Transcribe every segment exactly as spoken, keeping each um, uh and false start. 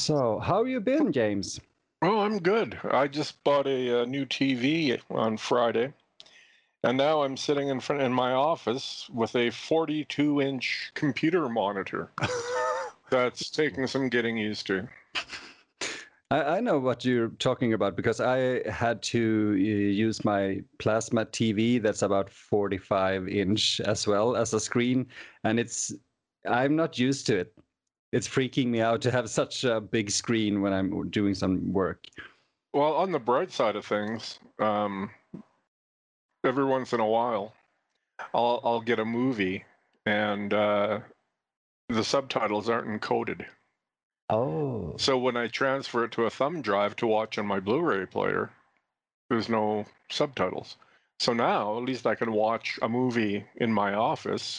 So, how you been, James? Oh, I'm good. I just bought a, uh new T V on Friday, and now I'm sitting in front in my office with a forty-two inch computer monitor. That's taking some getting used to. I, I know what you're talking about because I had to uh, use my plasma T V that's about forty-five inch as well as a screen, and it's I'm not used to it. It's freaking me out to have such a big screen when I'm doing some work. Well, on the bright side of things, um, every once in a while, I'll I'll get a movie, and uh, the subtitles aren't encoded. Oh. So when I transfer it to a thumb drive to watch on my Blu-ray player, there's no subtitles. So now at least I can watch a movie in my office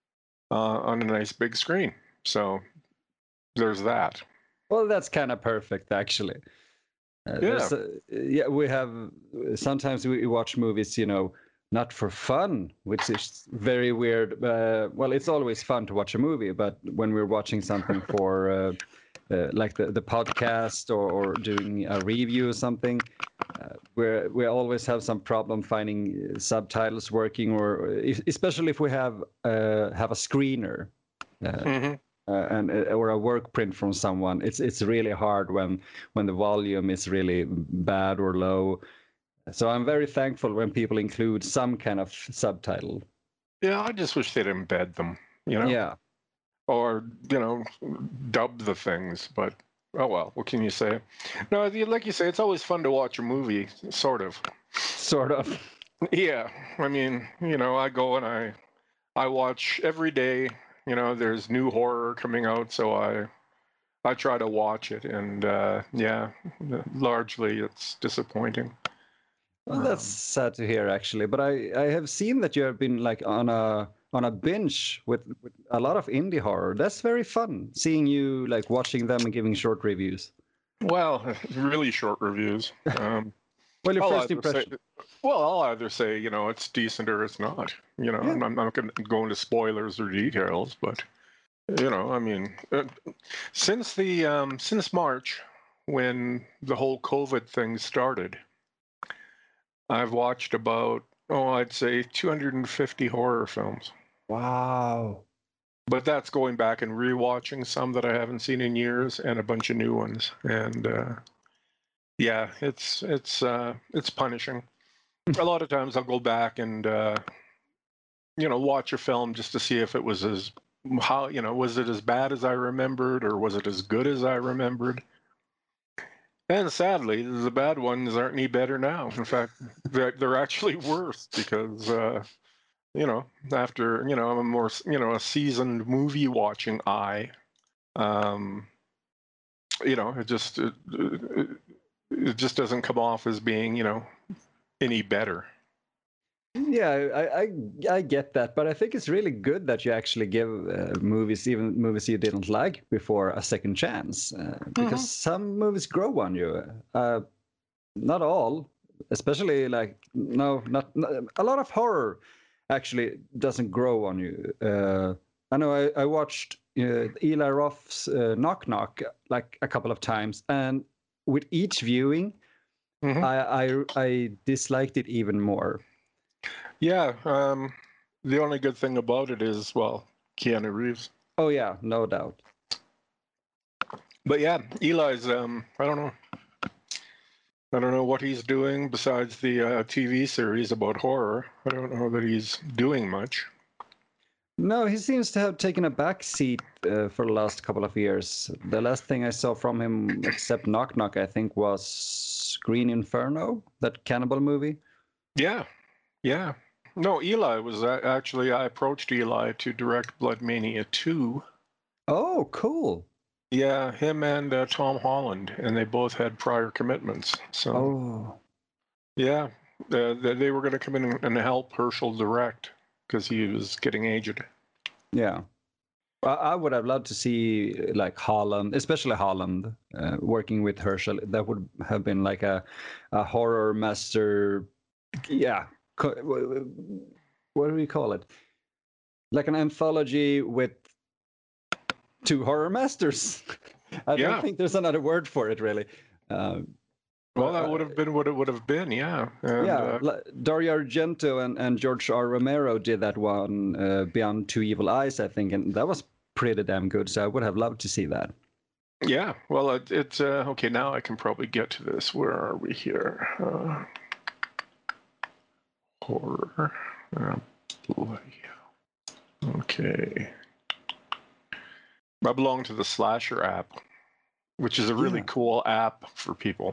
uh, on a nice big screen. So there's that. Well, that's kind of perfect, actually. Uh, Yeah. there's a, yeah, we have sometimes we watch movies, you know, not for fun, which is very weird. Uh, well, it's always fun to watch a movie, but when we're watching something for uh, uh, like the, the podcast or, or doing a review or something, uh, we we always have some problem finding subtitles working, or especially if we have uh, have a screener. Uh, Mm-hmm. uh, and uh, or a work print from someone, it's it's really hard when when the volume is really bad or low. So I'm very thankful when people include some kind of subtitle. Yeah, I just wish they'd embed them, you know, Yeah, or you know, dub the things. But oh well, what can you say? No, like you say, it's always fun to watch a movie, sort of. sort of. Yeah, I mean, you know, I go and I I watch every day. You know, there's new horror coming out, so I I try to watch it, and uh, yeah, largely it's disappointing. Well, that's Um, sad to hear, actually. But I I have seen that you have been like on a on a binge with, with a lot of indie horror. That's very fun seeing you like watching them and giving short reviews. well, really short reviews. Um, Well, your I'll first either say, impression. well, I'll either say, you know, it's decent or it's not. You know, Yeah. I'm, I'm not going to go into spoilers or details, but you know, I mean, uh, since the um, since March, when the whole COVID thing started, I've watched about, oh, I'd say two hundred fifty horror films. Wow. But that's going back and rewatching some that I haven't seen in years and a bunch of new ones. And uh, yeah, it's it's uh, it's punishing. A lot of times I'll go back and uh, you know watch a film just to see if it was as how you know was it as bad as I remembered or was it as good as I remembered. And sadly, the bad ones aren't any better now. In fact, they're, they're actually worse because uh, you know after you know I'm a more you know a seasoned movie watching eye. Um, you know, it just it, it, it just doesn't come off as being you know any better. Yeah, I, I I get that, but I think it's really good that you actually give uh, movies, even movies you didn't like before, a second chance, uh, because Mm-hmm. some movies grow on you. Uh, not all, especially like no, not, not a lot of horror actually doesn't grow on you. Uh, I know I, I watched uh, Eli Roth's uh, Knock Knock like a couple of times, and with each viewing, Mm-hmm. I I, I disliked it even more. Yeah. Um, the only good thing about it is well, Keanu Reeves. Oh yeah, no doubt. But yeah, Eli's. Um, I don't know. I don't know what he's doing besides the uh, T V series about horror. I don't know that he's doing much. No, he seems to have taken a back seat uh, for the last couple of years. The last thing I saw from him, except Knock Knock, I think, was Green Inferno, that cannibal movie. Yeah, yeah. No, Eli was uh, actually. I approached Eli to direct Blood Mania two. Oh, cool. Yeah, him and uh, Tom Holland, and they both had prior commitments. So Oh, yeah, uh, they, they were going to come in and help Herschel direct because he was getting aged. yeah. I, I would have loved to see uh, like Holland, especially Holland, uh, working with Herschel. That would have been like a, a horror master. Yeah. Co- w- w- What do we call it? Like an anthology with two horror masters. I Yeah. don't think there's another word for it really. Uh, Well, that uh, would have been what it would have been, yeah. And, yeah, uh, li- Dario Argento and, and George R. Romero did that one, uh, Beyond Two Evil Eyes, I think, and that was pretty damn good. So I would have loved to see that. yeah, well, it, it's uh, okay. Now I can probably get to this. Where are we here? Uh, horror. Uh, boy. Okay. I belong to the Slasher app, which is a really Yeah. cool app for people,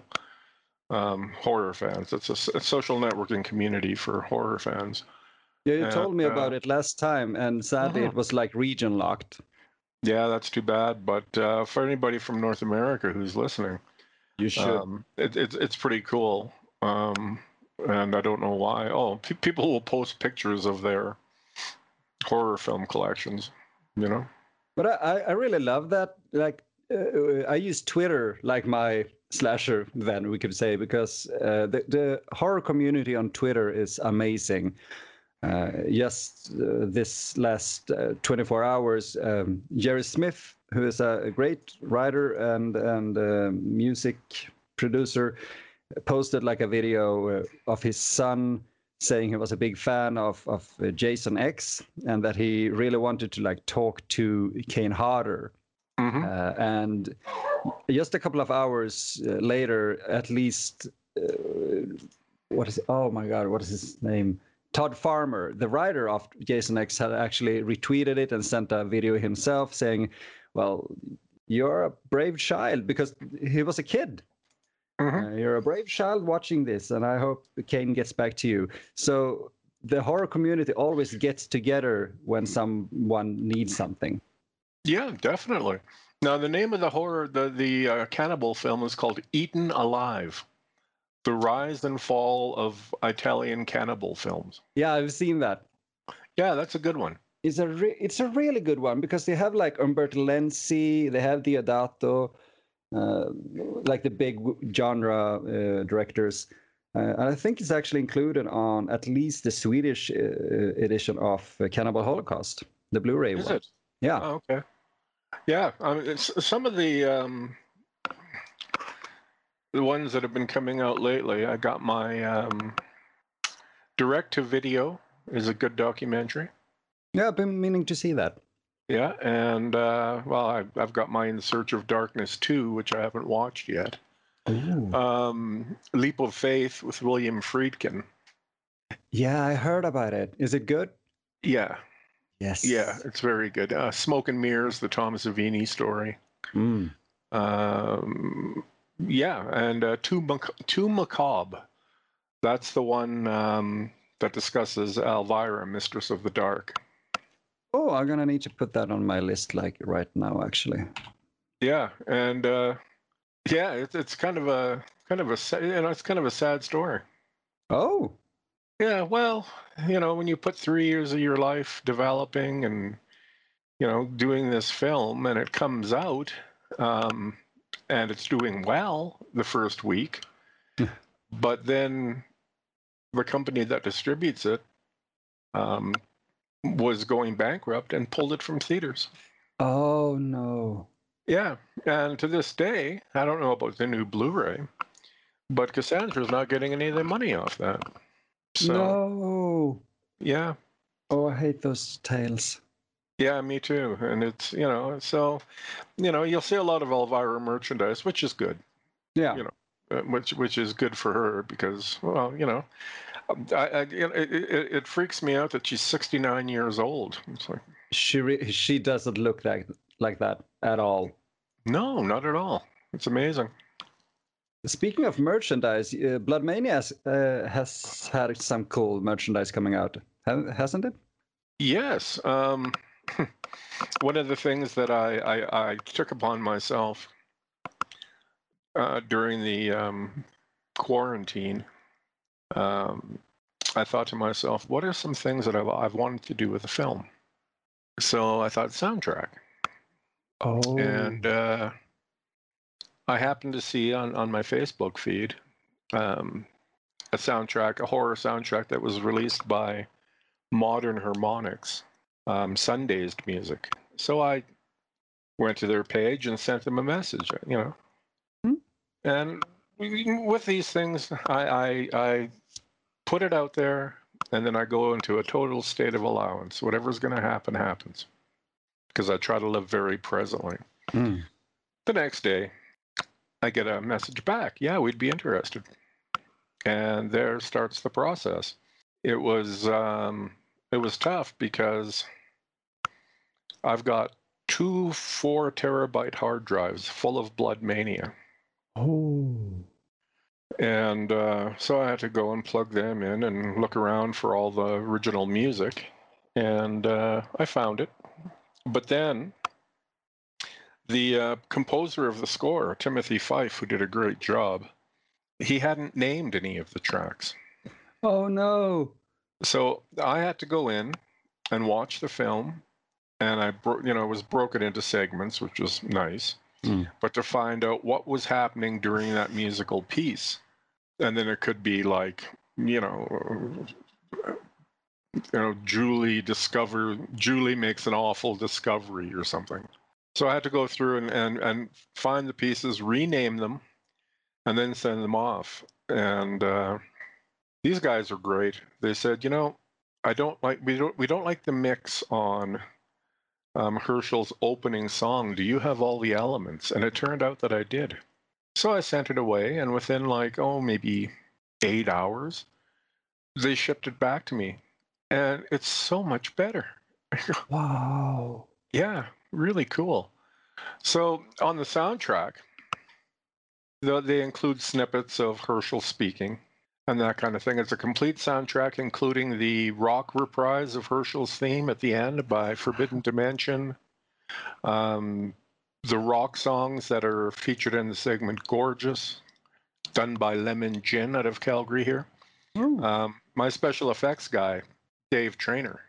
um, horror fans. It's a, s- a social networking community for horror fans. Yeah, you And, told me uh, about it last time, and sadly Mhm. it was like region locked. Yeah, that's too bad. But uh, for anybody from North America who's listening, You should. um, it, it's it's pretty cool. Um, and I don't know why. Oh, pe- people will post pictures of their horror film collections. You know. But I, I really love that. Like, uh, I use Twitter like my slasher, then we could say, because uh, the, the horror community on Twitter is amazing. Uh, just uh, this last uh, twenty-four hours, um, Jerry Smith, who is a, a great writer and and uh, music producer, posted like a video uh, of his son saying he was a big fan of of uh, Jason X and that he really wanted to like talk to Kane Hodder. hmm Uh, and just a couple of hours uh, later, at least, uh, what is it? Oh my God, what is his name? Todd Farmer, the writer of Jason X, had actually retweeted it and sent a video himself saying, "Well, you're a brave child," because he was a kid. hmm Uh, you're a brave child watching this, and I hope Kane gets back to you. So the horror community always gets together when someone needs something. Yeah, definitely. Now, the name of the horror, the the uh, cannibal film is called Eaten Alive: The Rise and Fall of Italian Cannibal Films. Yeah, I've seen that. Yeah, that's a good one. It's a re- it's a really good one because they have like Umberto Lenzi, they have Diodato, uh, like the big genre uh, directors. Uh, and I think it's actually included on at least the Swedish uh, edition of uh, Cannibal Holocaust, the Blu-ray Is one. it? Yeah. Oh, okay. Yeah, I mean, it's, some of the um, the ones that have been coming out lately. I got my um, direct to video is a good documentary. Yeah, I've been meaning to see that. Yeah, and uh, well, I've, I've got my In Search of Darkness two, which I haven't watched yet. Ooh. Um, Leap of Faith with William Friedkin. Yeah, I heard about it. Is it good? Yeah, Yes. yeah, it's very good. Uh, Smoke and Mirrors, the Tom Savini story. Mm. Um, yeah, and uh, Too, Mac- Too Macabre. That's the one um, that discusses Elvira, Mistress of the Dark. Oh, I'm gonna need to put that on my list like right now, actually. Yeah, and uh, yeah, it's it's kind of a kind of a sa- you know it's kind of a sad story. Oh, Yeah, well, you know, when you put three years of your life developing and you know doing this film, and it comes out, um, and it's doing well the first week, but then the company that distributes it um, was going bankrupt and pulled it from theaters. oh no. Yeah, and to this day, I don't know about the new Blu-ray, but Cassandra's not getting any of the money off that. So No. yeah, Oh, I hate those tales. yeah, me too. And it's you know, so you know, you'll see a lot of Elvira merchandise, which is good. Yeah. You know, uh, which which is good for her because well, you know, I, I you know, it, it, it freaks me out that she's sixty-nine years old. It's like She re- she doesn't look like like that at all. no, not at all. It's amazing. Speaking of merchandise, uh, Blood Mania has, uh, has had some cool merchandise coming out, ha- hasn't it? Yes. Um, one of the things that I, I, I took upon myself uh, during the um, quarantine, um, I thought to myself, what are some things that I've, I've wanted to do with a film? So I thought soundtrack. Oh. And uh, I happened to see on, on my Facebook feed um, a soundtrack, a horror soundtrack that was released by Modern Harmonics, um, Sundazed Music. So I went to their page and sent them a message, you know. Hmm. And with these things, I, I, I put it out there, and then I go into a total state of allowance. Whatever's going to happen, happens. Because I try to live very presently. Hmm. The next day, I get a message back. Yeah, we'd be interested. And there starts the process. It was um, it was tough because I've got two four terabyte hard drives full of Blood Mania. Oh. And uh, so I had to go and plug them in and look around for all the original music. And uh, I found it. But then the uh, composer of the score, Timothy Fife, who did a great job, he hadn't named any of the tracks. Oh, no. So I had to go in and watch the film. And I, bro- you know, it was broken into segments, which was nice. Mm. But to find out what was happening during that musical piece. And then it could be like, you know, you know, Julie discover Julie makes an awful discovery or something. So I had to go through and, and, and find the pieces, rename them, and then send them off. And uh, these guys are great. They said, you know, I don't like we don't we don't like the mix on um, Herschel's opening song. Do you have all the elements? And it turned out that I did. So I sent it away, and within like oh maybe eight hours, they shipped it back to me, and it's so much better. Wow. Yeah, really cool. So on the soundtrack, they include snippets of Herschel speaking and that kind of thing. It's a complete soundtrack, including the rock reprise of Herschel's theme at the end by Forbidden Dimension, um, the rock songs that are featured in the segment Gorgeous, done by Lemon Gin out of Calgary here. Oh. Um, my special effects guy, Dave Trainer,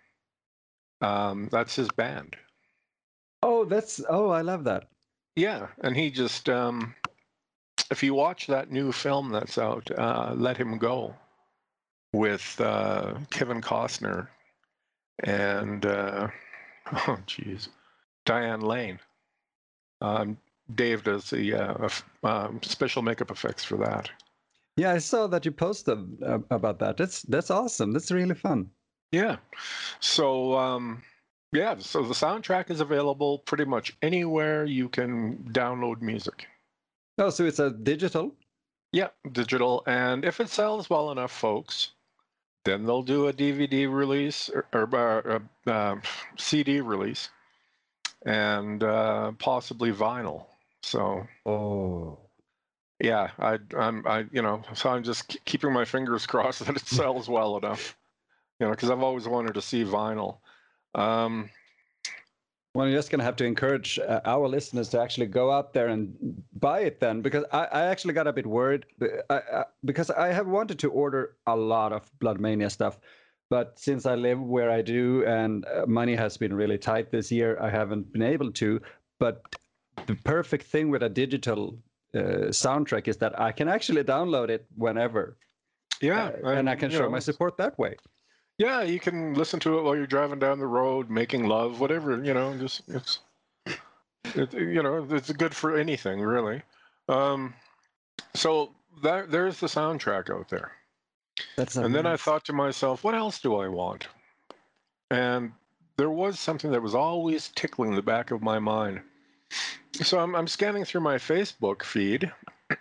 um, that's his band. Oh, that's, oh, I love that. Yeah, and he just, um, if you watch that new film that's out, uh, Let Him Go, with uh, Kevin Costner and, uh, oh, geez, Diane Lane. Um, Dave does the uh, um, special makeup effects for that. Yeah, I saw that you posted uh, about that. That's that's awesome. That's really fun. Yeah. So, um, yeah, so the soundtrack is available pretty much anywhere you can download music. Oh, so it's a digital? Yeah, digital. And if it sells well enough, folks, then they'll do a D V D release or, or uh, uh, C D release and uh, possibly vinyl. So, oh, yeah, I, I'm, I, you know, so I'm just keeping my fingers crossed that it sells well enough, you know, because I've always wanted to see vinyl. Um, well, you're just going to have to encourage uh, our listeners to actually go out there and buy it then, because I, I actually got a bit worried I, I, because I have wanted to order a lot of Blood Mania stuff. But since I live where I do and uh, money has been really tight this year, I haven't been able to. But the perfect thing with a digital uh, soundtrack is that I can actually download it whenever. yeah. Uh, and I can show know, my support that way. Yeah, you can listen to it while you're driving down the road, making love, whatever, you know, just it's, it, you know, it's good for anything, really. Um, so that, there's the soundtrack out there. That's and then I amazing. thought to myself, what else do I want? And there was something that was always tickling the back of my mind. So I'm, I'm scanning through my Facebook feed,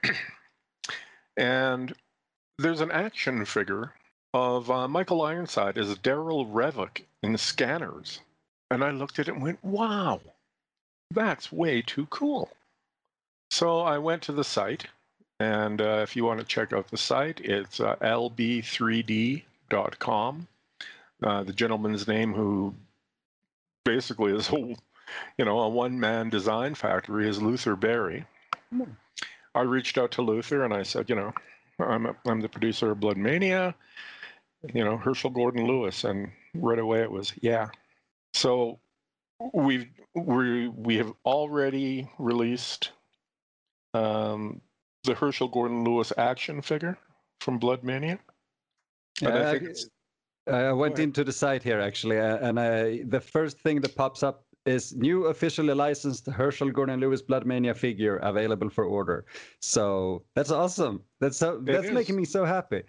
and there's an action figure of uh, Michael Ironside as Daryl Revick in Scanners. And I looked at it and went, wow, that's way too cool. So I went to the site, and uh, if you want to check out the site, it's uh, L B three D dot com. Uh, the gentleman's name who basically is a, you know, a one-man design factory is Luther Berry. Mm. I reached out to Luther and I said, you know, I'm, a, I'm the producer of Blood Mania, you know, Herschel Gordon Lewis. And right away it was, yeah. So we've, we, we have already released um, the Herschel Gordon Lewis action figure from Blood Mania. Yeah, and I think I, it's, I went into the site here actually, uh, and I, the first thing that pops up is new officially licensed Herschel Gordon Lewis Bloodmania figure available for order. So that's awesome. That's so It that's is. making me so happy.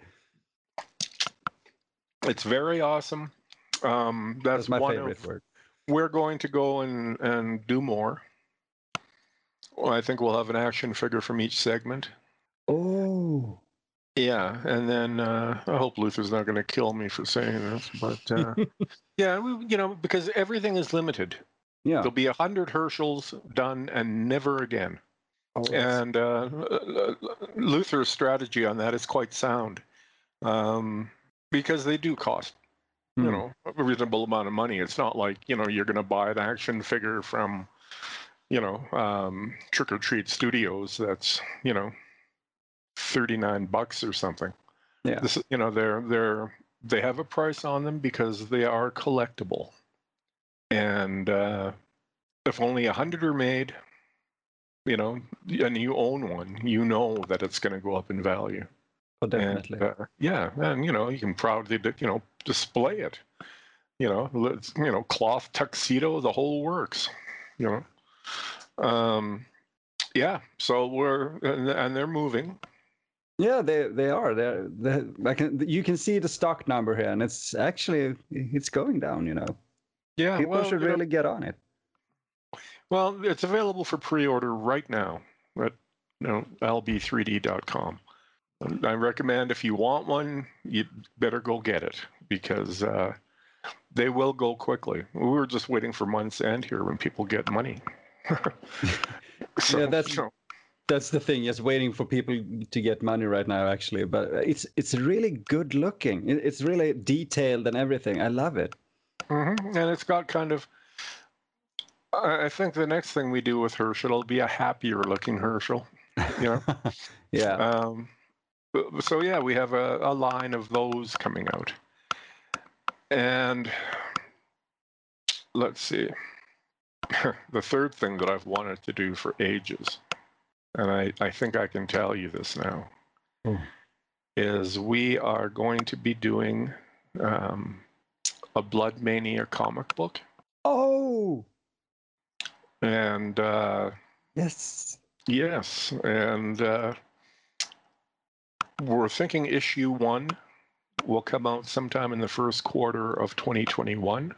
It's very awesome. Um, that's, That's my one favorite of, word. We're going to go and, and do more. Well, I think we'll have an action figure from each segment. Oh. Yeah, and then uh, I hope Luther's not going to kill me for saying this, but uh, yeah, we, you know, because everything is limited. Yeah. There'll be a hundred Herschels done and never again. Oh, and uh, Luther's strategy on that is quite sound, um, because they do cost, hmm. you know, a reasonable amount of money. It's not like, you know, you're going to buy an action figure from, you know, um, Trick or Treat Studios that's, you know, thirty-nine bucks or something. Yeah. This, you know, they're they're they have a price on them because they are collectible, and uh, if only a hundred are made, you know, and you own one, you know that it's going to go up in value. Oh, definitely. And, uh, yeah, and you know, you can proudly, you know, display it. You know, let's, you know, cloth tuxedo, the whole works. You know, um, yeah. So we're and, and they're moving. Yeah, they they are. They're, they I can you can see the stock number here, and it's actually it's going down. You know. Yeah. People well, should you really know, get on it. well, it's available for pre-order right now at, you know, L B three D dot com. I recommend if you want one, you better go get it because uh, they will go quickly. We were just waiting for month's end here when people get money. so, yeah, that's you know, that's the thing. Just waiting for people to get money right now, actually. But it's it's really good looking. It's really detailed and everything. I love it. Mm-hmm. And it's got kind of. I think the next thing we do with Herschel will be a happier looking Herschel. You know. yeah. Um, so yeah, we have a, a line of those coming out, and let's see. The third thing that I've wanted to do for ages, and I, I think I can tell you this now, oh. is we are going to be doing um, a Blood Mania comic book. Oh. And uh, yes. Yes, and uh, we're thinking issue one will come out sometime in the first quarter of twenty twenty-one.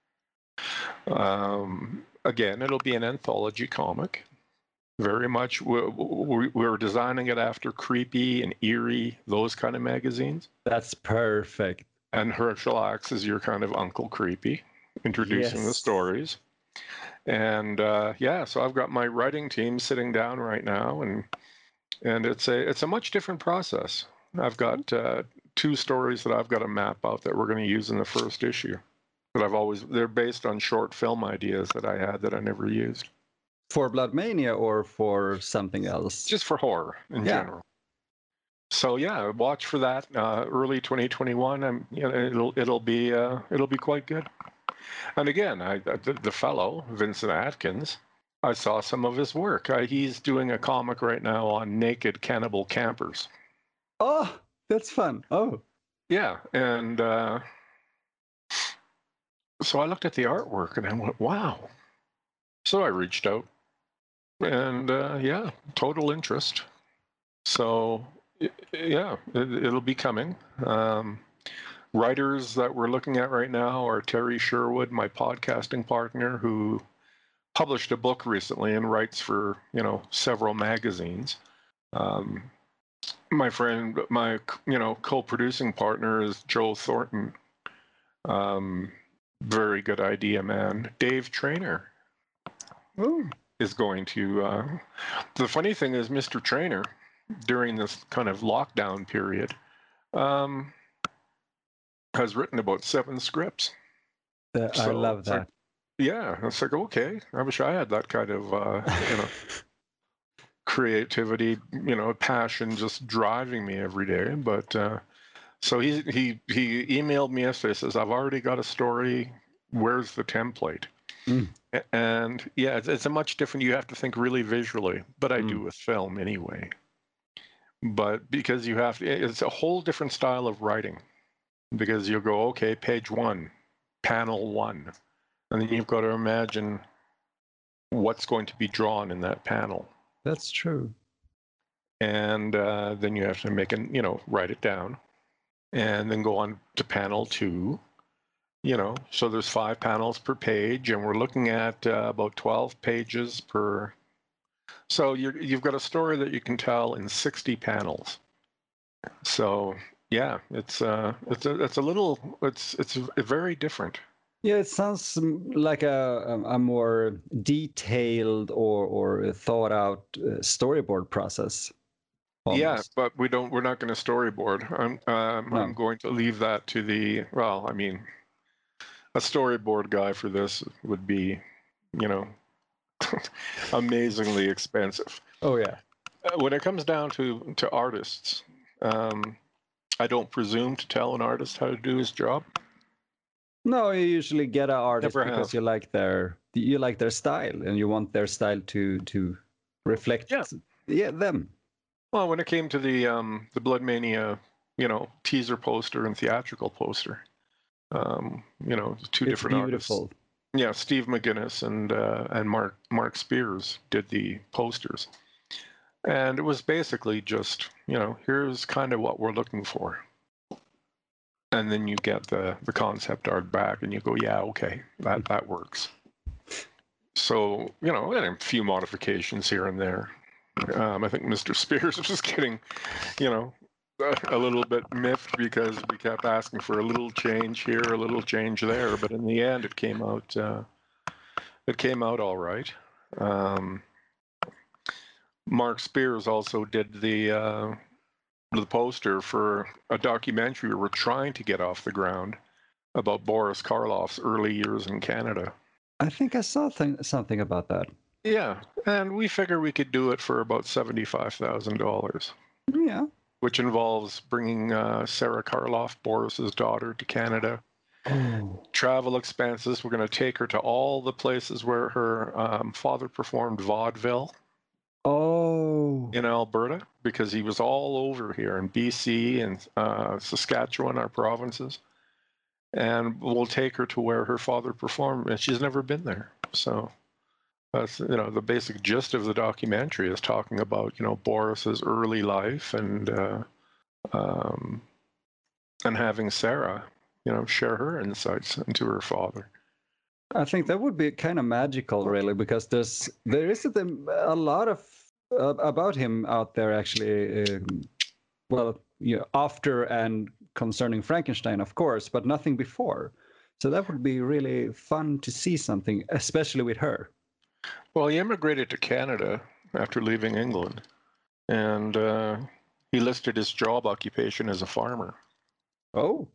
Um, again, it'll be an anthology comic. Very much, we're, we're designing it after Creepy and Eerie, those kind of magazines. That's perfect. And Herschel acts as your kind of Uncle Creepy, introducing yes. the stories. And uh, yeah, so I've got my writing team sitting down right now, and and it's a it's a much different process. I've got uh, two stories that I've got to map out that we're going to use in the first issue. That I've always they're based on short film ideas that I had that I never used. For Blood Mania or for something else? Just for horror in yeah. general. So yeah, watch for that uh, early twenty twenty-one. I'm, you know, it'll it'll be uh, it'll be quite good. And again, I, the, the fellow Vincent Atkins, I saw some of his work. I, he's doing a comic right now on naked cannibal campers. Oh, that's fun. Oh, yeah, and uh, so I looked at the artwork and I went, wow. So I reached out, and uh, yeah, total interest. So yeah, it, it'll be coming. Um, writers that we're looking at right now are Terry Sherwood, my podcasting partner, who published a book recently and writes for, you know, several magazines. Um, my friend, my, you know, co-producing partner is Joe Thornton. Um, very good idea, man. Dave Trainer Ooh. is going to, uh, the funny thing is Mister Trainer, during this kind of lockdown period, um, has written about seven scripts. Uh, so I love that. Like, yeah, it's like, okay, I wish I had that kind of, uh, you know, creativity, you know, passion just driving me every day. But uh, so he he he emailed me yesterday, says, I've already got a story. Where's the template? Mm. And yeah, it's, it's a much different, you have to think really visually, but I mm. do with film anyway. But because you have to, it's a whole different style of writing, because you'll go, okay, page one, panel one. And then you've got to imagine what's going to be drawn in that panel. That's true. And uh, then you have to make an, you know, write it down, and then go on to panel two. You know, so there's five panels per page, and we're looking at uh, about twelve pages per. So you're, you've got a story that you can tell in sixty panels. So yeah, it's uh, it's a, it's a little, it's it's very different. Yeah, it sounds like a a more detailed or or thought out storyboard process. Almost. Yeah, but we don't. We're not going to storyboard. I'm um, No. I'm going to leave that to the. Well, I mean, a storyboard guy for this would be, you know, amazingly expensive. Oh yeah. Uh, when it comes down to to artists, um, I don't presume to tell an artist how to do his job. No, you usually get an artist Never because have. you like their you like their style and you want their style to to reflect Yeah. yeah them. Well, when it came to the um, the Blood Mania, you know, teaser poster and theatrical poster, um, you know, two It's different beautiful. artists. Yeah, Steve McGuinness and uh, and Mark Mark Spears did the posters, and it was basically just, you know, here's kind of what we're looking for, and then you get the the concept art back, and you go, yeah, okay, that that works. So, you know, and a few modifications here and there. Um, I think Mister Spears was getting, you know, a, a little bit miffed because we kept asking for a little change here, a little change there, but in the end, it came out. Uh, it came out all right. Um, Mark Spears also did the uh, the poster for a documentary we're trying to get off the ground about Boris Karloff's early years in Canada. I think I saw th- something about that. Yeah, and we figure we could do it for about seventy-five thousand dollars. Yeah. Which involves bringing uh, Sarah Karloff, Boris's daughter, to Canada. Oh. Travel expenses. We're going to take her to all the places where her um, father performed vaudeville. Oh. In Alberta, because he was all over here in B C and uh, Saskatchewan, our provinces. And we'll take her to where her father performed, and she's never been there. So that's, you know, the basic gist of the documentary is talking about, you know, Boris's early life and uh, um, and having Sarah, you know, share her insights into her father. I think that would be kind of magical, really, because there's there isn't a, a lot of uh, about him out there actually. Uh, well, you know, after and concerning Frankenstein, of course, but nothing before. So that would be really fun to see something, especially with her. Well, he immigrated to Canada after leaving England, and uh, he listed his job occupation as a farmer. Oh.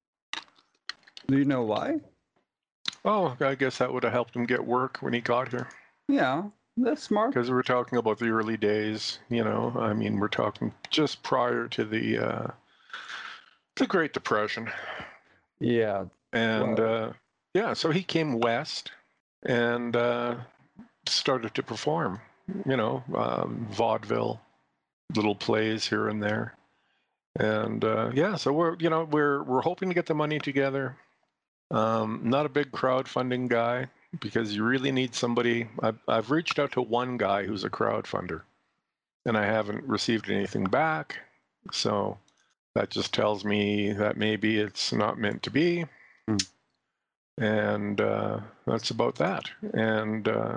Do you know why? Oh, I guess that would have helped him get work when he got here. Yeah, that's smart. Because we're talking about the early days, you know. I mean, we're talking just prior to the uh, the Great Depression. Yeah. And wow. uh, yeah, so he came west and uh, started to perform, you know, um, vaudeville, little plays here and there. And uh, yeah, so we're, you know, we're we're hoping to get the money together. Um, not a big crowdfunding guy, because you really need somebody. I've, I've reached out to one guy who's a crowdfunder, and I haven't received anything back. So that just tells me that maybe it's not meant to be. Mm. And uh, that's about that. And uh,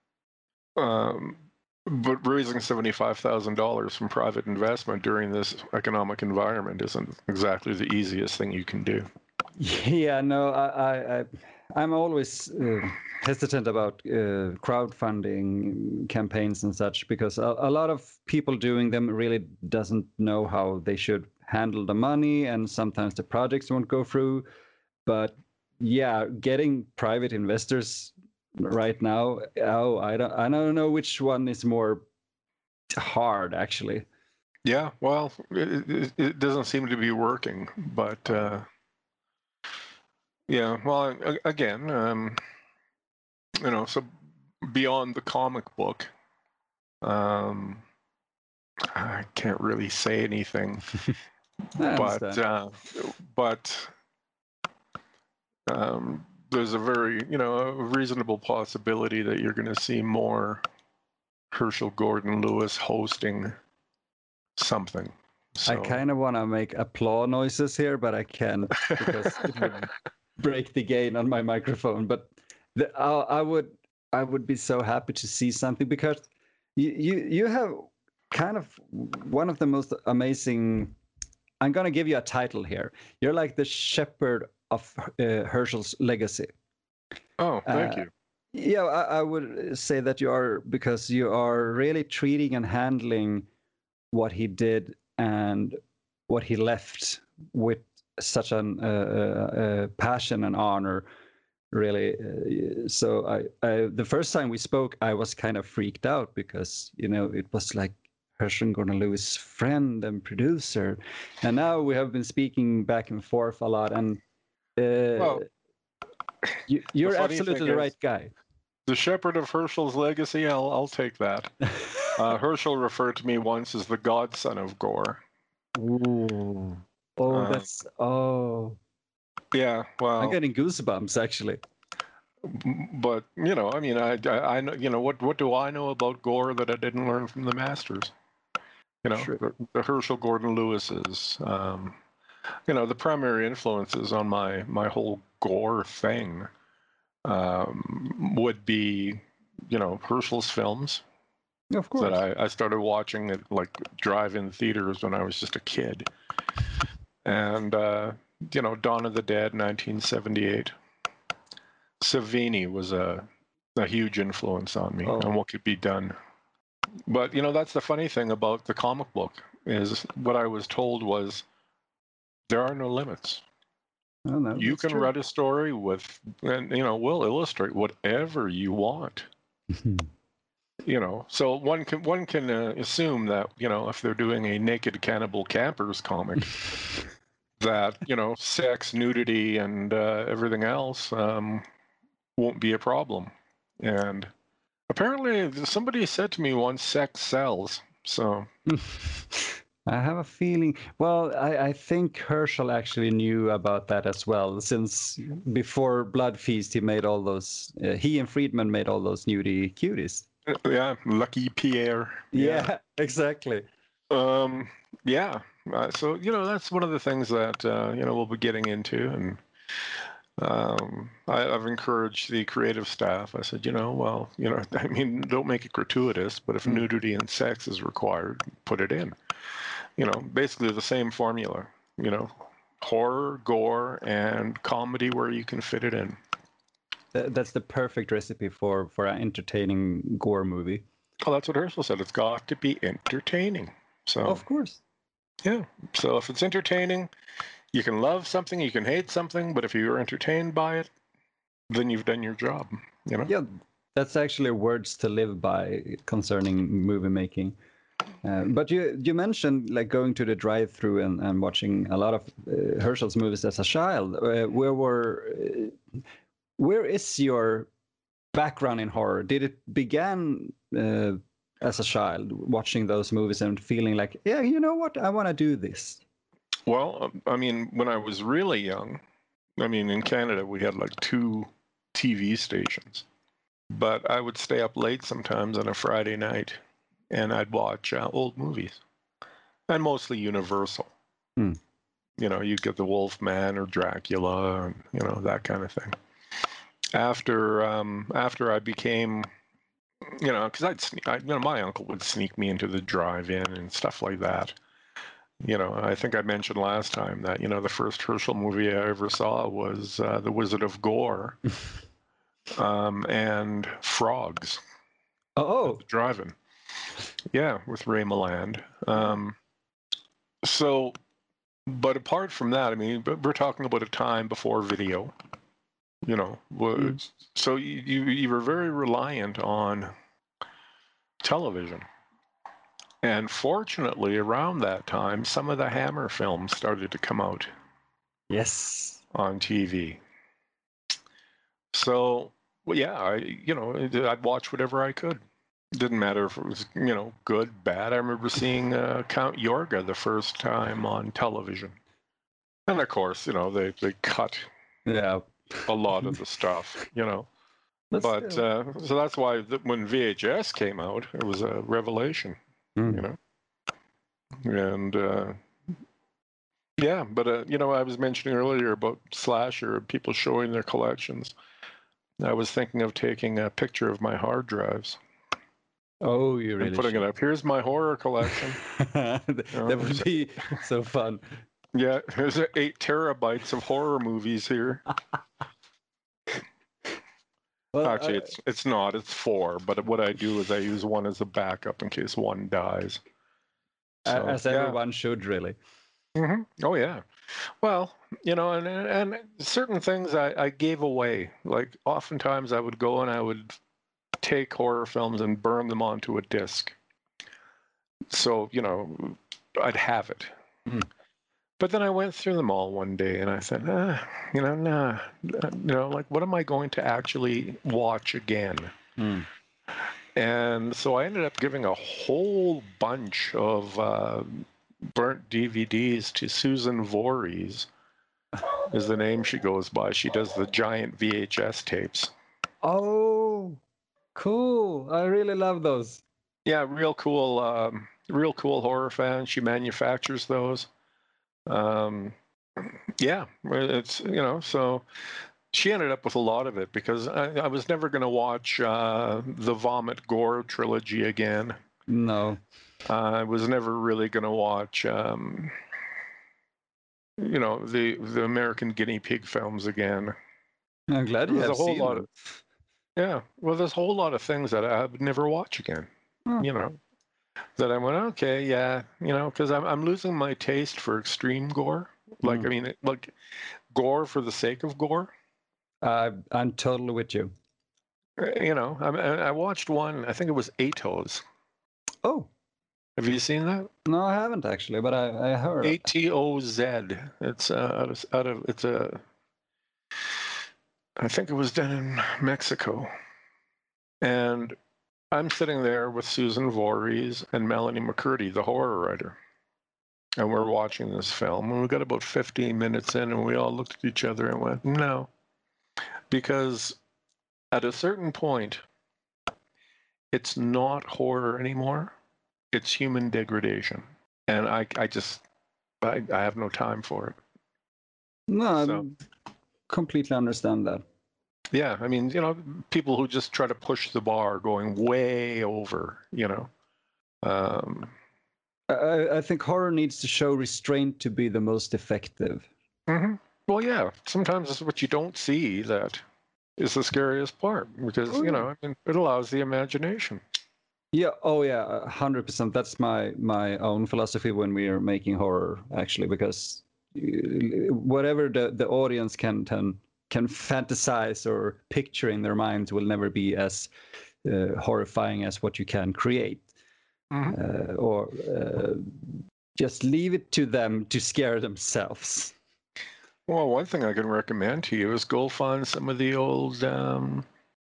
um, but raising seventy-five thousand dollars from private investment during this economic environment isn't exactly the easiest thing you can do. Yeah, no, I, I, I I'm always uh, hesitant about uh, crowdfunding campaigns and such, because a, a lot of people doing them really doesn't know how they should handle the money, and sometimes the projects won't go through. But yeah, getting private investors right now, oh, I don't, I don't know which one is more hard, actually. Yeah, well, it, it, it doesn't seem to be working, but uh, yeah, well, again, um, you know, so beyond the comic book, um, I can't really say anything, but uh, but um, there's a very, you know, a reasonable possibility that you're going to see more Herschel Gordon Lewis hosting something. So. I kind of want to make applause noises here, but I can't because it would break the gain on my microphone. But the, I, I would I would be so happy to see something because you you, you have kind of one of the most amazing. I'm going to give you a title here. You're like the shepherd of uh, Herschel's legacy. Oh, thank uh, you. Yeah, I, I would say that you are, because you are really treating and handling what he did and what he left with such an uh, uh, passion and honor, really. Uh, so I, I, the first time we spoke, I was kind of freaked out because, you know, it was like Herschel Gordon Lewis' friend and producer, and now we have been speaking back and forth a lot. And uh, Well, you, you're absolutely the is, right guy. The shepherd of Herschel's legacy, I'll I'll take that. uh, Herschel referred to me once as the godson of gore. Ooh. Oh, uh, that's oh. Yeah, well, I'm getting goosebumps actually. But you know, I mean, I, I, I know, you know, what, what do I know about gore that I didn't learn from the masters? You know, the, the Herschel Gordon Lewis's, um, you know, the primary influences on my my whole gore thing um, would be, you know, Herschel's films. Of course. That I, I started watching at like drive-in theaters when I was just a kid, and uh, you know, Dawn of the Dead, nineteen seventy-eight. Savini was a, a huge influence on me oh. on what could be done. But, you know, that's the funny thing about the comic book is what I was told was there are no limits. Oh, no, you can true. write a story with, and, you know, we'll illustrate whatever you want. You know, so one can one can uh, assume that, you know, if they're doing a naked cannibal campers comic, that, you know, sex, nudity, and uh, everything else um, won't be a problem. And apparently somebody said to me once, sex sells. So I have a feeling, well, I, I think Herschel actually knew about that as well, since before Blood Feast he made all those, uh, he and Friedman made all those nudie cuties. Yeah, Lucky Pierre. Yeah, yeah, exactly. Um, yeah, uh, so, you know, that's one of the things that, uh, you know, we'll be getting into. And Um, I, I've encouraged the creative staff. I said, you know, well, you know, I mean, don't make it gratuitous, but if mm. nudity and sex is required, put it in. You know, basically the same formula, you know, horror, gore, and comedy where you can fit it in. That's the perfect recipe for, for an entertaining gore movie. Oh, that's what Herschel said. It's got to be entertaining. So, of course. Yeah. So if it's entertaining, you can love something, you can hate something, but if you're entertained by it, then you've done your job, you know? Yeah, that's actually words to live by concerning movie making. Uh, but you you mentioned like going to the drive-through and, and watching a lot of uh, Herschel's movies as a child. Uh, where were, uh, where is your background in horror? Did it begin uh, as a child watching those movies and feeling like, yeah, you know what, I want to do this? Well, I mean, when I was really young, I mean, in Canada, we had like two T V stations, but I would stay up late sometimes on a Friday night and I'd watch uh, old movies, and mostly Universal. Hmm. You know, you get the Wolfman or Dracula, and, you know, that kind of thing. After um, after I became, you know, because I'd, sne- I, you know, my uncle would sneak me into the drive-in and stuff like that. You know, I think I mentioned last time that, you know, the first Herschel movie I ever saw was uh, The Wizard of Gore um, and Frogs. Oh, Drive-in. Yeah, with Ray Milland. Um, so, but apart from that, I mean, we're talking about a time before video. You know, mm. so you, you you were very reliant on television. And fortunately, around that time, some of the Hammer films started to come out. Yes. On T V. So, well, yeah, I, you know, I'd watch whatever I could. Didn't matter if it was, you know, good, bad. I remember seeing uh, Count Yorga the first time on television. And of course, you know, they, they cut yeah. a lot of the stuff, you know. But But still. uh, so that's why th- when V H S came out, it was a revelation, Mm. you know. And uh, yeah, but uh, you know, I was mentioning earlier about slasher and people showing their collections. I was thinking of taking a picture of my hard drives Oh, you really and putting should. it up. Here's my horror collection. that know, that would there's- be so fun. Yeah, there's eight terabytes of horror movies here. Well, Actually, I- it's it's not. It's four. But what I do is I use one as a backup in case one dies. So, as yeah. everyone should, really. hmm Oh yeah. Well, you know, and and certain things I, I gave away. Like oftentimes I would go and I would take horror films and burn them onto a disc. So, you know, I'd have it. Mhm. But then I went through them all one day and I said, ah, you know, nah, you know, like what am I going to actually watch again? Mm. And so I ended up giving a whole bunch of uh, burnt D V Ds to Susan Voorhees, is the name she goes by. She does the giant V H S tapes. Oh, cool! I really love those. Yeah, real cool, um, real cool horror fan. She manufactures those. Um, yeah, it's, you know, so she ended up with a lot of it because I, I was never going to watch uh, the Vomit Gore trilogy again. No. Uh, I was never really going to watch, um, you know, the the American Guinea Pig films again. I'm glad you There's have a whole seen lot them. of, yeah. Well, there's a whole lot of things that I would never watch again. Hmm. You know, that I went, okay, yeah, you know, because I'm I'm losing my taste for extreme gore. Like, Mm. I mean, it, like gore for the sake of gore. Uh, I'm totally with you. Uh, You know, I I watched one. I think it was Atos. Oh, Have you seen that? no, I haven't actually, but I, I heard. A T O Z. It's uh, out of out of it's a. I think it was done in Mexico, and I'm sitting there with Susan Voorhees and Melanie McCurdy, the horror writer, and we're watching this film. And we got about fifteen minutes in, and we all looked at each other and went, "No," because at a certain point, it's not horror anymore. It's human degradation, and I I just I, I have no time for it. No, So. I completely understand that. Yeah, I mean, you know, people who just try to push the bar, going way over, you know. Um, I, I think horror needs to show restraint to be the most effective. mhm. Well, yeah, sometimes it's what you don't see that is the scariest part because, Oh, you yeah. know, I mean, it allows the imagination. Yeah. Oh, yeah. a Hundred percent. That's my my own philosophy when we are making horror, actually, because uh, whatever the the audience can can can fantasize or picture in their minds will never be as uh, horrifying as what you can create, Mhm. uh, or uh, just leave it to them to scare themselves. Well, one thing I can recommend to you is go find some of the old um,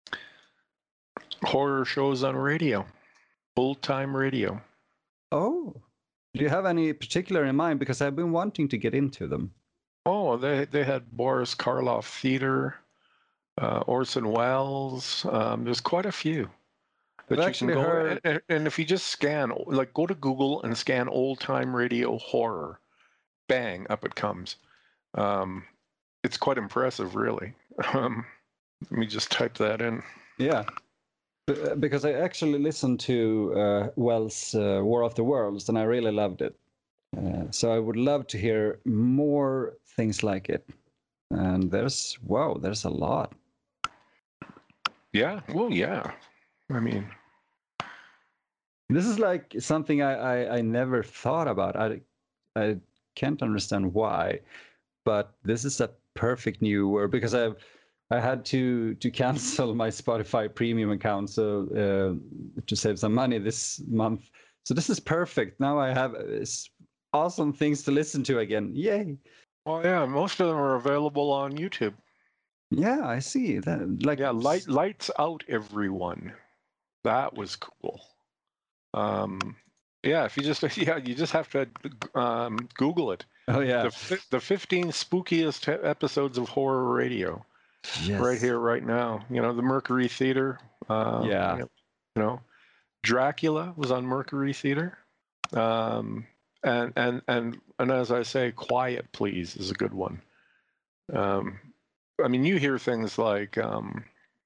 horror shows on radio, old time radio. Oh, do you have any particular in mind? Because I've been wanting to get into them. Oh, they they had Boris Karloff Theater, uh, Orson Welles. Um, there's quite a few that I've you can actually go heard- and, and if you just scan, like go to Google and scan old time radio horror, bang, up it comes. Um, it's quite impressive, really. Um, let me just type that in. Yeah. B- Because I actually listened to uh, Wells' uh, War of the Worlds, and I really loved it. Uh, so I would love to hear more things like it. And there's wow, there's a lot. Yeah, well, yeah. I mean, This is like something I I, I never thought about. I I can't understand why, but this is a perfect new word because I've I had to to cancel my Spotify premium account so uh, to save some money this month. So this is perfect. Now I have uh, s- awesome things to listen to again. Yay! well, yeah, most of them are available on YouTube. Yeah, I see that. Like Yeah, light lights out, everyone. That was cool. Um, yeah, if you just yeah, you just have to um, Google it. Oh yeah. The fi- the fifteen spookiest episodes of horror radio. Yes. right here, right now. You know, the Mercury Theater. Uh, Yeah. You know, Dracula was on Mercury Theater. Um, and and and and as I say, Quiet Please is a good one. Um, I mean, you hear things like um,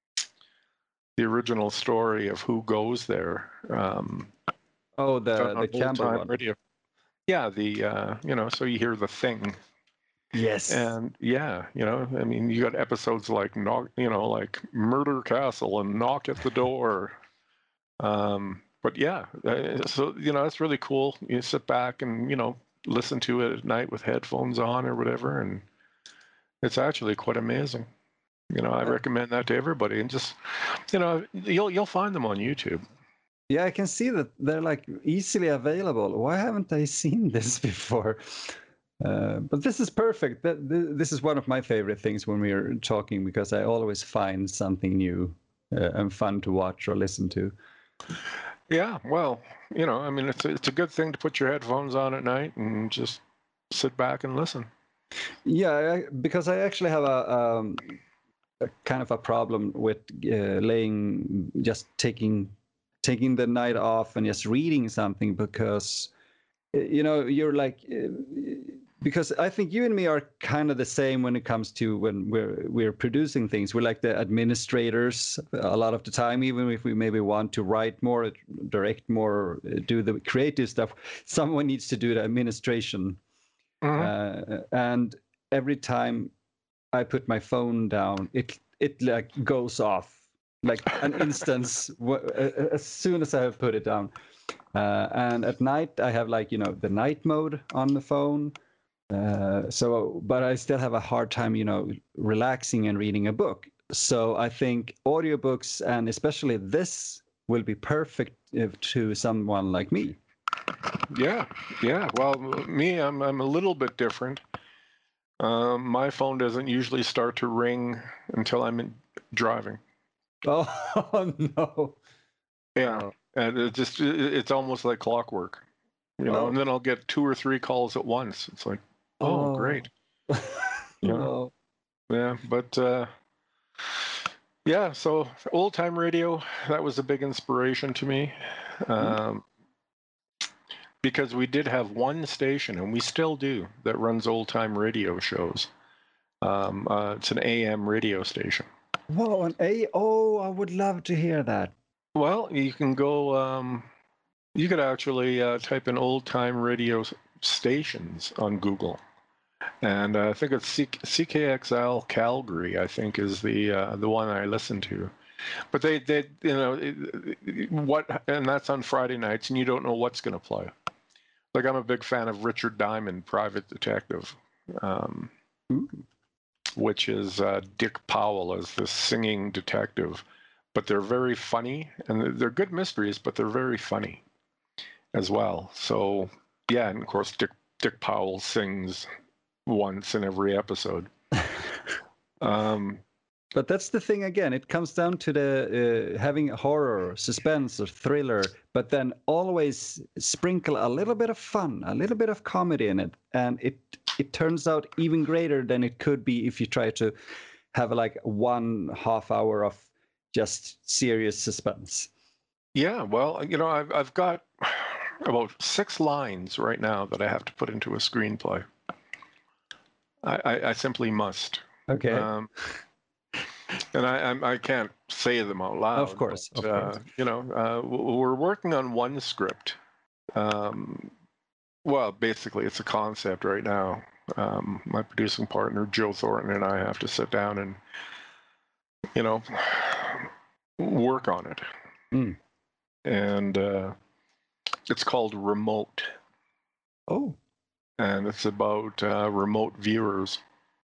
the original story of Who Goes There. Um, Oh, the done the on Campbell old-time one. radio. Yeah, the uh, you know, so you hear The Thing, Yes. and yeah, you know, I mean, you got episodes like knock, you know, like Murder Castle and Knock at the Door. Um, but yeah, uh, so you know, that's really cool. You sit back and you know listen to it at night with headphones on or whatever, and it's actually quite amazing. You know, I Uh, recommend that to everybody, and just you know, you'll you'll find them on YouTube. Yeah, I can see that they're like easily available. Why haven't I seen this before? Uh, but this is perfect. That th- this is one of my favorite things when we are talking because I always find something new uh, and fun to watch or listen to. Yeah, well, you know, I mean, it's a, it's a good thing to put your headphones on at night and just sit back and listen. Yeah, I, because I actually have a, um, a kind of a problem with uh, laying, just taking taking the night off and just reading something because uh, you know you're like uh, because I think you and me are kind of the same when it comes to when we're we're producing things. We're like the administrators a lot of the time, even if we maybe want to write more, direct more, do the creative stuff. Someone needs to do the administration, Mhm. uh, and every time I put my phone down, it it like goes off like an instance as soon as I have put it down. Uh, and at night I have like you know the night mode on the phone. Uh, so, but I still have a hard time, you know, relaxing and reading a book. So I think audiobooks and especially this will be perfect if, to someone like me. Yeah, yeah. Well, me, I'm I'm a little bit different. Um, my phone doesn't usually start to ring until I'm in, driving. Oh no! Yeah, Oh, and it just it, it's almost like clockwork, you know. oh, And then I'll get two or three calls at once. It's like, oh, oh, great. Yeah, oh. yeah. But uh, yeah, so old time radio, that was a big inspiration to me. Um, because we did have one station, and we still do, that runs old time radio shows. Um, uh, it's an A M radio station. Whoa, an A. Oh, I would love to hear that. Well, you can go. Um, you could actually uh, type in old time radio stations on Google, and uh, I think it's C- CKXL Calgary. I think is the uh, the one I listen to. But they, they, you know, it, what, and that's on Friday nights, and you don't know what's going to play. Like I'm a big fan of Richard Diamond, Private Detective, um, which is uh, Dick Powell as the singing detective. But they're very funny, and they're good mysteries, but they're very funny as well. So yeah, and of course Dick Dick Powell sings once in every episode. Um, But that's the thing again. It comes down to the uh, having horror, suspense, or thriller, but then always sprinkle a little bit of fun, a little bit of comedy in it, and it it turns out even greater than it could be if you try to have like one half hour of just serious suspense. yeah, well, you know, I've I've got about six lines right now that I have to put into a screenplay. I, I, I simply must. Okay. Um, and I, I I can't say them out loud. Of course, but, of uh, course. you know, uh, we're working on one script. Um, well, basically, it's a concept right now. Um, my producing partner Joe Thornton and I have to sit down and, you know, work on it. Mm. And uh, it's called Remote. Oh. And it's about uh, remote viewers.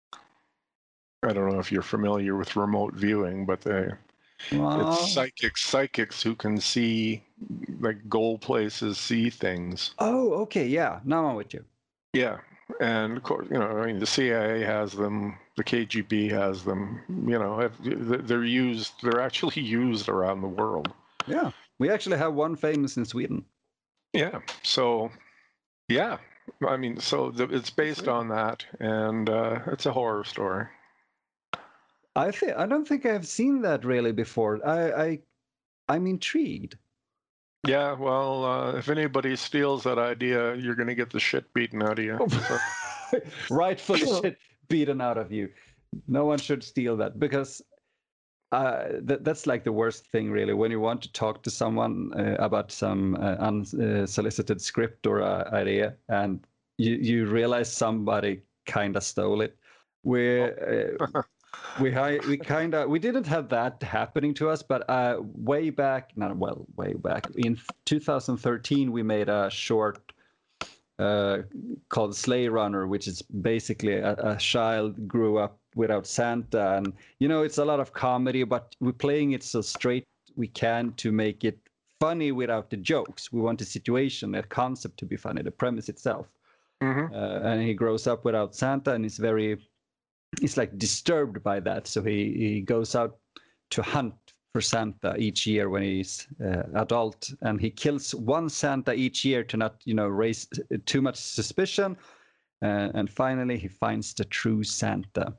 I don't know if you're familiar with remote viewing, but they Wow. it's psychics psychics who can see, like, go places, see things. Oh, okay. Yeah. Now I'm with you. Yeah, and of course, you know, I mean, the C I A has them, the K G B has them. You know, they're used. They're actually used around the world. Yeah. We actually have one famous in Sweden. Yeah. So, yeah. I mean, so the, it's based on that, and uh, it's a horror story. I think I don't think I've seen that really before. I, I I'm intrigued. Yeah, well, uh, if anybody steals that idea, you're going to get the shit beaten out of you. So. Rightfully shit beaten out of you. No one should steal that, because uh, that, that's like the worst thing, really, when you want to talk to someone uh, about some uh, unsolicited script or uh, idea, and you, you realize somebody kind of stole it. We're, uh, we we kind of we didn't have that happening to us, but uh, way back, not well, way back in two thousand thirteen, we made a short uh, called Sleigh Runner, which is basically a, a child grew up without Santa, and you know it's a lot of comedy, but we're playing it so straight we can to make it funny without the jokes. We want the situation, the concept to be funny, the premise itself. Mm-hmm. Uh, and he grows up without Santa, and he's very, he's like disturbed by that. So he he goes out to hunt for Santa each year when he's uh, adult, and he kills one Santa each year to not, you know, raise too much suspicion. Uh, and finally, he finds the true Santa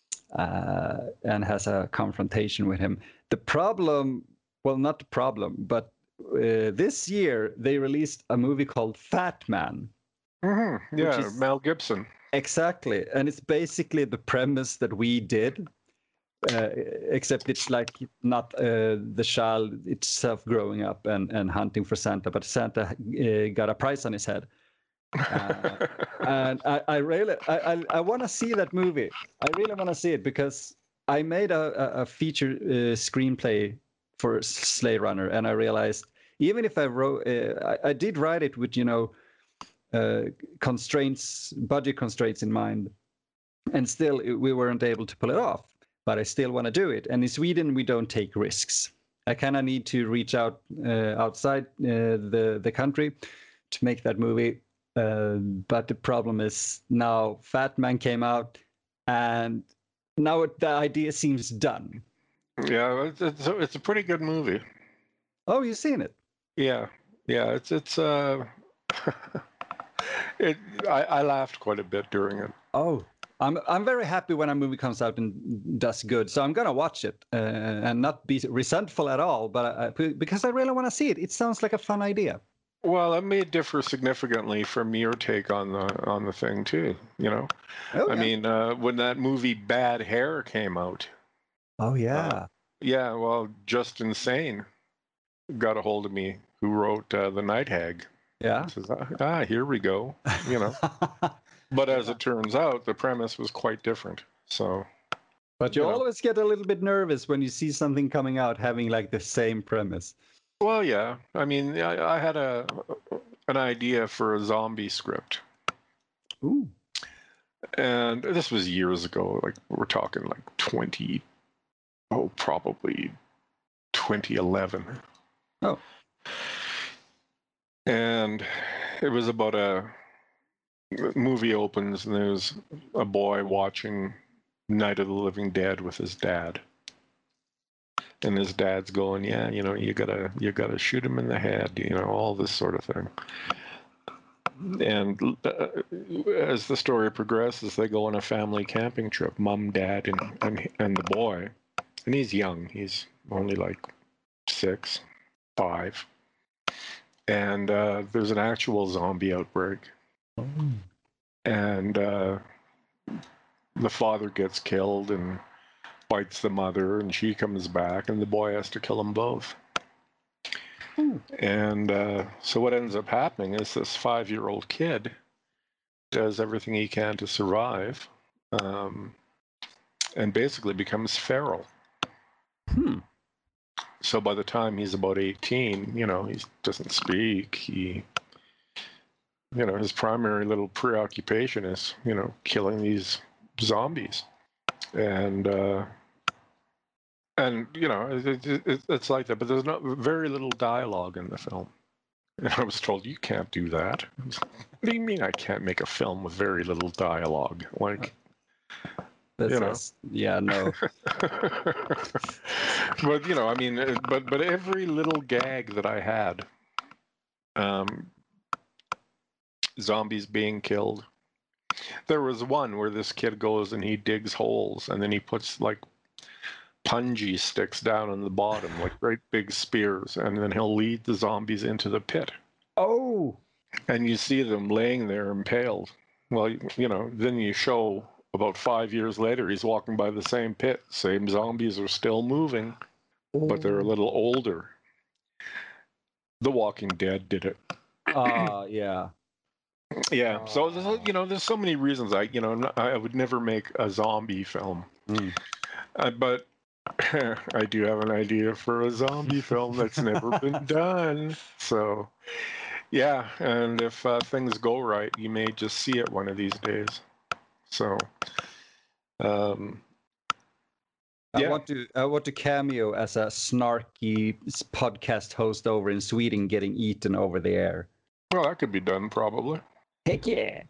uh, and has a confrontation with him. The problem, well, not the problem, but uh, this year they released a movie called Fat Man. Mm-hmm. Yeah, is, Mel Gibson. Exactly, and it's basically the premise that we did. Uh, except it's like not uh, the child itself growing up and, and hunting for Santa, but Santa uh, got a price on his head. Uh, and I, I really, I, I, I want to see that movie. I really want to see it, because I made a, a feature uh, screenplay for Sleigh Runner, and I realized even if I wrote, uh, I, I did write it with, you know, uh, constraints, budget constraints in mind, and still we weren't able to pull it off. But I still want to do it. And in Sweden, we don't take risks. I kind of need to reach out uh, outside uh, the the country to make that movie. Uh, but the problem is now Fat Man came out, and now it, the idea seems done. Yeah, it's it's a, it's a pretty good movie. Oh, you've seen it? Yeah, yeah. It's it's uh, it. I, I laughed quite a bit during it. Oh. I'm I'm very happy when a movie comes out and does good, so I'm gonna watch it uh, and not be resentful at all. But I, because I really want to see it, it sounds like a fun idea. Well, it may differ significantly from your take on the on the thing too. You know, oh, I yeah. mean, uh, when that movie Bad Hair came out. Oh yeah. Uh, yeah. Well, Just Insane got a hold of me, who wrote uh, The Night Hag. Yeah. He says, ah, here we go. You know. But as it turns out, the premise was quite different. So, but you, you always know. get a little bit nervous when you see something coming out having like the same premise. Well, yeah. I mean, I, I had a an idea for a zombie script. Ooh. And this was years ago. Like we're talking like twenty, oh, probably twenty eleven. Oh. And it was about a movie opens and there's a boy watching Night of the Living Dead with his dad, and his dad's going, yeah, you know, you gotta you gotta shoot him in the head, you know, all this sort of thing. And uh, as the story progresses, they go on a family camping trip, mom, dad, and and, and the boy, and he's young, he's only like six, five, and uh, there's an actual zombie outbreak. Oh. And uh, the father gets killed and bites the mother, and she comes back, and the boy has to kill them both. Ooh. And uh, so what ends up happening is this five-year-old kid does everything he can to survive, um, and basically becomes feral. Hmm. So by the time he's about eighteen, you know, he doesn't speak. He You know, his primary little preoccupation is, you know, killing these zombies. And, uh, and you know, it, it, it's like that. But there's not very little dialogue in the film. And I was told, you can't do that. What do you mean I can't make a film with very little dialogue? Like, That's you know. us. Yeah, no. But, you know, I mean, but, but every little gag that I had, um, zombies being killed. There was one where this kid goes and he digs holes, and then he puts like punji sticks down on the bottom, like great big spears, and then he'll lead the zombies into the pit. Oh, And you see them laying there impaled. Well, you know, then you show about five years later, he's walking by the same pit. Same zombies are still moving, but they're a little older. The Walking Dead did it. Ah, uh, yeah. Yeah. So, there's, you know, there's so many reasons I, you know, I would never make a zombie film. Mm. Uh, but I do have an idea for a zombie film that's never been done. So, yeah. And if uh, things go right, you may just see it one of these days. So, um, I yeah. want to I want to cameo as a snarky podcast host over in Sweden getting eaten over the air. Well, that could be done probably. Heck yeah.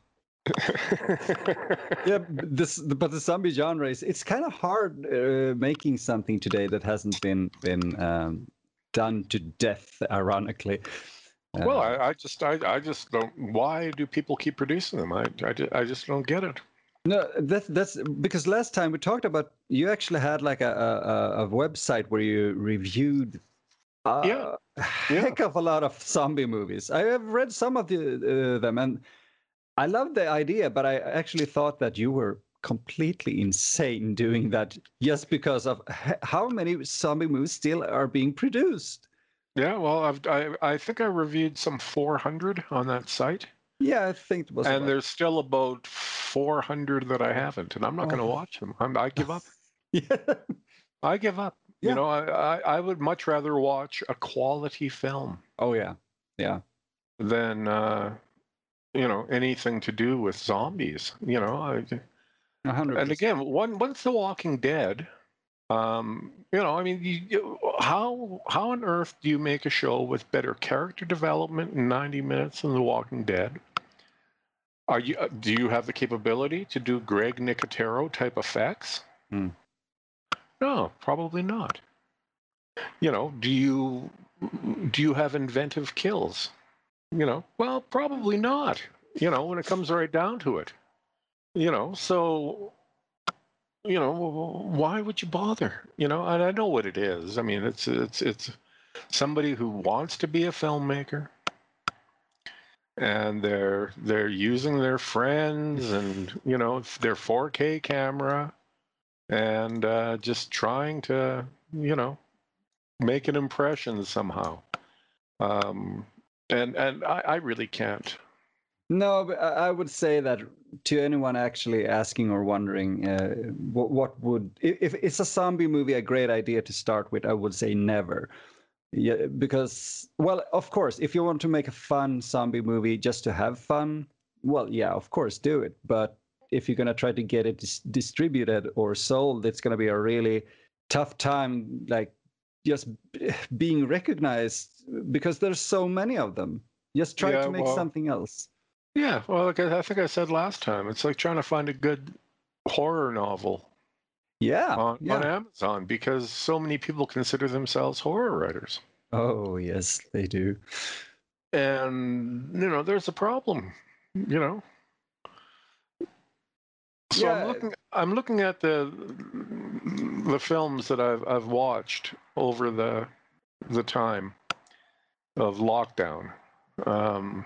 Yeah, this but the zombie genre is it's kind of hard uh, making something today that hasn't been been um, done to death, ironically. Uh, well, I, I just I, I just don't. Why do people keep producing them? I I, I just don't get it. No, that's that's because last time we talked about you actually had like a a, a website where you reviewed a yeah. heck yeah. of a lot of zombie movies. I have read some of the, uh, them, and I love the idea, but I actually thought that you were completely insane doing that just because of how many zombie movies still are being produced. Yeah, well, I've, I I think I reviewed some four hundred on that site. Yeah, I think it was. And about... there's still about four hundred that I haven't, and I'm not oh. going to watch them. I'm, I give up. yeah. I give up. Yeah. You know, I, I I would much rather watch a quality film. Oh yeah, yeah. Than uh, you know, anything to do with zombies. You know, I, one hundred percent. And again, one once The Walking Dead, um, you know, I mean, you, you, how how on earth do you make a show with better character development in ninety minutes than The Walking Dead? Are you uh, do you have the capability to do Greg Nicotero type effects? Hmm. No, probably not. You know, do you do you have inventive kills? You know, well, probably not. You know, when it comes right down to it. You know, so, you know, why would you bother? You know, and I know what it is. I mean, it's it's it's somebody who wants to be a filmmaker, and they're they're using their friends and, you know, their four K camera, and uh, just trying to, you know, make an impression somehow. Um, and and I, I really can't. No, but I would say that to anyone actually asking or wondering uh, what, what would, if it's a zombie movie, a great idea to start with, I would say never. Yeah, because, well, of course, if you want to make a fun zombie movie just to have fun, well, yeah, of course, do it. But if you're going to try to get it dis- distributed or sold, it's going to be a really tough time, like just being recognized because there's so many of them. Just try Yeah, to make well, something else. Yeah, well, like I think I said last time, it's like trying to find a good horror novel. Yeah, on, yeah. on Amazon, because so many people consider themselves horror writers. Oh, yes, they do. And, you know, there's a problem, you know. So yeah. I'm looking I'm looking at the the films that I've I've watched over the the time of lockdown. Um,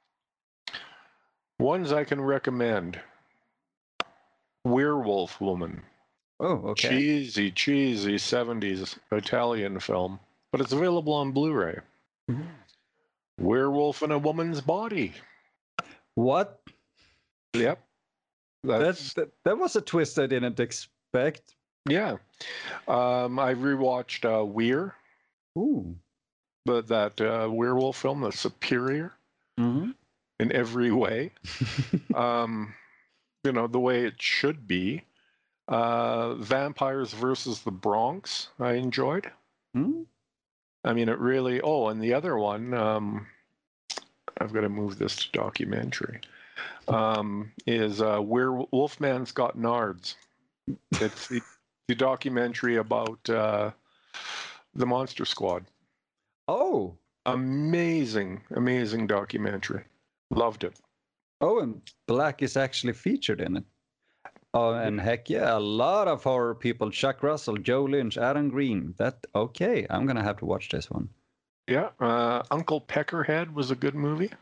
ones I can recommend. Werewolf Woman. Oh, okay. Cheesy, cheesy seventies Italian film, but it's available on Blu-ray. Mm-hmm. Werewolf in a Woman's Body. What? Yep. That's, that, that was a twist I didn't expect. Yeah. Um, I rewatched uh, Weir. Ooh. But that uh, werewolf film, that's superior mm-hmm. in every way. um, you know, the way it should be. Uh, Vampires versus the Bronx, I enjoyed. Hmm? I mean, it really. Oh, and the other one, um, I've got to move this to documentary. Um, is uh, Where Wolfman's Got Nards. It's the, the documentary about uh, the Monster Squad. Oh, amazing, amazing documentary. Loved it. Oh, and Black is actually featured in it. Oh, and heck yeah, a lot of horror people. Chuck Russell, Joe Lynch, Adam Green. That okay? I'm gonna have to watch this one. Yeah, uh, Uncle Peckerhead was a good movie.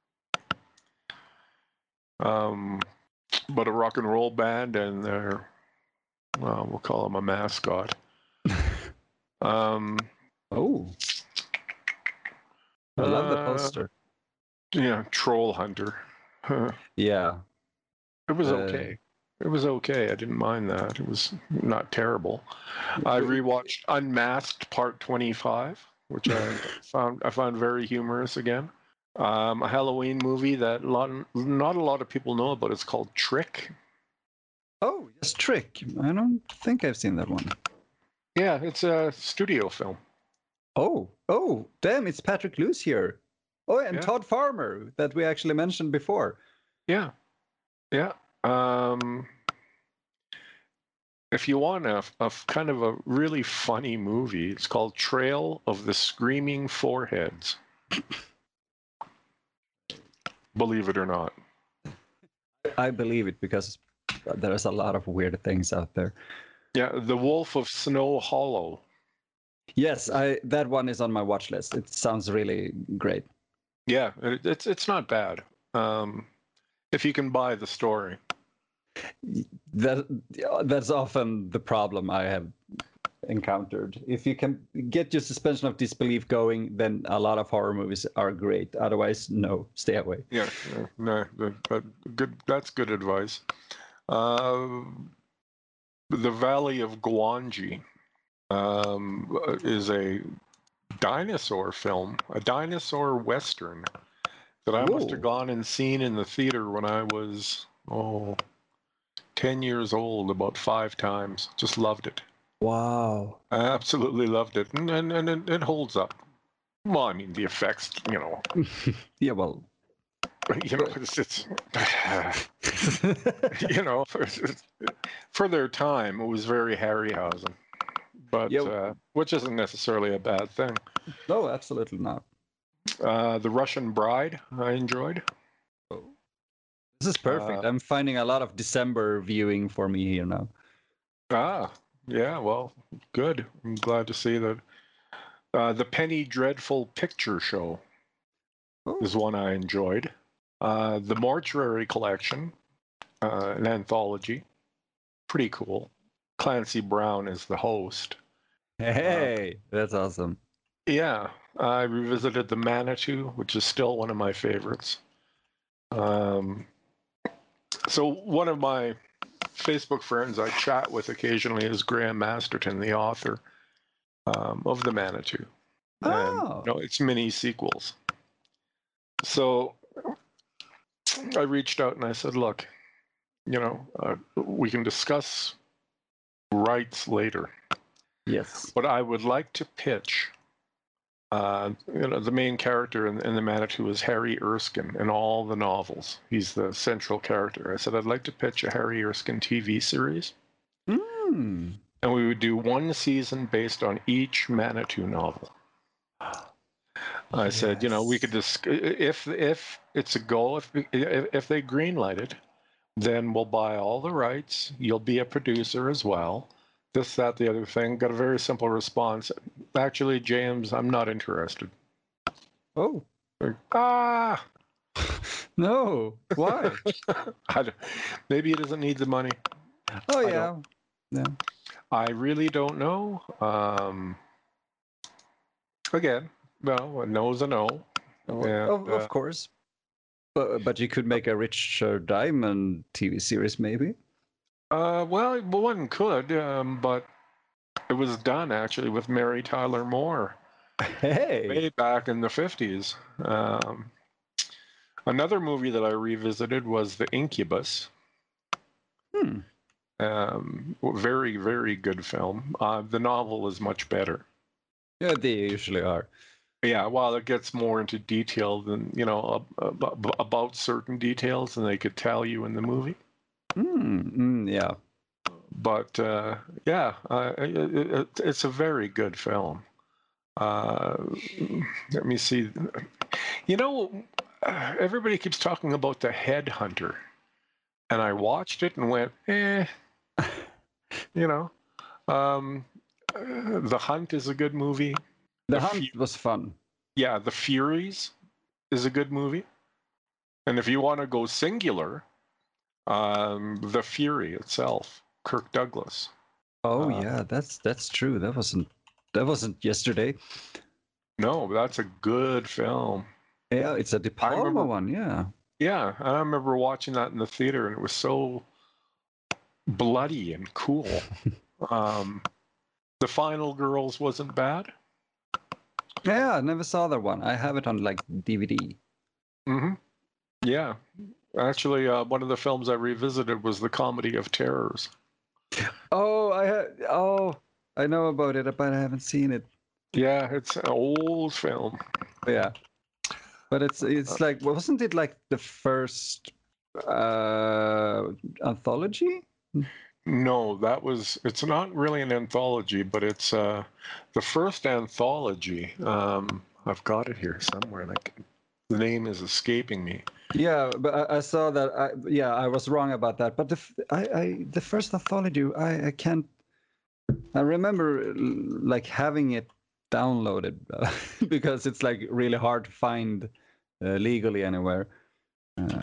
Um, but a rock and roll band and their, well, we'll call him a mascot. um, Oh, I love the uh, poster. Yeah, Troll Hunter. Yeah, It was uh, okay. It was okay. I didn't mind that. It was not terrible. I rewatched Unmasked Part twenty-five, which I found I found very humorous again. Um, a Halloween movie that lot, not a lot of people know about. It's called Trick. Oh, yes, Trick. I don't think I've seen that one. Yeah, it's a studio film. Oh, oh, damn! It's Patrick Luce here. Oh, and Yeah. Todd Farmer that we actually mentioned before. Yeah, yeah. Um, if you want a, a kind of a really funny movie, it's called Trail of the Screaming Foreheads. Believe it or not. I believe it because there's a lot of weird things out there. Yeah, The Wolf of Snow Hollow. Yes, I that one is on my watch list. It sounds really great. Yeah, it, it's it's not bad. Um, if you can buy the story. That that's often the problem I have encountered. If you can get your suspension of disbelief going, then a lot of horror movies are great. Otherwise, no, stay away. Yeah, no, no good. That's good advice. Uh, the Valley of Gwangi um, is a dinosaur film, a dinosaur western that I must have Ooh. gone and seen in the theater when I was oh ten years old, about five times. Just loved it. Wow. I absolutely loved it, and and, and it, it holds up. Well, I mean the effects, you know. Yeah, well, you know, it's, it's you know, for, for their time, it was very Harryhausen, but yeah. uh, which isn't necessarily a bad thing. No, absolutely not. Uh, the Russian Bride, I enjoyed. Oh. This is perfect. Uh, I'm finding a lot of December viewing for me here now. ah, yeah, well, good. I'm glad to see that. Uh, the Penny Dreadful Picture Show Oh. is one I enjoyed. Uh, the Mortuary Collection, uh, an anthology, pretty cool. Clancy Brown is the host. Hey, uh, that's awesome. Yeah, I revisited the Manitou, which is still one of my favorites. Um, so one of my Facebook friends I chat with occasionally is Graham Masterton, the author um, of the Manitou, oh. and you know, it's mini sequels. So I reached out and I said, "Look, you know, uh, we can discuss rights later. Yes, but I would like to pitch." Uh, you know, the main character in, in the Manitou is Harry Erskine in all the novels. He's the central character. I said, I'd like to pitch a Harry Erskine T V series. Mm. And we would do one season based on each Manitou novel. I yes. said, you know, we could just, if if it's a goal, if if they greenlight it, then we'll buy all the rights. You'll be a producer as well. This, that, the other thing. Got a very simple response. Actually, James, I'm not interested. Oh. Like, ah. No. Why? I don't, maybe he doesn't need the money. Oh, yeah. I yeah. I really don't know. Um, again, well, a no's a no. Oh, and, of, of uh, course. But, but you could make a Richard Diamond T V series, maybe? Uh, well, one could, um, but it was done actually with Mary Tyler Moore. Hey. Way back in the fifties. Um, another movie that I revisited was The Incubus. Hmm. Um, very, very good film. Uh, the novel is much better. Yeah, they usually are. Yeah, while it gets more into detail than, you know, about, about certain details than they could tell you in the movie. Mm, mm, yeah. But uh, yeah, uh, it, it, it's a very good film. Uh, let me see. You know, everybody keeps talking about The Headhunter. and I watched it and went, eh, you know. Um, uh, The Hunt is a good movie. The, The Hunt Fu- was fun. yeah, The Furies is a good movie. And if you want to go singular, um, The Fury itself, Kirk Douglas. Oh Uh, yeah, that's that's true. That wasn't that wasn't yesterday. no, that's a good film. Yeah, it's a De I Palma remember, one. Yeah. yeah, I remember watching that in the theater, and it was so bloody and cool. um, The Final Girls wasn't bad. Yeah, I never saw that one. I have it on like D V D. Mm-hmm. Yeah, actually, uh, one of the films I revisited was The Comedy of Terrors. Oh, I ha- oh, I know about it, but I haven't seen it. Yeah, it's an old film. Yeah, but it's it's like wasn't it like the first uh anthology? No, that was, it's not really an anthology, but it's uh, the first anthology. Um, I've got it here somewhere. Like, the name is escaping me. Yeah, but I, I saw that. I, yeah, I was wrong about that. But the f- I, I the first anthology, I, I can't. I remember like having it downloaded because it's like really hard to find uh, legally anywhere. Uh,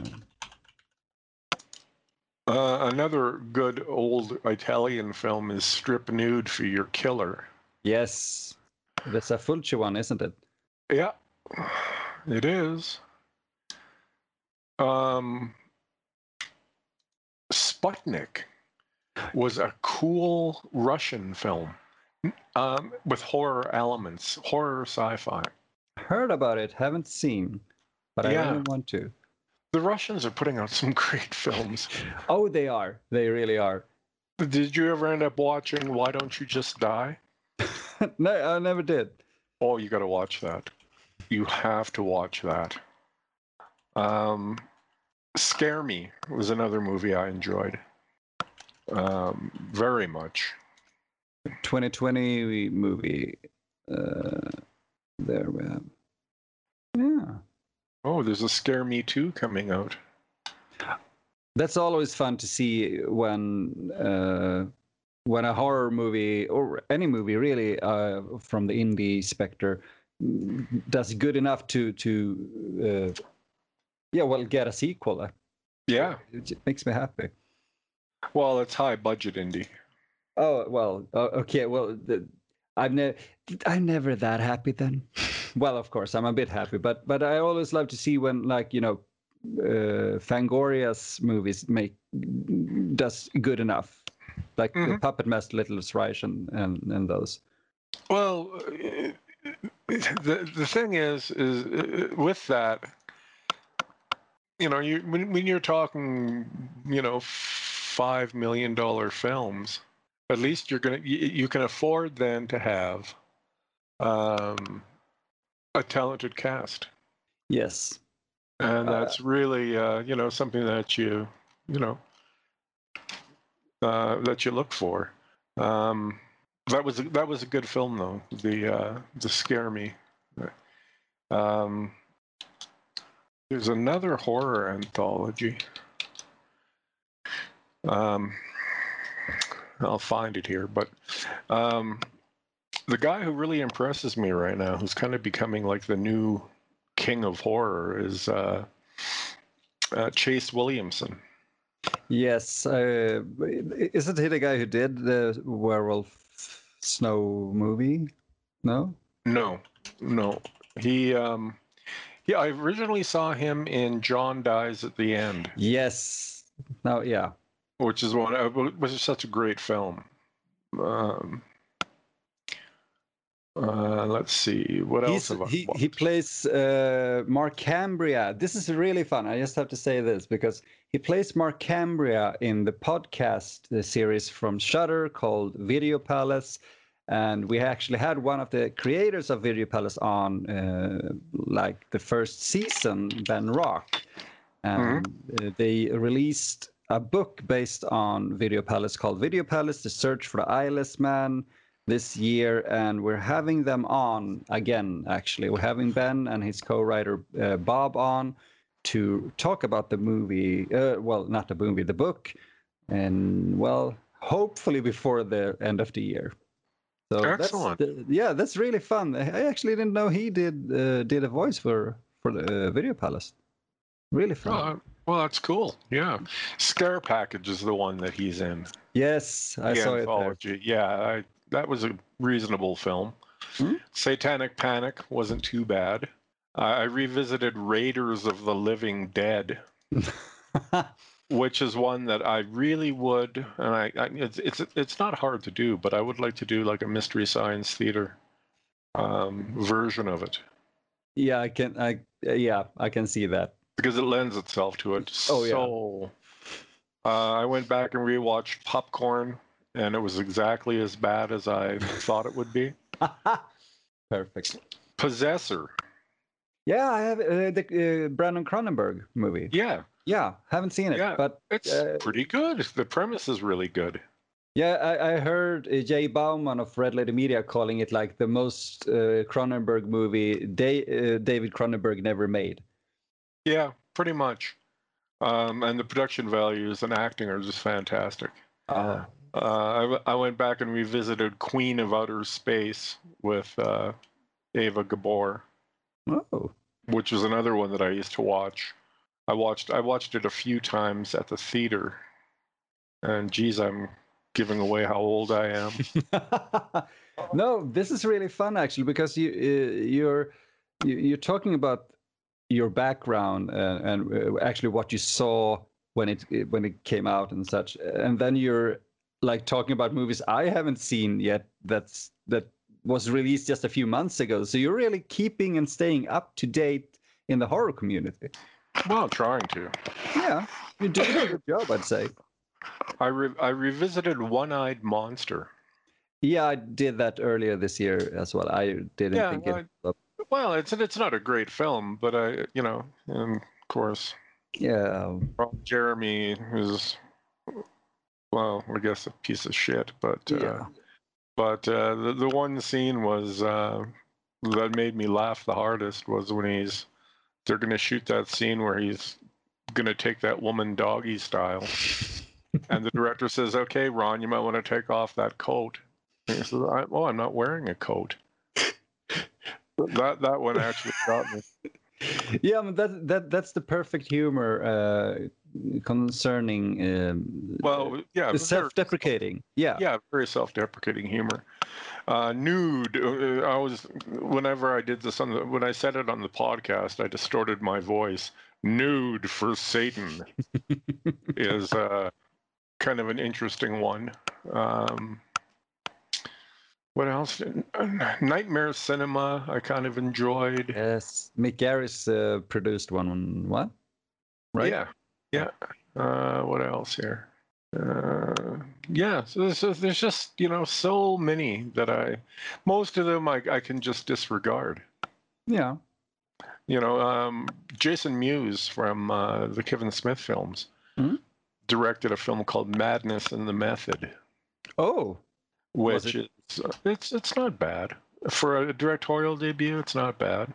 Uh, another good old Italian film is Strip Nude for Your Killer. yes, that's a Fulci one, isn't it? Yeah, it is. Um, Sputnik was a cool Russian film um, with horror elements, horror sci-fi. Heard about it, haven't seen, but I Yeah. really want to. The Russians are putting out some great films. Oh, they are. They really are. Did you ever end up watching Why Don't You Just Die? No, I never did. Oh, you got to watch that. You have to watch that. Um, Scare Me was another movie I enjoyed um, very much. twenty twenty movie. Uh, there we have. Yeah. Oh, there's a Scare Me two coming out. That's always fun to see when uh, when a horror movie or any movie really uh, from the indie specter does good enough to to uh, yeah, well, get a sequel. Yeah. It makes me happy. Well, it's high budget indie. Oh well, uh, okay. Well, the, I'm never I'm never that happy then. Well, of course, I'm a bit happy, but but I always love to see when, like, you know, uh, Fangoria's movies make does good enough, like mm-hmm. the Puppet Master, Little Reich, and, and and those. Well, the the thing is, is with that, you know, you when when you're talking, you know, five million dollar films, at least you're gonna you, you can afford then to have um, a talented cast. Yes, and that's uh, really uh, you know, something that you you know uh, that you look for. Um, that was that was a good film though. The uh, the Scare Me. Um, there's another horror anthology. Um, I'll find it here, but um, the guy who really impresses me right now, who's kind of becoming like the new king of horror, is uh, uh, Chase Williamson. Yes, uh, isn't he the guy who did the Werewolf Snow movie? No, no, no. He, um, yeah, I originally saw him in John Dies at the End. Yes. No, yeah. Which is one, which is such a great film. Um, uh, let's see, what He's, else have I he watched? he plays uh, Mark Cambria. This is really fun. I just have to say this because he plays Mark Cambria in the podcast the series from Shudder called Video Palace, and we actually had one of the creators of Video Palace on, uh, like the first season, Ben Rock, and mm-hmm. they released a book based on Video Palace called Video Palace: The Search for the Eyeless Man this year, and we're having them on again. Actually, we're having Ben and his co-writer uh, Bob on to talk about the movie. Uh, well, not the movie, the book, and well, hopefully before the end of the year. So Excellent. that's the, yeah, that's really fun. I actually didn't know he did uh, did a voice for for the uh, Video Palace. Really fun. Oh, well, that's cool. Yeah, Scare Package is the one that he's in. Yes, I the saw anthology. it Yeah, I, that was a reasonable film. Hmm? Satanic Panic wasn't too bad. Uh, I revisited Raiders of the Living Dead, there. which is one that I really would, and I, I it's, it's it's not hard to do, but I would like to do like a Mystery Science Theater um, version of it Yeah, I can. I uh, yeah, I can see that. because it lends itself to it. Oh, yeah. So uh, I went back and rewatched Popcorn, and it was exactly as bad as I thought it would be. Perfect. Possessor. Yeah, I have uh, the uh, Brandon Cronenberg movie. Yeah, Yeah, haven't seen it, yeah, but it's uh, pretty good. The premise is really good. yeah, I, I heard uh, Jay Bauman of Red Letter Media calling it like the most uh, Cronenberg movie they, uh, David Cronenberg never made. Yeah, pretty much. Um, and the production values and acting are just fantastic. Oh. Uh, I, w- I went back and revisited Queen of Outer Space with uh, Ava Gabor, Oh. which was another one that I used to watch. I watched I watched it a few times at the theater, and geez, I'm giving away how old I am. No, this is really fun actually because you uh, you're you- you're talking about your background uh, and uh, actually what you saw when it when it came out and such, and then you're like talking about movies I haven't seen yet. That's that was released just a few months ago. So you're really keeping and staying up to date in the horror community. Well, trying to. Yeah, you're doing a good job, I'd say. I re- I revisited One-Eyed Monster. Yeah, I did that earlier this year as well. I didn't Yeah, think I- it. But Well, it's it's not a great film, but I you know, and of course, yeah, Ron Jeremy is, well, I guess a piece of shit, but uh, yeah. but uh, the the one scene was uh, that made me laugh the hardest was when he's they're gonna shoot that scene where he's gonna take that woman doggy style, and the director says, "Okay, Ron, you might want to take off that coat." And he says, I, "Oh, I'm not wearing a coat." That that one actually got me. Yeah, I mean, that that that's the perfect humor uh, concerning um, Well, yeah, the very- self-deprecating. Yeah. yeah, very self-deprecating humor. Uh, nude. Uh, I was whenever I did this on the when I said it on the podcast, I distorted my voice. Nude for Satan is uh, kind of an interesting one. Um, what else? Nightmare Cinema. I kind of enjoyed. Yes, Mick Garris uh, produced one. What? Right? Yeah, yeah. Uh, what else here? Uh, yeah, so there's, so there's just you know so many that I, most of them I, I can just disregard. Yeah. You know, um, Jason Mewes from uh, the Kevin Smith films Mhm. directed a film called Madness and the Method, Oh. Was which it- is uh, it's it's not bad for a directorial debut. It's not bad.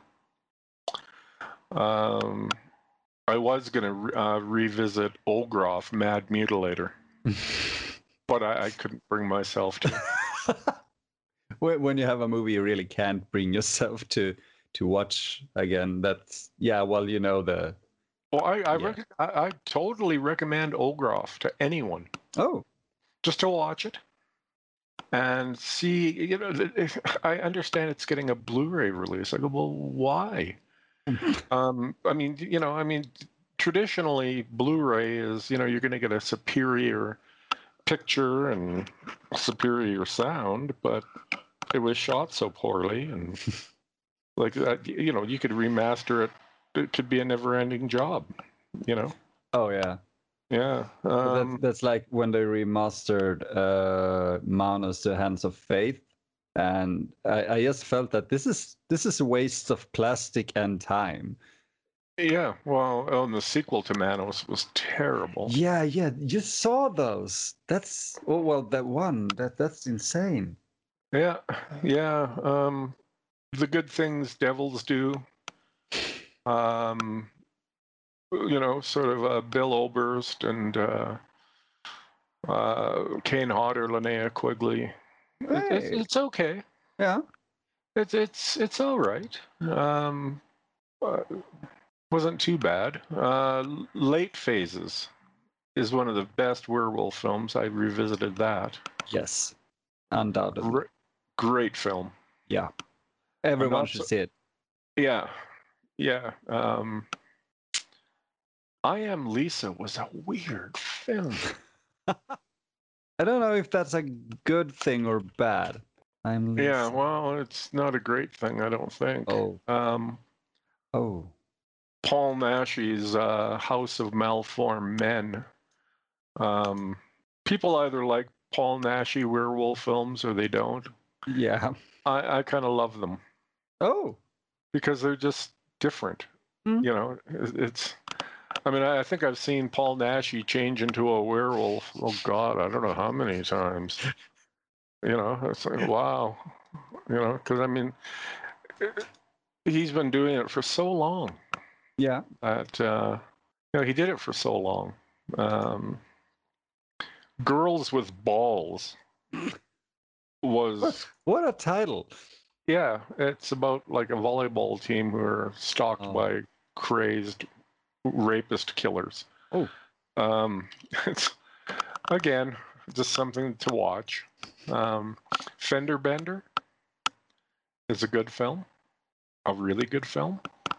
Um, I was gonna re- uh, revisit Olgroff, Mad Mutilator, but I, I couldn't bring myself to. when when you have a movie you really can't bring yourself to to watch again, that's yeah. Well, you know the. Well, I I, Yeah. rec- I I totally recommend Olgroff to anyone. Oh. Just to watch it and see, you know, th- if- I understand it's getting a Blu-ray release. I go, well, why? um, I mean, you know, I mean, traditionally Blu-ray is, you know, you're going to get a superior picture and superior sound, but it was shot so poorly, and like that, you know, you could remaster it. It could be a never-ending job, you know. Oh yeah. Yeah. But Um, that's, that's like when they remastered uh, Manos: The Hands of Faith, and I, I just felt that this is this is a waste of plastic and time. yeah. Well, oh, and the sequel to Manos was terrible. Yeah, yeah, you saw those. That's oh well, that one that that's insane. Yeah, yeah. Um, the good things devils do. Um, you know, sort of uh, Bill Oberst and uh, uh, Kane Hodder, Linnea Quigley. It, it's, Hey. it's okay. Yeah. It's it's it's all right. Um, uh, wasn't too bad. Uh, Late Phases is one of the best werewolf films. I revisited that. Yes. Undoubtedly. Gr- great film. Yeah. Everyone not should so- see it. Yeah, yeah. Um, I Am Lisa was a weird film. I don't know if that's a good thing or bad. I'm Lisa. Yeah, well, it's not a great thing, I don't think. Oh. Um, Oh. Paul Naschy's uh, House of Malformed Men. Um, people either like Paul Naschy werewolf films or they don't. Yeah. I, I kind of love them Oh. because they're just different. Mm. You know, it- it's. I mean, I I think I've seen Paul Naschy change into a werewolf. Oh God, I don't know how many times. You know, it's like wow. You know, because I mean, he's been doing it for so long. Yeah. That uh, you know, he did it for so long. Um, Girls with Balls was What a title. yeah. It's about like a volleyball team who are stalked Oh. by crazed rapist killers. Oh. Um, it's again just something to watch. Um, Fender Bender is a good film, a really good film.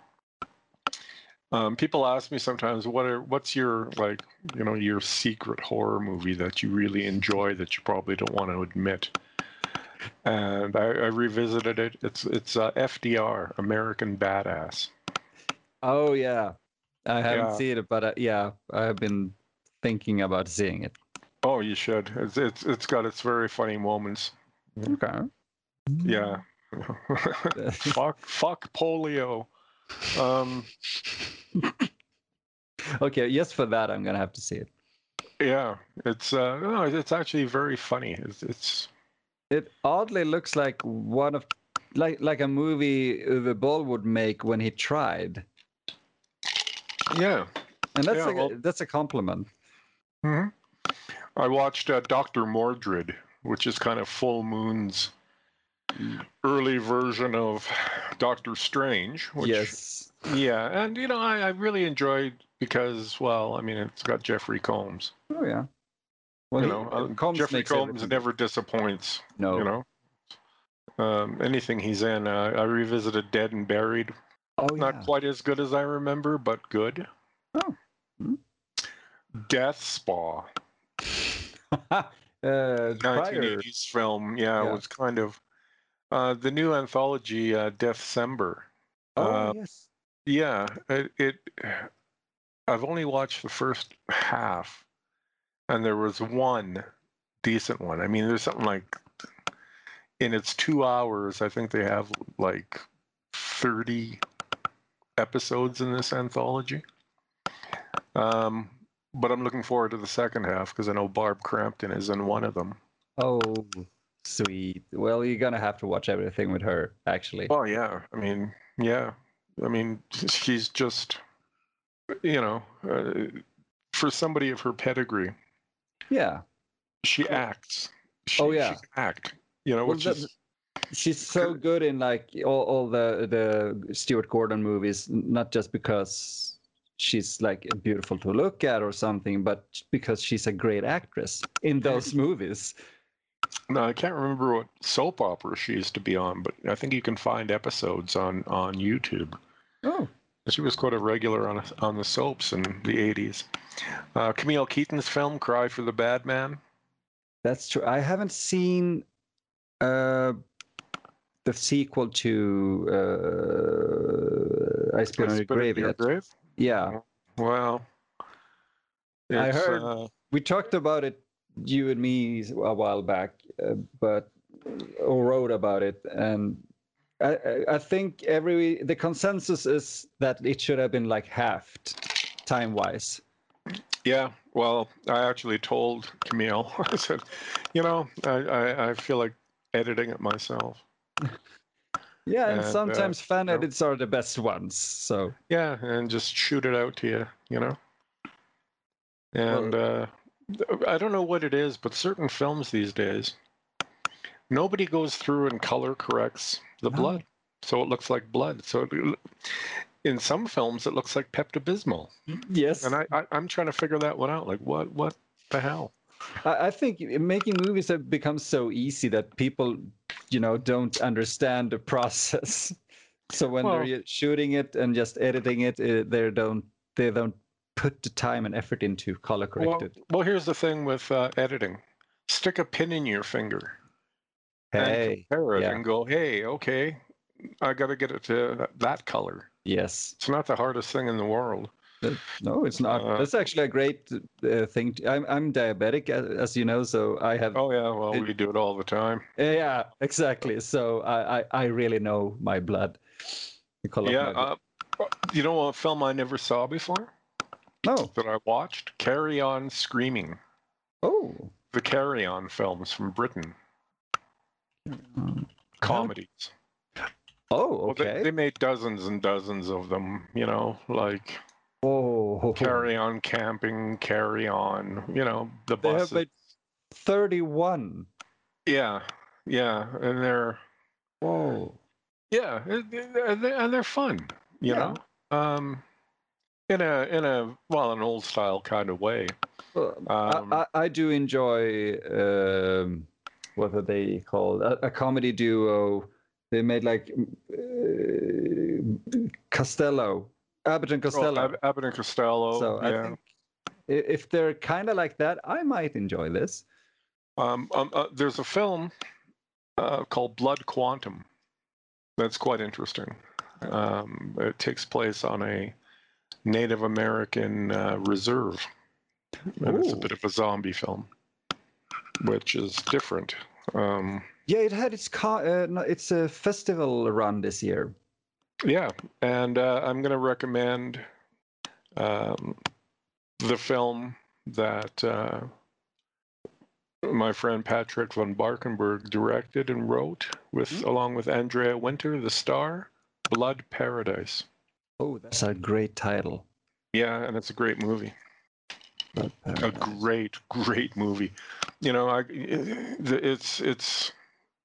Um, people ask me sometimes, what are what's your like, you know, your secret horror movie that you really enjoy that you probably don't want to admit? And I, I revisited it. It's it's uh, F D R, American Badass. Oh yeah. I haven't Yeah. seen it, but uh, yeah, I have been thinking about seeing it. Oh, you should. It's it's it's got its very funny moments. Okay. Yeah. fuck fuck polio. Um, Okay, just for that, I'm gonna have to see it. yeah, it's uh, no, it's actually very funny. It's, it's It oddly looks like one of, like like a movie Uwe Boll would make when he tried, yeah. and that's Yeah, a well- that's a compliment. hmm I watched uh, Doctor Mordred, which is kind of Full Moon's early version of Doctor Strange. Which, Yes. Yeah, and you know, I, I really enjoyed because, well, I mean, it's got Jeffrey Combs. Oh yeah. Well, you he- know, uh, Combs Jeffrey makes Combs everything. never disappoints. No. You know, um, anything he's in. Uh, I revisited Dead and Buried. Oh Not yeah. quite as good as I remember, but good. Oh. Hmm. Death Spa, uh, prior. nineteen eighties film. Yeah, Yeah. it was kind of uh, the new anthology, uh, Deathcember. Oh Uh, yes. yeah, it, it. I've only watched the first half, and there was one decent one. I mean, there's something like in its two hours, I think they have like thirty episodes in this anthology. Um, but I'm looking forward to the second half because I know Barb Crampton is in one of them. Oh, sweet. Well, you're gonna have to watch everything with her, actually. Oh yeah, I mean, yeah, I mean, she's just, you know, uh, for somebody of her pedigree, Yeah. she acts. She, Oh, yeah. she can act. You know, Well, which that- is She's so good in like all, all the the Stuart Gordon movies, n- not just because she's like beautiful to look at or something, but because she's a great actress in those movies. no, I can't remember what soap opera she used to be on, but I think you can find episodes on on YouTube. Oh, She was quite a regular on on the soaps in the eighties. Uh, Camille Keaton's film "Cry for the Bad Man." that's true. I haven't seen uh, the sequel to uh, I Spit on Your Spit in Grave Your yet. Grave? Yeah, Well, I it's, heard- uh, we talked about it, you and me, a while back, uh, but or wrote about it, and I, I- I think every the consensus is that it should have been like halved time wise. yeah. Well, I actually told Camille. I said, you know, I, I, I feel like editing it myself. Yeah, and And, uh, sometimes fan you know, edits are the best ones. So yeah, and just shoot it out to you, you know. And uh, I don't know what it is, but certain films these days, nobody goes through and color corrects the No. blood, so it looks like blood. So it, in some films, it looks like Pepto-Bismol. yes, And I, I, I'm trying to figure that one out. Like, what, what the hell? I, I think making movies have become so easy that people, you know, don't understand the process. So when Well, they're shooting it and just editing it, uh, they don't they don't put the time and effort into color correct well, it. well, here's the thing with uh, editing: stick a pin in your finger and Hey, compare it, yeah, and go, "Hey, okay, I got to get it to that, that color." yes. It's not the hardest thing in the world. Uh, No, it's not. Uh, That's actually a great uh, thing. To, I'm I'm diabetic, as, as you know, so I have. oh yeah, well, It, we do it all the time. yeah, exactly. So I, I I really know my blood, the color of Yeah, my blood. uh, you know what film I never saw before No. that I watched? Carry On Screaming. Oh. The Carry On films from Britain, Um, comedies. Oh, Well, they, okay. they made dozens and dozens of them, you know, like Oh, Carry On Camping, Carry On, you know, the they have buses. made thirty-one. Yeah, yeah, and they're Whoa. yeah, it- it- and they're, and they're fun, you Yeah. know, um, in a in a well, an old style kind of way. Well, Um, I, I, I do enjoy um, what are they called? A, a comedy duo. They made like uh, Costello, Abbott and oh, Costello. Ab- Abbott and Costello, So I yeah. think i- if they're kind of like that, I might enjoy this. Um, um, uh, there's a film uh, called Blood Quantum that's quite interesting. Um, it takes place on a Native American uh, reserve, and it's a Ooh. bit of a zombie film, which is different. Um, Yeah, it had its co- uh, no, it's a festival run this year. yeah, and uh, I'm going to recommend um, the film that uh, my friend Patrick von Barkenberg directed and wrote, with Hmm? along with Andrea Winter, the star, Blood Paradise. Oh, that's a great title. Yeah, and it's a great movie. Blood A Paradise. great, great movie. You know, I it's it's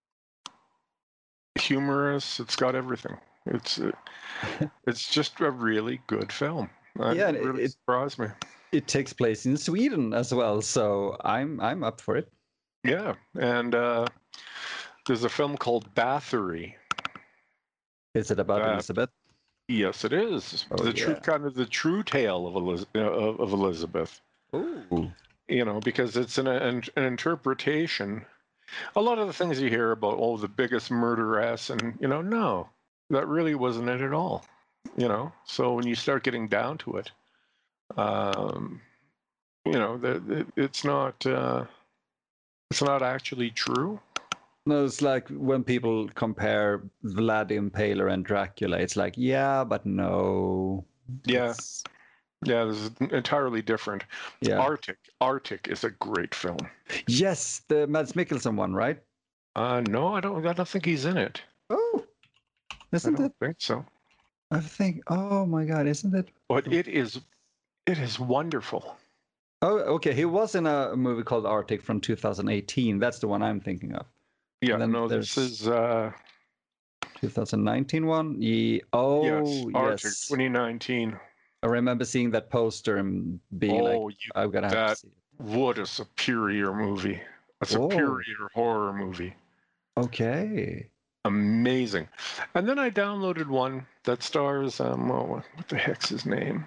humorous. It's got everything. It's it's just a really good film. Uh, Yeah, it and really it, surprised me. it takes place in Sweden as well, so I'm I'm up for it. Yeah, and uh, there's a film called Bathory. Is it about That Elizabeth? yes, it is Oh the true yeah. kind of the true tale of Eliz- of, of Elizabeth. Ooh. You know, because it's an, an an interpretation. A lot of the things you hear about, oh, the biggest murderess, and you know, no, that really wasn't it at all. You know, so when you start getting down to it, um, you know, the, the, it's not uh, it's not actually true. No, it's like when people compare Vlad the Impaler and Dracula. It's like, yeah, but no. Yeah, It's, yeah, this is entirely different. yeah. Arctic, Arctic is a great film. Yes, the Mads Mikkelsen one, right? Uh, no, I don't. I don't think he's in it. Oh, I isn't don't it? think so. I think. Oh my God, isn't it? But it is, it is wonderful. Oh, okay. He was in a movie called Arctic from two thousand eighteen. That's the one I'm thinking of. Yeah, And then no, there's this is uh, twenty nineteen one. Yeah. Oh, yes, Arctic yes. twenty nineteen. I remember seeing that poster and being like, Oh, you, I'm gonna have to that see it. what a superior movie! A superior horror movie. Okay. Amazing. And then I downloaded one that stars um, oh, what the heck's his name?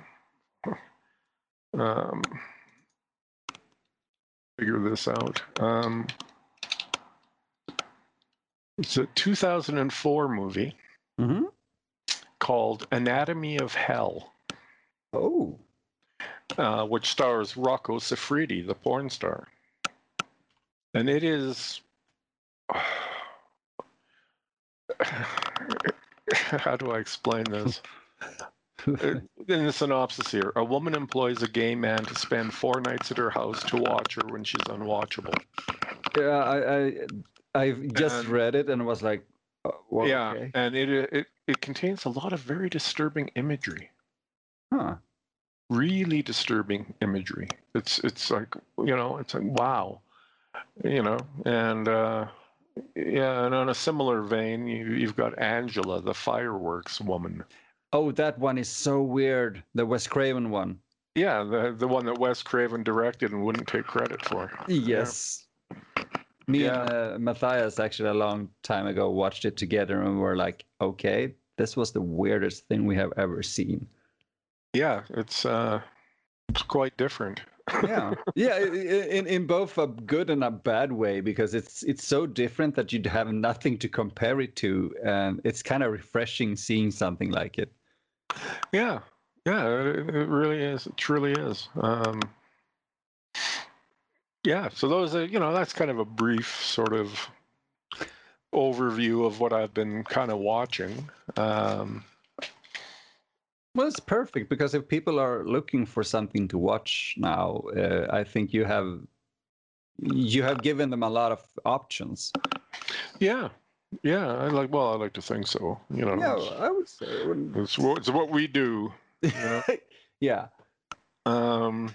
Um, figure this out. Um, it's a two thousand four movie Mm-hmm. called Anatomy of Hell, Oh. uh, which stars Rocco Siffredi, the porn star. And it is. How do I explain this? In the synopsis here, a woman employs a gay man to spend four nights at her house to watch her when she's unwatchable. Yeah, I, I I've just And- read it and was like, Uh, well, Yeah, okay. and it it it contains a lot of very disturbing imagery. Huh. Really disturbing imagery. It's it's like, you know, it's like, wow, you know, and uh, yeah, and on a similar vein, you, you've got Angela, the fireworks woman. Oh, that one is so weird. The Wes Craven one. Yeah, the the one that Wes Craven directed and wouldn't take credit for. Yes. Me and Yeah. uh, Matthias actually a long time ago watched it together and were like, okay, this was the weirdest thing we have ever seen. Yeah, it's uh, it's quite different. Yeah, yeah, i- i- in in both a good and a bad way, because it's it's so different that you'd have nothing to compare it to, and it's kind of refreshing seeing something like it. Yeah, yeah, it, it really is. It truly is. Um, yeah, so those are, you know, that's kind of a brief sort of overview of what I've been kind of watching. Um, Well, it's perfect because if people are looking for something to watch now, uh, I think you have you have given them a lot of options. yeah, yeah, I like. Well, I like to think so. You know, Yeah, it's, I would say. it wouldn't- it's, what, it's what we do. You know. Yeah. Um,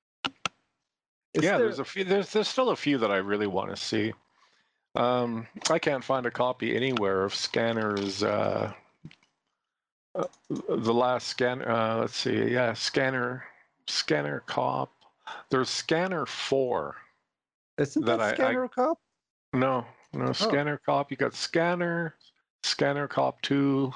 Is yeah, there? there's a few. There's there's still a few that I really want to see. Um, I can't find a copy anywhere of Scanner's. Uh, uh, the last scan. Uh, let's see. Yeah, Scanner. Scanner Cop. There's Scanner Four Isn't that that I, I Scanner Cop? no no Oh, Scanner Cop. You got Scanner, Scanner Cop Two,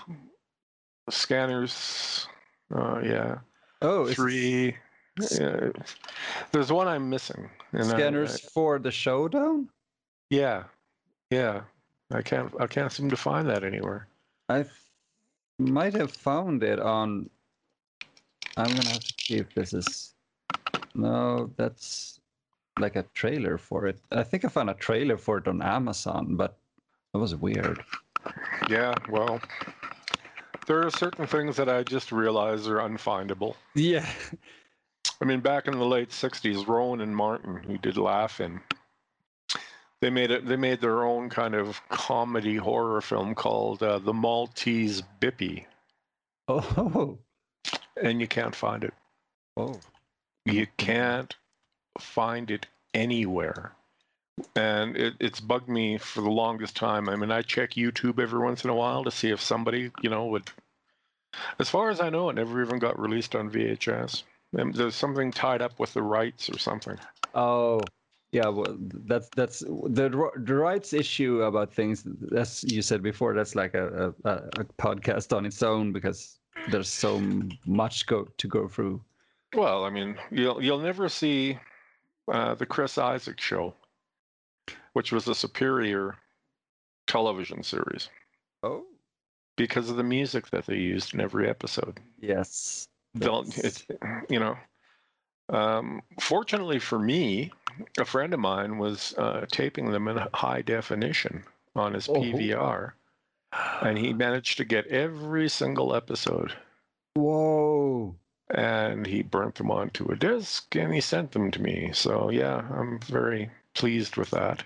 Scanners. Uh, yeah, oh, it's three. Yeah. There's one I'm missing, and I, I Scanners for the Showdown. yeah yeah I can't I can't seem to find that anywhere. I th- might have found it on. I'm gonna have to see if this is. No, that's like a trailer for it. I think I found a trailer for it on Amazon, but that was weird. Yeah, well, there are certain things that I just realize are unfindable. Yeah. I mean, back in the late sixties, Rowan and Martin, who did Laugh-In, they made it. They made their own kind of comedy horror film called uh, The Maltese Bippy, Oh. and you can't find it. Oh. You can't find it anywhere. And it, it's bugged me for the longest time. I mean, I check YouTube every once in a while to see if somebody, you know, would. As far as I know, it never even got released on V H S. And there's something tied up with the rights or something. Oh. Yeah, well, that's that's the the rights issue about things. As you said before, that's like a, a, a podcast on its own because there's so much go to go through. Well, I mean, you'll you'll never see uh, the Chris Isaak Show, which was a Superior television series, Oh. because of the music that they used in every episode. Yes. They'll, it's, you know, um, fortunately for me, a friend of mine was uh, taping them in high definition on his Oh. P V R, and he managed to get every single episode. Whoa. And he burnt them onto a disc and he sent them to me. So yeah, I'm very pleased with that.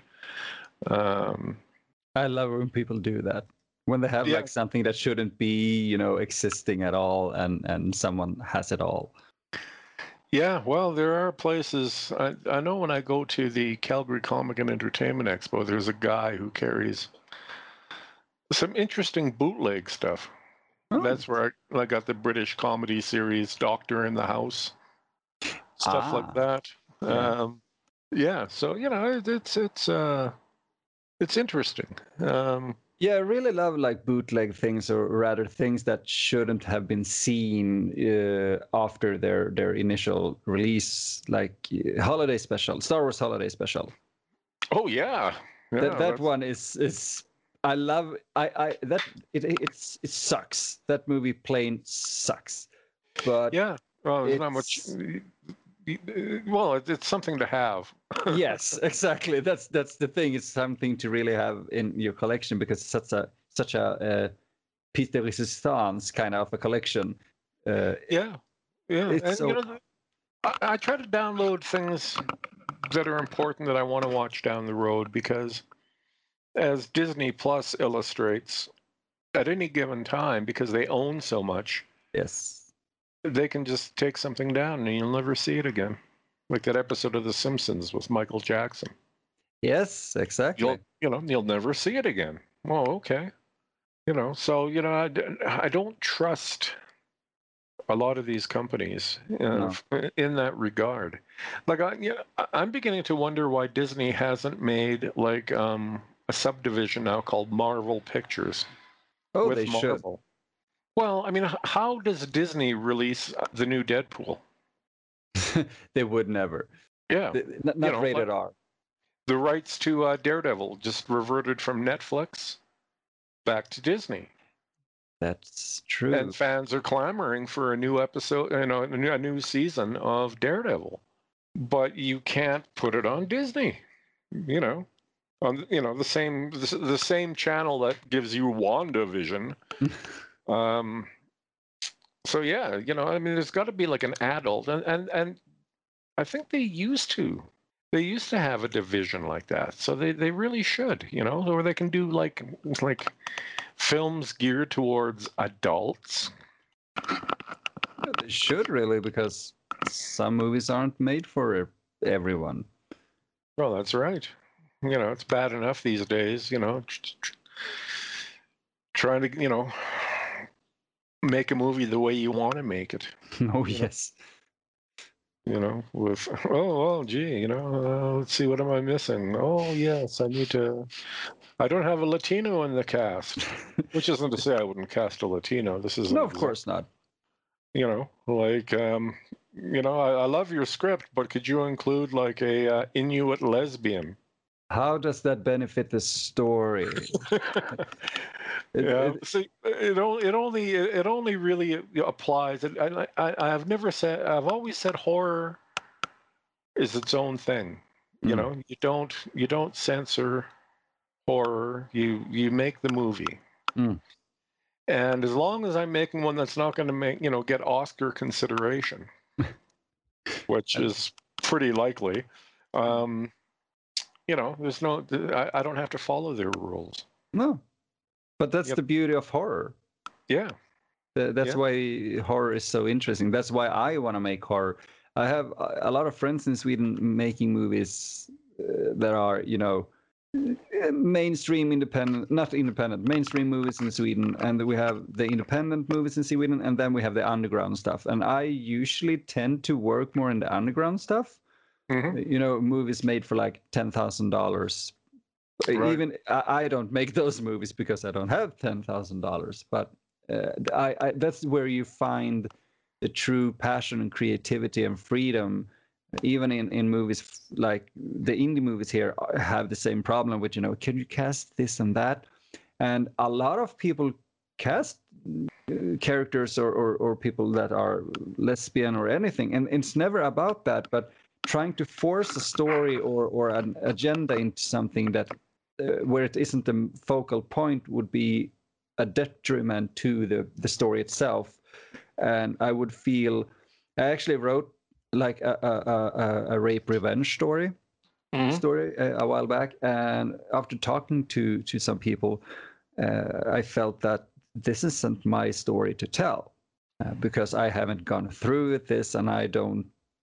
Um, I love when people do that. When they have yeah. like something that shouldn't be, you know, existing at all, and and someone has it all. Yeah, well, there are places. I, I know when I go to the Calgary Comic and Entertainment Expo, there's a guy who carries some interesting bootleg stuff. Oh. That's where I, I got the British comedy series Doctor in the House, stuff Ah, like that. yeah. Um, yeah, so you know, it, it's it's uh, it's interesting. Um, Yeah, I really love like bootleg things, or rather things that shouldn't have been seen uh, after their their initial release, like uh, Holiday Special, Star Wars Holiday Special. oh yeah, yeah that that that's- one is is I love I I that it it's it sucks. That movie plain sucks. But yeah. Well, there's not much. it's Well, it, it's something to have. yes, exactly. That's that's the thing. It's something to really have in your collection because it's such a such a uh, piece de resistance kind of a collection. Uh, Yeah, yeah, it's and so you know, I, I try to download things that are important that I want to watch down the road because as Disney Plus illustrates, at any given time, because they own so much, Yes. they can just take something down and you'll never see it again. Like that episode of The Simpsons with Michael Jackson. Yes, exactly. You'll, you know, you'll never see it again. Well, okay. You know, so, you know, I, I don't trust a lot of these companies uh, No. in that regard. Like, I, you know, I'm beginning to wonder why Disney hasn't made like um, a subdivision now called Marvel Pictures. Oh, with they should. Marvel. Well, I mean, h- how does Disney release uh, the new Deadpool? They would never. Yeah, They- Not, you not know, rated like R. the rights to uh, Daredevil just reverted from Netflix back to Disney, That's true. and fans are clamoring for a new episode, you know, a new, a new season of Daredevil, but you can't put it on Disney, you know, on you know the same the, the same channel that gives you WandaVision. um, so yeah, you know, I mean, there's got to be like an adult, and and and I think they used to. They used to have a division like that, so they, they really should, you know, or they can do like like films geared towards adults. They should really, because some movies aren't made for everyone. Well, that's right. You know, it's bad enough these days, you know, trying to, you know, make a movie the way you want to make it. Oh, You know? yes. You know, with oh, well, gee, you know, uh, let's see, what am I missing? Oh, yes, I need to. I don't have a Latino in the cast, which isn't to say I wouldn't cast a Latino. This is No, an of course not. You know, like, um, you know, I, I love your script, but could you include like a uh, Inuit lesbian? How does that benefit the story? It- Yeah, it- see, it only it only it only really applies. And I, I I've never said I've always said horror is its own thing. You Mm. know, you don't you don't censor horror. You you make the movie. Mm. And as long as I'm making one that's not going to make you know get Oscar consideration, which is pretty likely, um, you know, there's no I, I don't have to follow their rules. No, but that's Yep. the beauty of horror. Yeah. Th- That's Yeah. why horror is so interesting. That's why I want to make horror. I have a a lot of friends in Sweden making movies uh, that are, you know, uh, mainstream independent, not independent, mainstream movies in Sweden. And we have the independent movies in Sweden, and then we have the underground stuff. And I usually tend to work more in the underground stuff. hmm You know, movies made for like ten thousand dollars. Right. Even I, I don't make those movies because I don't have ten thousand dollars. But uh, I, I that's where you find the true passion and creativity and freedom. Even in, in movies like the indie movies here have the same problem with, you know, can you cast this and that? And a lot of people cast uh, characters or, or, or people that are lesbian or anything. And it's never about that, but trying to force a story or, or an agenda into something that uh, where it isn't the focal point would be a detriment to the, the story itself. And I would feel, I actually wrote like a, a, a, a rape revenge story hmm story a, a while back, and after talking to to some people, uh, I felt that this isn't my story to tell uh, because I haven't gone through with this, and I don't.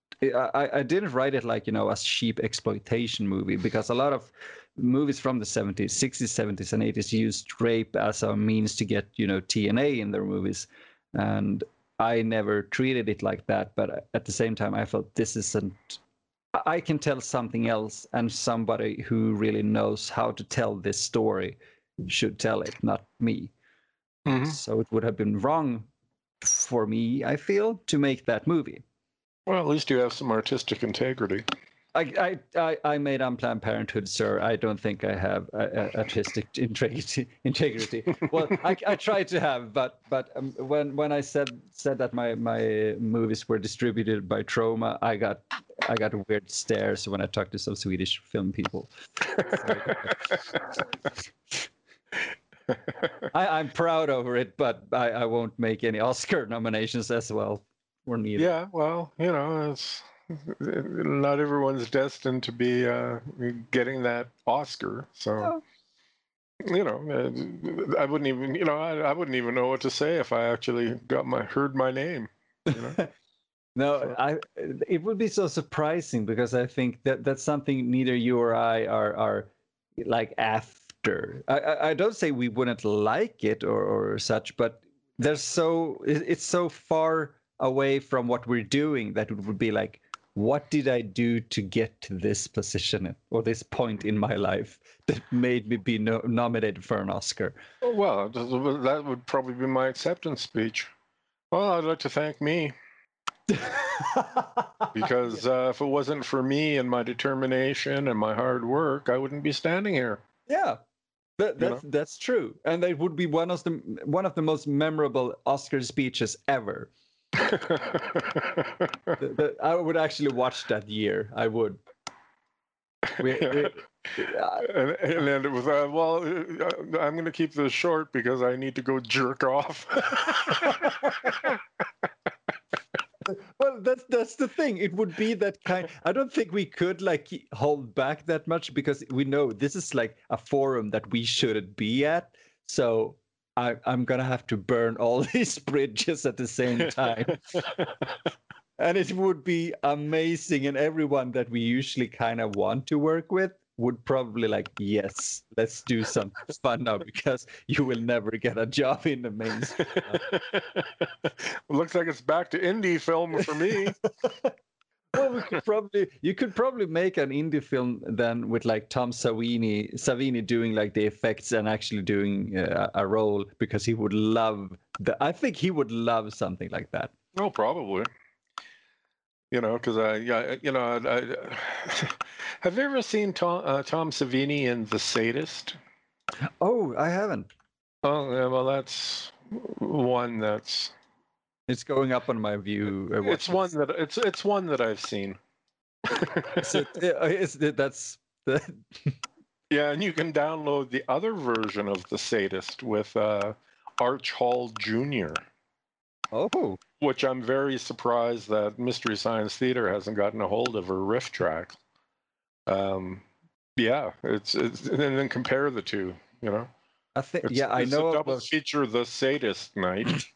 I, I didn't write it like, you know, a cheap exploitation movie, because a lot of movies from the seventies, sixties, seventies, and eighties used rape as a means to get, you know, T N A in their movies, and I never treated it like that. But at the same time, I felt this isn't. I can tell something else, and somebody who really knows how to tell this story should tell it, not me. hmm So it would have been wrong for me, I feel, to make that movie. Well, at least you have some artistic integrity. I, I, I, I made Unplanned Parenthood, sir. I don't think I have uh, uh, artistic integrity. Integrity. Well, I, I tried to have, but but um, when when I said said that my my movies were distributed by Troma, I got I got weird stares when I talked to some Swedish film people. I, I'm proud over it, but I, I won't make any Oscar nominations as well, or neither. Yeah, well, you know, it's not everyone's destined to be uh, getting that Oscar. So, No. you know, uh, I wouldn't even, you know, I, I wouldn't even know what to say if I actually got my heard my name. You know? No, So- I. It would be so surprising because I think that that's something neither you or I are are like after. I I, I don't say we wouldn't like it or or such, but there's so it, it's so far away from what we're doing that it would be like, what did I do to get to this position or this point in my life that made me be no, nominated for an Oscar? Oh, well, that would probably be my acceptance speech. Well, I'd like to thank me. Because uh, if it wasn't for me and my determination and my hard work, I wouldn't be standing here. Yeah, that, You that's know? that's true, and it would be one of the one of the most memorable Oscar speeches ever. The- the- I would actually watch that year. I would. We, we, uh, and, and then it was, uh, well, uh, I'm going to keep this short because I need to go jerk off. well, that's that's the thing. It would be that kind. I don't think we could like hold back that much because we know this is like a forum that we shouldn't be at. So I, I'm gonna have to burn all these bridges at the same time. And it would be amazing, and everyone that we usually kind of want to work with would probably like, yes, let's do something fun now because you will never get a job in the mainstream. Looks like it's back to indie film for me. Well, we could probably you could probably make an indie film then with like Tom Savini Savini doing like the effects and actually doing uh, a role because he would love the. I think he would love something like that. Oh, probably. You know, because I, yeah, you know, I, I, have you ever seen Tom, uh, Tom Savini in The Sadist? Oh, I haven't. Oh, yeah, well, that's one that's. It's going up on my view. Uh, It's one that it's it's one that I've seen. Is it, uh, is it, that's the. Yeah, and you can download the other version of The Sadist with uh, Arch Hall Junior Oh, Which I'm very surprised that Mystery Science Theater hasn't gotten a hold of, or riff track. Um, yeah, it's, it's and then compare the two. You know, I think it's, yeah, I it's know a double about feature, The Sadist night.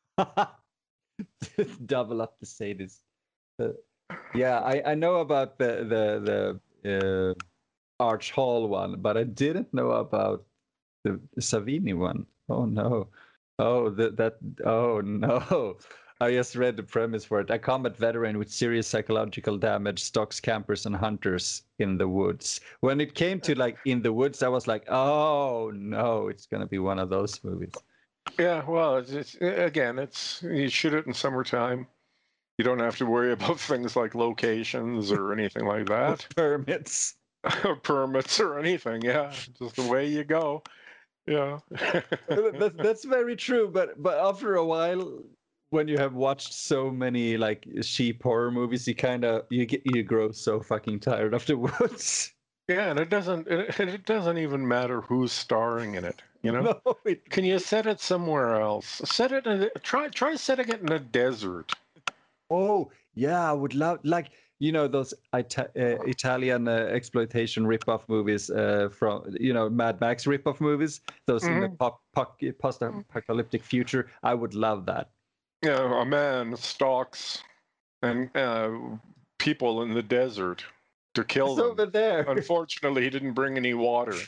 double up the sadist. Uh, yeah, I I know about the the the uh, Arch Hall one, but I didn't know about the Savini one. Oh no. Oh, that that. Oh no. I just read the premise for it. A combat veteran with serious psychological damage stalks campers and hunters in the woods. When it came to like in the woods, I was like, oh no, it's gonna be one of those movies. Yeah, well, it's, it's again, it's you shoot it in summertime. You don't have to worry about things like locations or anything like that, Permits. or permits or anything. Yeah, just the way you go. Yeah. that's that's very true. But but after a while, when you have watched so many like sheep horror movies, you kind of you get you grow so fucking tired of the woods. Yeah, and it doesn't it, it doesn't even matter who's starring in it, you know? No, it, Can you set it somewhere else? Set it in a, try try setting it in a desert. oh yeah, I would love like you know those Ita- uh, Italian uh, exploitation rip-off movies uh, from you know Mad Max rip-off movies. Those in the Mhm. pop, pop, post-apocalyptic future. I would love that. Yeah, a man stalks and uh, people in the desert to kill It's them. over there. Unfortunately, he didn't bring any water.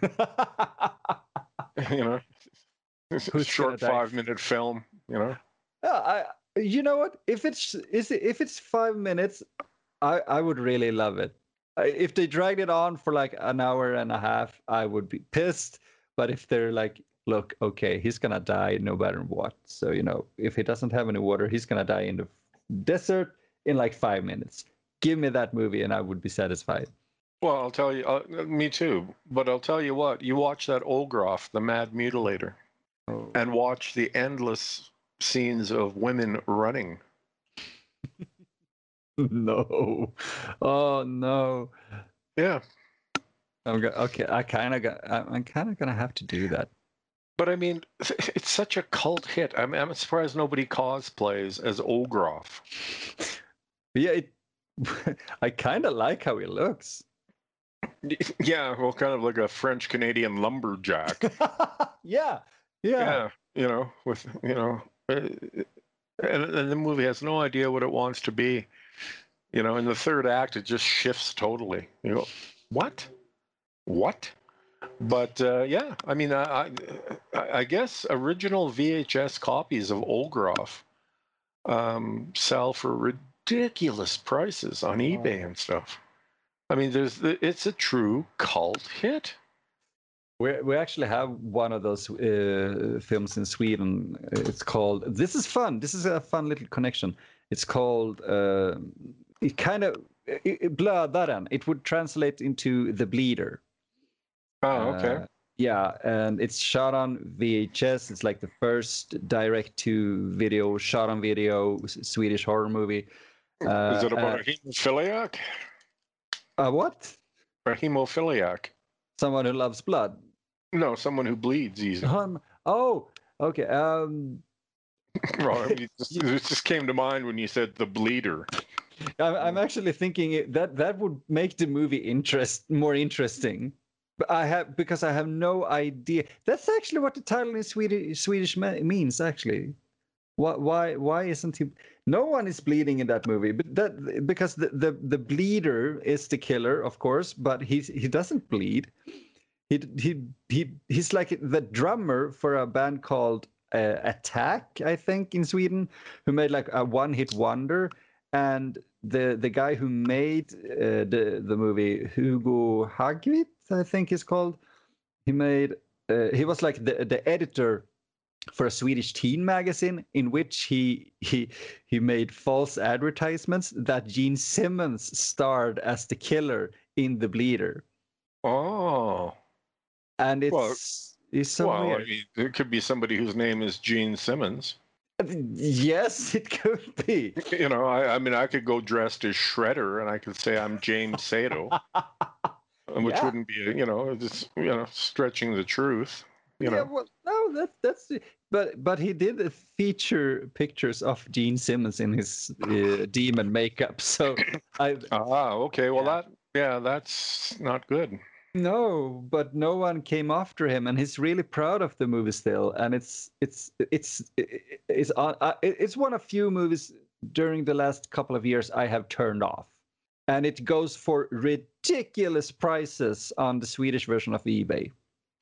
You know, Who's short gonna die? five-minute film. You know. Yeah, I. You know what? If it's is it, if it's five minutes, I I would really love it. I- If they dragged it on for like an hour and a half, I would be pissed. But if they're like, look, okay, he's gonna die no matter what. So you know, if he doesn't have any water, he's gonna die in the desert in like five minutes. Give me that movie, and I would be satisfied. Well, I'll tell you. Uh, me too. But I'll tell you what. You watch that Olgroff, the Mad Mutilator, Oh. and watch the endless scenes of women running. No. Oh no. Yeah. I'm go- okay. I kind of got. I'm, I'm kind of gonna have to do that. But I mean, it's such a cult hit. I'm, I'm surprised nobody cosplays as Olgroff. But yeah, it, I kind of like how he looks. Yeah, well, kind of like a French Canadian lumberjack. Yeah, yeah. Yeah, you know, with you know, uh, and, and the movie has no idea what it wants to be. You know, in the third act, it just shifts totally. You go, what? What? But uh, yeah, I mean, I, I, I guess original V H S copies of Olgroff um, sell for ridiculous prices on eBay and stuff. I mean, there's it's a true cult hit. We we actually have one of those uh, films in Sweden. It's called. This is fun. This is a fun little connection. It's called. Uh, it kind of Blödaren. It would translate into The Bleeder. Oh, okay. Uh, yeah, and it's shot on V H S. It's like the first direct-to-video, shot on video Swedish horror movie. Uh, Is it about uh, a hemophiliac? A what? A hemophiliac? Someone who loves blood. No, someone who bleeds easy. Um, oh, okay. Um, well, I mean, it, just, it just came to mind when you said The Bleeder. I'm, I'm actually thinking it, that that would make the movie interest more interesting. But I have because I have no idea. That's actually what the title in Swedish Swedish means. Actually, why why why isn't he? No one is bleeding in that movie, but that because the the, the bleeder is the killer, of course, but he he doesn't bleed. He he he he's like the drummer for a band called uh, Attack, I think, in Sweden, who made like a one-hit wonder. And the the guy who made uh, the the movie, Hugo Hagvit, I think he's called. He made uh, he was like the the editor for a Swedish teen magazine in which he he he made false advertisements that Gene Simmons starred as the killer in The Bleeder. Oh. And it's well, it's so well, weird. I mean, it could be somebody whose name is Gene Simmons. Yes, it could be. You know, I, I mean, I could go dressed as Shredder, and I could say I'm James Sato, which Yeah. wouldn't be, you know, just you know, stretching the truth. You Yeah, know. well, no, that's that's. But but he did feature pictures of Gene Simmons in his uh, demon makeup. So I. Ah, okay. Well, Yeah. that yeah, that's not good. No, but no one came after him, and he's really proud of the movie still. And it's it's it's it's on. Uh, it's one of few movies during the last couple of years I have turned off, and it goes for ridiculous prices on the Swedish version of eBay.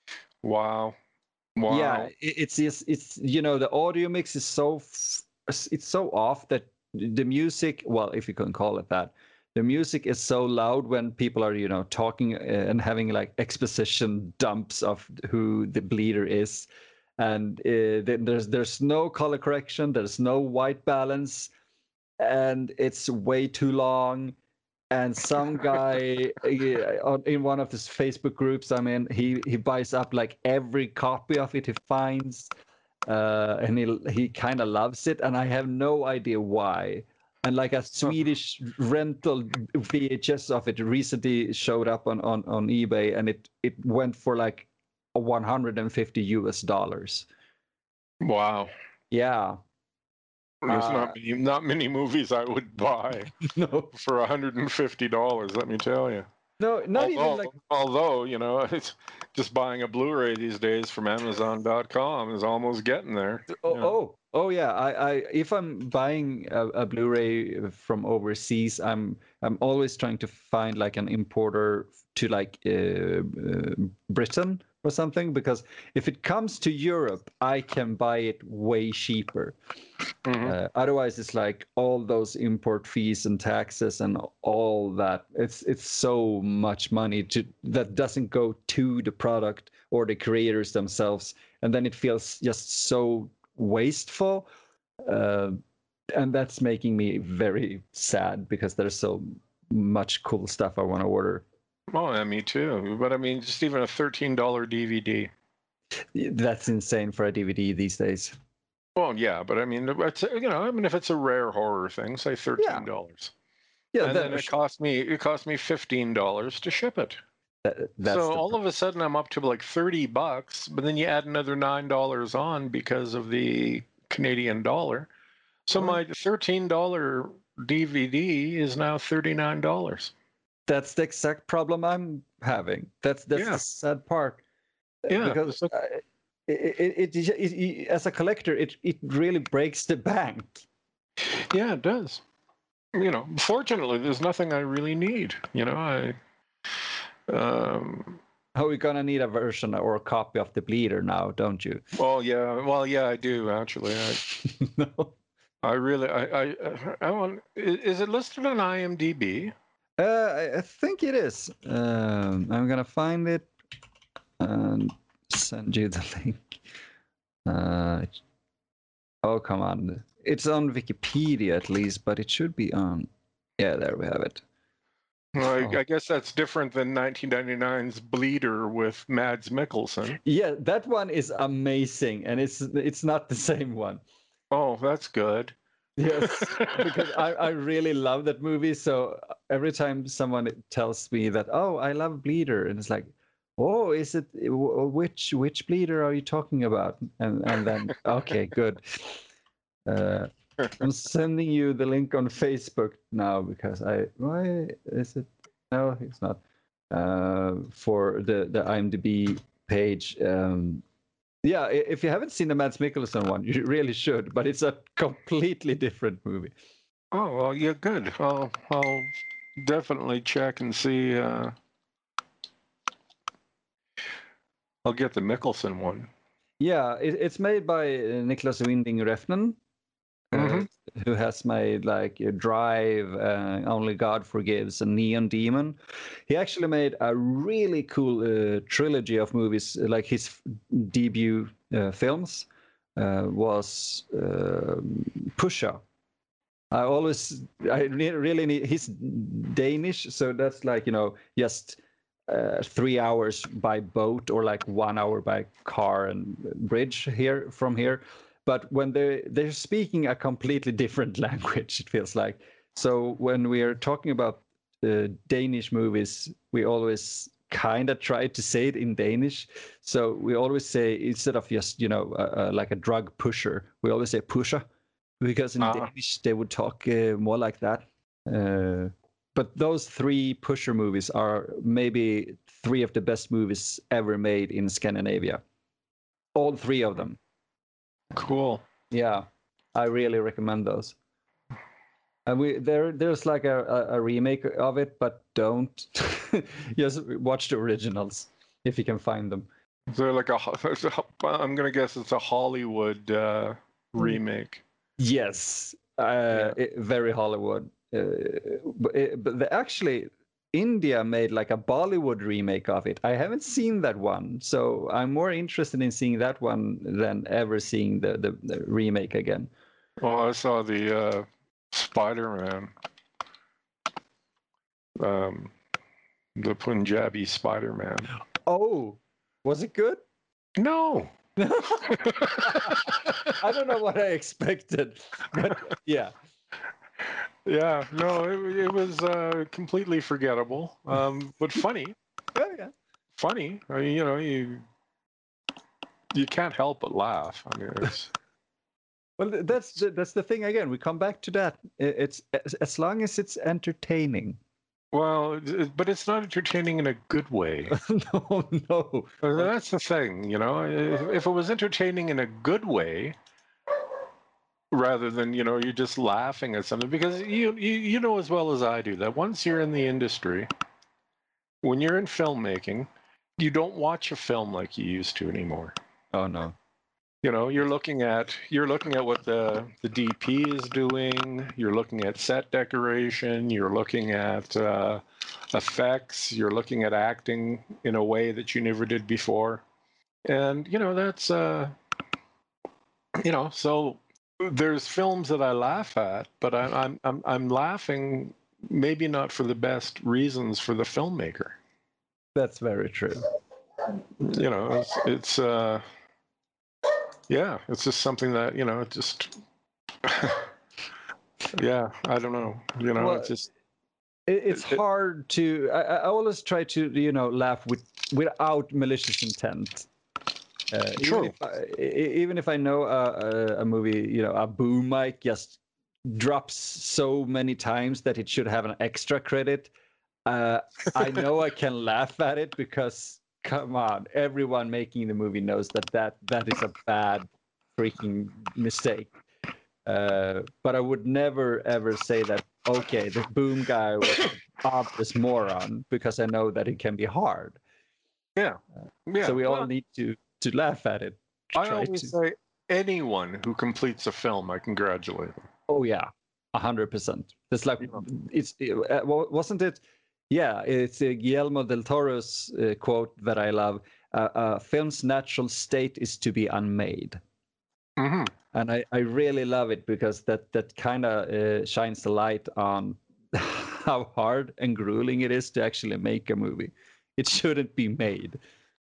Wow. Wow. Yeah, it's it's it's you know the audio mix is so it's so off that the music, well, if you can call it that. The music is so loud when people are, you know, talking and having like exposition dumps of who the bleeder is, and uh, there's there's no color correction, there's no white balance, and it's way too long. And some guy in one of his Facebook groups, I mean, he he buys up like every copy of it he finds, uh, and he he kind of loves it, and I have no idea why. And like a Swedish rental V H S of it recently showed up on, on, on eBay, and it, it went for like one hundred fifty U S dollars. Wow. Yeah. There's uh, not many, not many movies I would buy no. for one hundred fifty dollars, let me tell you. No, not although, even like. Although, you know, it's just buying a Blu-ray these days from Amazon dot com is almost getting there. Oh, you know. oh, oh, yeah. I, I, if I'm buying a, a Blu-ray from overseas, I'm, I'm always trying to find like an importer to like uh, uh, Britain or something, because if it comes to Europe, I can buy it way cheaper. Mm-hmm. Uh, otherwise, it's like all those import fees and taxes and all that. It's it's so much money to that doesn't go to the product or the creators themselves, and then it feels just so wasteful. Uh, and that's making me very sad because there's so much cool stuff I want to order. Oh, yeah, me too. But I mean, just even a thirteen dollar D V D. That's insane for a D V D these days. Well, yeah, but I mean, it's, you know, I mean, if it's a rare horror thing, say thirteen dollars. Yeah, and then it cost me it cost me fifteen dollars to ship it. That, that's so all of a sudden I'm up to like thirty bucks, but then you add another nine dollars on because of the Canadian dollar. So oh. my thirteen dollar D V D is now thirty-nine dollars. that's the exact problem I'm having. That's that's Yeah. the sad part. Yeah, because it's like- uh, it, it, it, it, it as a collector, it it really breaks the bank. Yeah, it does. You know, fortunately, there's nothing I really need. You know, I. Um, Oh, we're gonna need a version or a copy of the Bleeder now, don't you? well, yeah, well, yeah, I do actually. I, No. I really, I, I, I want. i- Is it listed on IMDb? Uh, I, I think it is. Um, I'm gonna find it and send you the link. Uh, oh, come on. It's on Wikipedia at least, but it should be on. Yeah, there we have it. Well, I, Oh. I guess that's different than nineteen ninety-nine's Bleeder with Mads Mikkelsen. Yeah, that one is amazing, and it's it's not the same one. Oh, that's good. Yes, because I, I really love that movie. So every time someone tells me that, oh, I love Bleeder, and it's like, oh, is it which which Bleeder are you talking about? And and then okay, good. Uh, I'm sending you the link on Facebook now because I why is it? No, it's not. Uh, for the the IMDb page. Um, yeah, i- if you haven't seen the Mads Mikkelsen one, you really should. But it's a completely different movie. Oh well, yeah, good. I'll I'll definitely check and see. Uh, I'll get the Mikkelsen one. Yeah, it, it's made by uh, Niklas Winding Refn, uh, Mhm. who has made like uh, Drive, uh, Only God Forgives, and Neon Demon. He actually made a really cool uh, trilogy of movies, uh, like his f- debut uh, films uh, was uh, Pusha. I always, I re- really need. He's Danish, so that's like you know just uh, three hours by boat or like one hour by car and bridge here from here. But when they they're speaking a completely different language, it feels like. So when we are talking about uh, Danish movies, we always kind of try to say it in Danish. So we always say instead of just you know uh, uh, like a drug pusher, we always say pusher because in Ah. Danish they would talk uh, more like that. Uh, but those three Pusher movies are maybe three of the best movies ever made in Scandinavia. All three of them. Cool. Yeah, I really recommend those. And we there there's like a, a, a remake of it, but don't just watch the originals if you can find them. They're like a. It's a I'm gonna guess it's a Hollywood uh, remake. Yes, uh, Yeah. it- very Hollywood. Uh, but it, but the, actually, India made like a Bollywood remake of it. I haven't seen that one, so I'm more interested in seeing that one than ever seeing the, the, the remake again. Well, I saw the uh, Spider-Man, um, the Punjabi Spider-Man. Oh, was it good? No. I don't know what I expected, but yeah. Yeah, no, it, it was uh, completely forgettable, um, but funny. Oh, yeah. Funny. I mean, you know, you you can't help but laugh. I mean, it's Well, th- that's the, that's the thing again. We come back to that. I- It's as, as long as it's entertaining. well, it- but it's not entertaining in a good way. No, no. Uh, That's the thing, you know. If, if it was entertaining in a good way, rather than you know you're just laughing at something, because you you you know as well as I do that once you're in the industry, when you're in filmmaking, you don't watch a film like you used to anymore. Oh no. You know, you're looking at you're looking at what the the D P is doing. You're looking at set decoration. You're looking at uh, effects. You're looking at acting in a way that you never did before. And you know that's uh, you know so there's films that I laugh at, but I, I'm I'm I'm laughing maybe not for the best reasons for the filmmaker. That's very true. You know, it's it's uh, yeah, it's just something that you know it just. Yeah, I don't know. You know, Well, it's just It, it's it- hard to. I, I always try to, you know, laugh with without malicious intent. Uh, even True. if I, e- even if I know a, a, a movie, you know, a boom mic just drops so many times that it should have an extra credit, Uh, I know I can laugh at it because, come on, everyone making the movie knows that that, that is a bad freaking mistake. Uh, but I would never ever say that, okay, the boom guy was an obvious moron, because I know that it can be hard. Yeah. Yeah. So we all Well, need to to laugh at it. I Try always to. say anyone who completes a film, I congratulate them. Oh yeah, a hundred percent. It's like Yeah. it's uh, wa- wasn't it? Yeah, it's uh, Guillermo del Toro's uh, quote that I love. Uh, uh, film's natural state is to be unmade. hmm And I, I really love it because that that kind of uh, shines the light on how hard and grueling it is to actually make a movie. It shouldn't be made.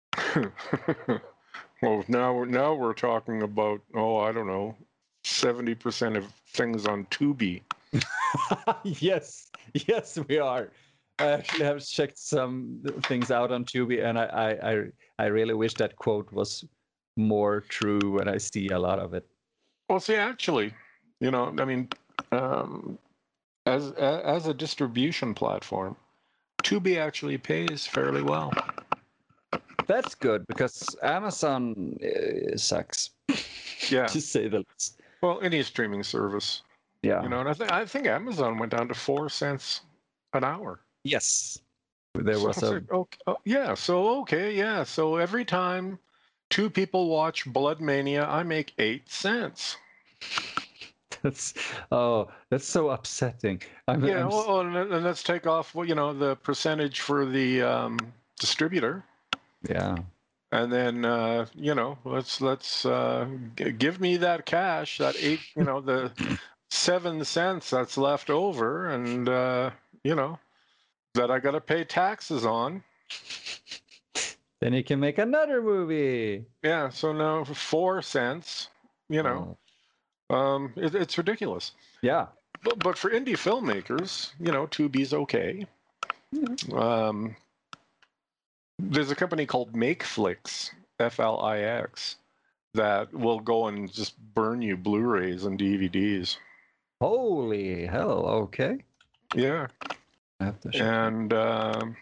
Well, now we're now we're talking about, oh, I don't know, seventy percent of things on Tubi. Yes, yes, we are. I actually have checked some things out on Tubi, and I, I, I, I really wish that quote was more true when I see a lot of it. Well, see, actually, you know, I mean, um, as a- as a distribution platform, Tubi actually pays fairly well. That's good because Amazon uh, sucks, Yeah. to say the least. Well, any streaming service, Yeah. you know, and I think I think Amazon went down to four cents an hour. Yes. There So was it's a like, okay, oh, yeah, so okay, yeah, so every time two people watch Blood Mania, I make eight cents. that's oh that's so upsetting. I'm, Yeah, I'm s- well, and, and let's take off, well, you know, the percentage for the um, distributor, yeah. and then uh, you know, let's let's uh, g- give me that cash, that eight, you know, the seven cents that's left over, and uh, you know, that I got to pay taxes on. Then you can make another movie. Yeah, so now four cents, you know, Oh. um, it, it's ridiculous. Yeah. But, but for indie filmmakers, you know, Tubi's okay. Um, there's a company called MakeFlix, F L I X, that will go and just burn you Blu-rays and D V Ds. Holy hell! Okay. Yeah, I have to check. and um,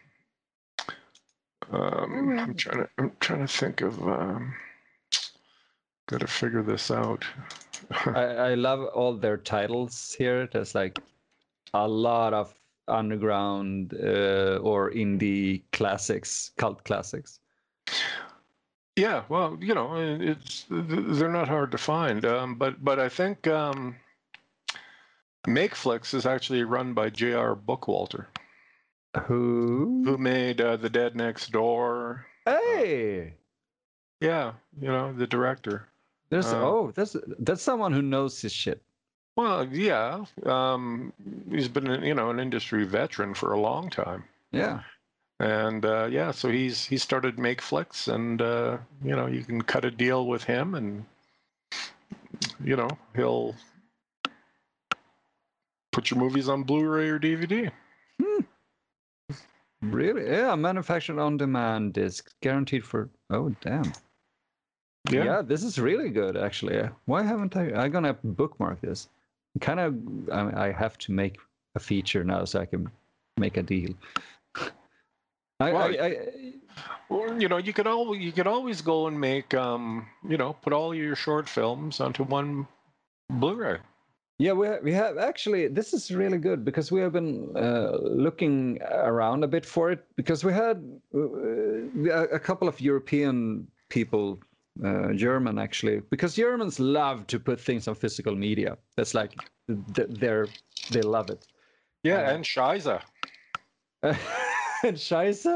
um, I'm trying to I'm trying to think of. Um, got to figure this out. I, I love all their titles here. There's like a lot of underground uh, or indie classics, cult classics. Yeah, well, you know, it's they're not hard to find, um, but but I think um, MakeFlix is actually run by J R. Bookwalter, Who? who made uh, The Dead Next Door. Hey, Yeah, you know, the director. there's Uh, oh, that's that's someone who knows his shit. Well, yeah, um, he's been, you know, an industry veteran for a long time. Yeah. And uh, yeah, so he's he started MakeFlix, and uh, you know, you can cut a deal with him, and you know, he'll put your movies on Blu-ray or D V D. Hmm. Really? Yeah, manufactured on demand disc, guaranteed for. Oh, damn. Yeah. Yeah, this is really good, actually. Why haven't I? I'm gonna bookmark this. Kind of, I, I have to make a feature now so I can make a deal. I, Well, I, I, Or, you know, you could always you could always go and make, um, you know, put all your short films onto one Blu-ray. yeah, we have, we have actually. This is really good because we have been uh, looking around a bit for it because we had uh, a couple of European people. Uh, German actually, because Germans love to put things on physical media. That's like they're they love it. Yeah, Uh, and Shiza. and Scheisse,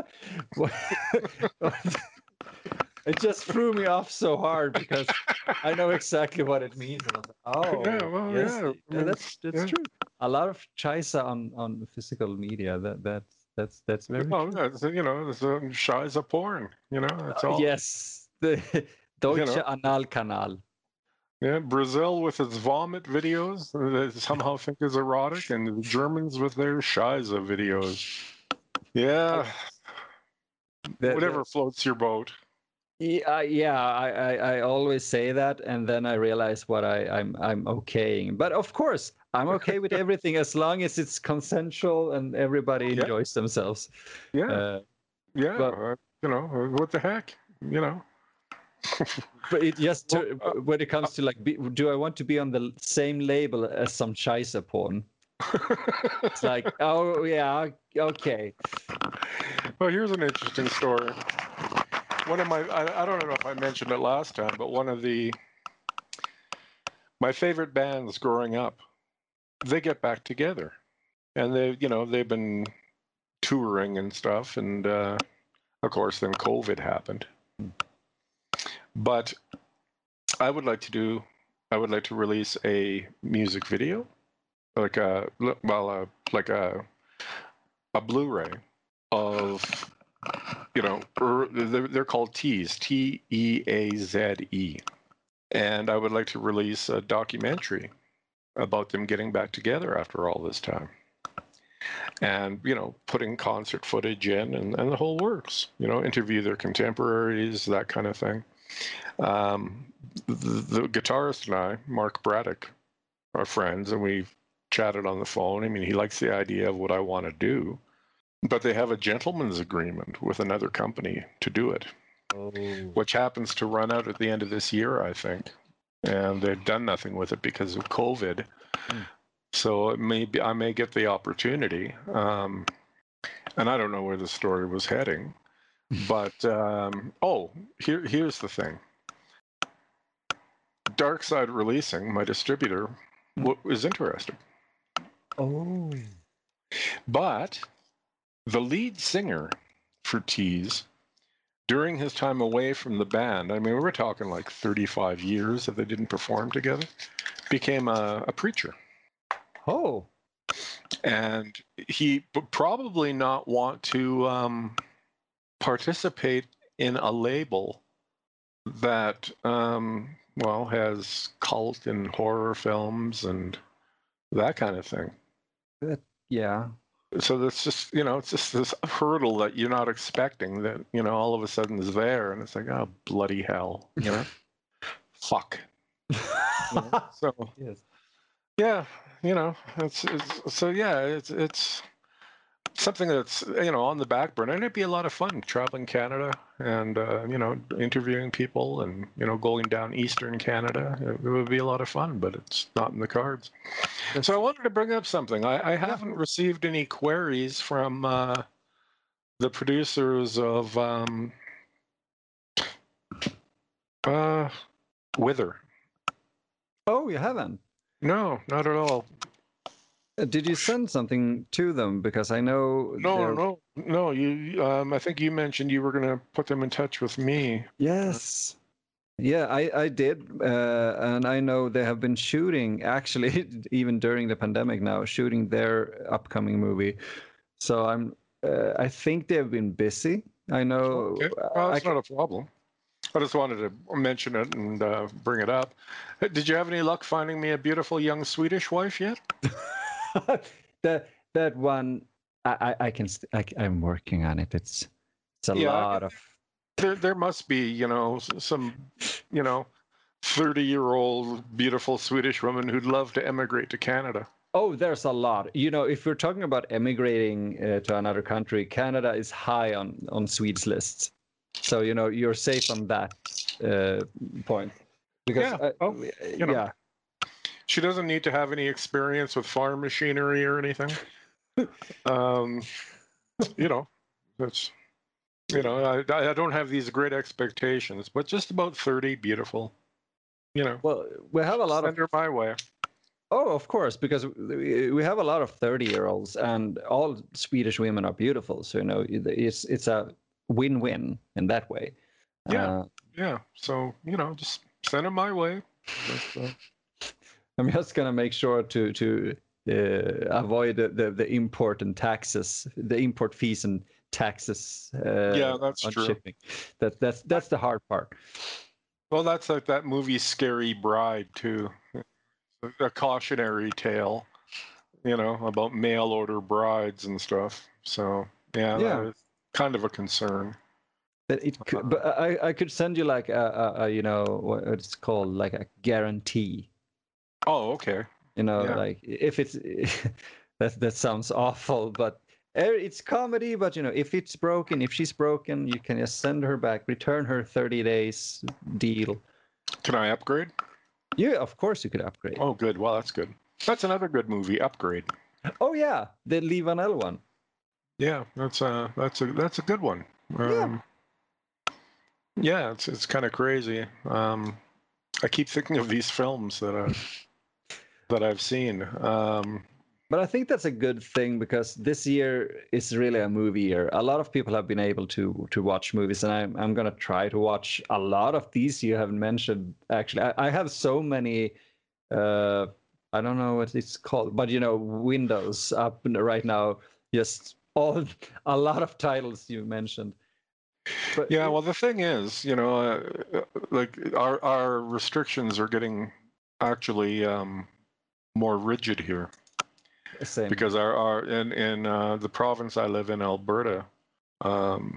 it just threw me off so hard because I know exactly what it means. And I was like, oh, Yeah, well, yes, yeah, yeah, I mean, that's that's yeah. true. A lot of Scheisse on on physical media. That that's that's that's very Well, true. yeah, it's, you know, it's a Shiza porn. You know, that's Uh, all. yes, the Deutsche know. Analkanal. Yeah, Brazil with its vomit videos that somehow think is erotic, and the Germans with their Shiza videos. Yeah, The- whatever the- floats your boat. Yeah, yeah, I, I, I always say that, and then I realize what I, I'm I'm okaying. But of course, I'm okay with everything as long as it's consensual and everybody Yeah, enjoys themselves. yeah, Uh, yeah. but Uh, you know, uh, what the heck? You know. but it just Well, to, uh, when it comes to like, be, do I want to be on the same label as some Scheisse porn? It's like, oh yeah, okay. well, here's an interesting story. One of my, I, I don't know if I mentioned it last time, but one of the my favorite bands growing up, they get back together, and they, you know, they've been touring and stuff, and uh, of course, then COVID happened. But I would like to do, I would like to release a music video, like a, well, uh, like a, a Blu-ray of, you know, er, they're, they're called Tease, T E A Z E, and I would like to release a documentary about them getting back together after all this time, and you know, putting concert footage in and, and the whole works. You know, interview their contemporaries, that kind of thing. Um, the, the guitarist and I, Mark Braddock, are friends, and we've chatted on the phone. I mean, he likes the idea of what I want to do, but they have a gentleman's agreement with another company to do it, Oh. which happens to run out at the end of this year, I think. And they've done nothing with it because of COVID. Mm. So it may be, I may get the opportunity. Um, and I don't know where the story was heading. But, um, oh, here, here's the thing. Darkside Releasing, my distributor, w- was interested. Oh. But the lead singer for Tease, during his time away from the band, I mean, we're talking like thirty-five years that they didn't perform together, became a, a preacher. Oh. And he would probably not want to um, participate in a label that, um, well, has cult and horror films and that kind of thing. That, yeah. So that's just, you know, it's just this hurdle that you're not expecting that, you know, all of a sudden is there. And it's like, oh, bloody hell, you know? Fuck. You know? So, Yes. yeah, you know, it's, it's so, yeah, it's, it's, something that's, you know, on the back burner, and it'd be a lot of fun traveling Canada and uh, you know, interviewing people and, you know, going down Eastern Canada. It, it would be a lot of fun, but it's not in the cards. That's, So I wanted to bring up something. I, I haven't received any queries from uh, the producers of um, uh, Wither. oh, you haven't? No, not at all. Uh, Did you send something to them? Because I know No, they're. no, no. You, um, I think you mentioned you were going to put them in touch with me. Yes. Yeah, I, I did. Uh, and I know they have been shooting, actually, even during the pandemic now, shooting their upcoming movie. So I'm, uh, I think they've been busy. I know. Okay, uh, well, I, that's not a problem. I just wanted to mention it and uh, bring it up. Hey, did you have any luck finding me a beautiful young Swedish wife yet? that that one, I, I, I can, st- I, I'm working on it. It's, it's a Yeah, I lot mean, of. there there must be, you know, s- some, you know, thirty-year-old beautiful Swedish woman who'd love to emigrate to Canada. Oh, there's a lot. You know, if we're talking about emigrating uh, to another country, Canada is high on on Swedes lists. So you know, you're safe on that uh, point. Because Yeah, uh, well, you know, yeah, she doesn't need to have any experience with farm machinery or anything. Um, you know, that's, you know, I, I don't have these great expectations, but just about thirty, beautiful. You know, well, we have a lot of. send her my way. Oh, of course, because we we have a lot of thirty-year-olds, and all Swedish women are beautiful. So you know, it's it's a win-win in that way. Yeah, Uh, yeah. So, you know, just send them my way. But, uh, I'm just gonna make sure to to uh, avoid the, the the import and taxes, the import fees and taxes uh, yeah, that's on true. shipping. That that's that's the hard part. Well, that's like that movie Scary Bride too. A cautionary tale, you know, about mail order brides and stuff. So, yeah, that Yeah, is kind of a concern. That it could, but I, I could send you like a, a, a you know what it's called, like a guarantee. Oh, okay. You know, Yeah. like if it's that that sounds awful, but er, it's comedy. But you know, if it's broken, if she's broken, you can just send her back, return her thirty days deal. Can I upgrade? Yeah, of course you could upgrade. Oh, good. Well, that's good. That's another good movie, Upgrade. Oh yeah, the Lee Vanell one. Yeah, that's a that's a that's a good one. Yeah. Um, yeah, it's it's kind of crazy. Um, I keep thinking of these films that I've that I've seen. Um, But I think that's a good thing because this year is really a movie year. A lot of people have been able to to watch movies, and I'm I'm gonna try to watch a lot of these you haven't mentioned. Actually, I, I have so many. Uh, I don't know what it's called, but you know, windows up right now. Just all a lot of titles you mentioned. But yeah, well, the thing is, you know, uh, like our our restrictions are getting actually um, more rigid here. same. Because our, our in in uh, the province I live in, Alberta, um,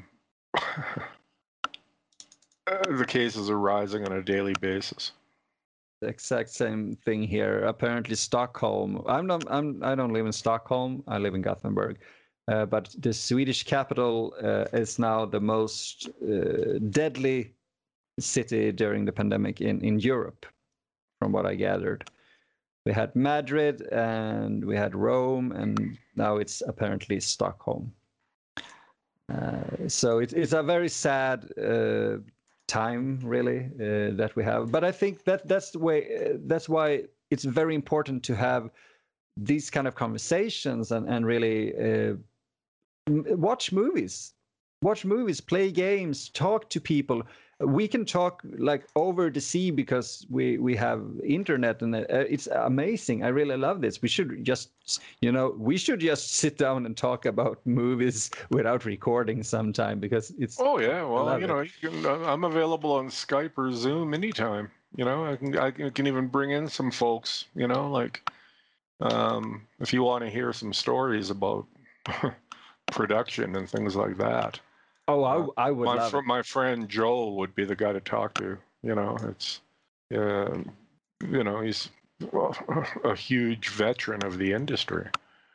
the cases are rising on a daily basis. The exact same thing here. Apparently, Stockholm. I'm not. I'm. I don't live in Stockholm. I live in Gothenburg. Uh, but the Swedish capital uh, is now the most uh, deadly city during the pandemic in in Europe, from what I gathered. We had Madrid and we had Rome, and now it's apparently Stockholm. Uh, so it, it's a very sad uh, time, really, uh, that we have. But I think that that's the way. Uh, that's why it's very important to have these kind of conversations and and really uh, watch movies, watch movies, play games, talk to people. We can talk like over the sea because we we have internet, and uh, it's amazing. I really love this. We should just, you know, we should just sit down and talk about movies without recording sometime because it's. Oh yeah, well, you know, it. you can, I'm available on Skype or Zoom anytime. You know, I can I can even bring in some folks. You know, like um, if you want to hear some stories about production and things like that. Oh, Uh, I, I would my love fr- it. my friend Joel would be the guy to talk to. You know, it's uh, you know he's well, a huge veteran of the industry.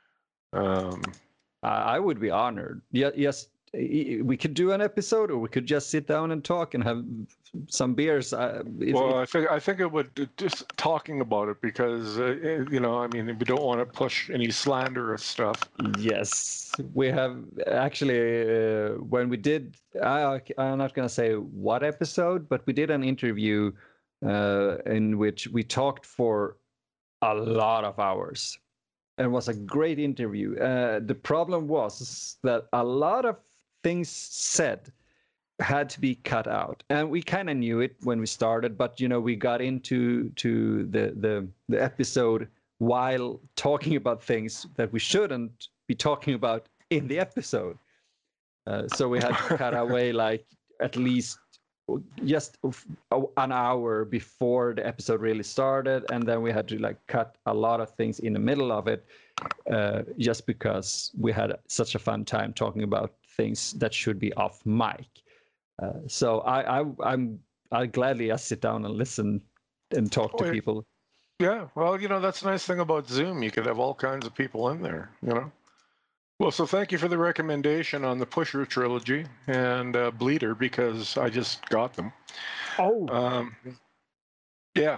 Um, I I would be honored. Yeah, yes, i- i- we could do an episode, or we could just sit down and talk and have some beers. Uh, it, well, it, I think I think it would just talking about it because uh, eh, you know I mean we don't want to push any slanderous stuff. yes, we have actually uh, when we did. I, I'm not gonna say what episode, but we did an interview uh, in which we talked for a lot of hours. And it was a great interview. Uh, the problem was that a lot of things said had to be cut out, and we kind of knew it when we started, but you know we got into to the the the episode while talking about things that we shouldn't be talking about in the episode. Uh, so we had to cut away like at least just an hour before the episode really started, and then we had to like cut a lot of things in the middle of it, uh, just because we had such a fun time talking about things that should be off mic. Uh, so I, I I'm I gladly I sit down and listen and talk to Oh, people. yeah, well, you know that's the nice thing about Zoom. You could have all kinds of people in there. You know. Well, so thank you for the recommendation on the Pusher trilogy and uh, Bleeder because I just got them. Oh, um, yeah.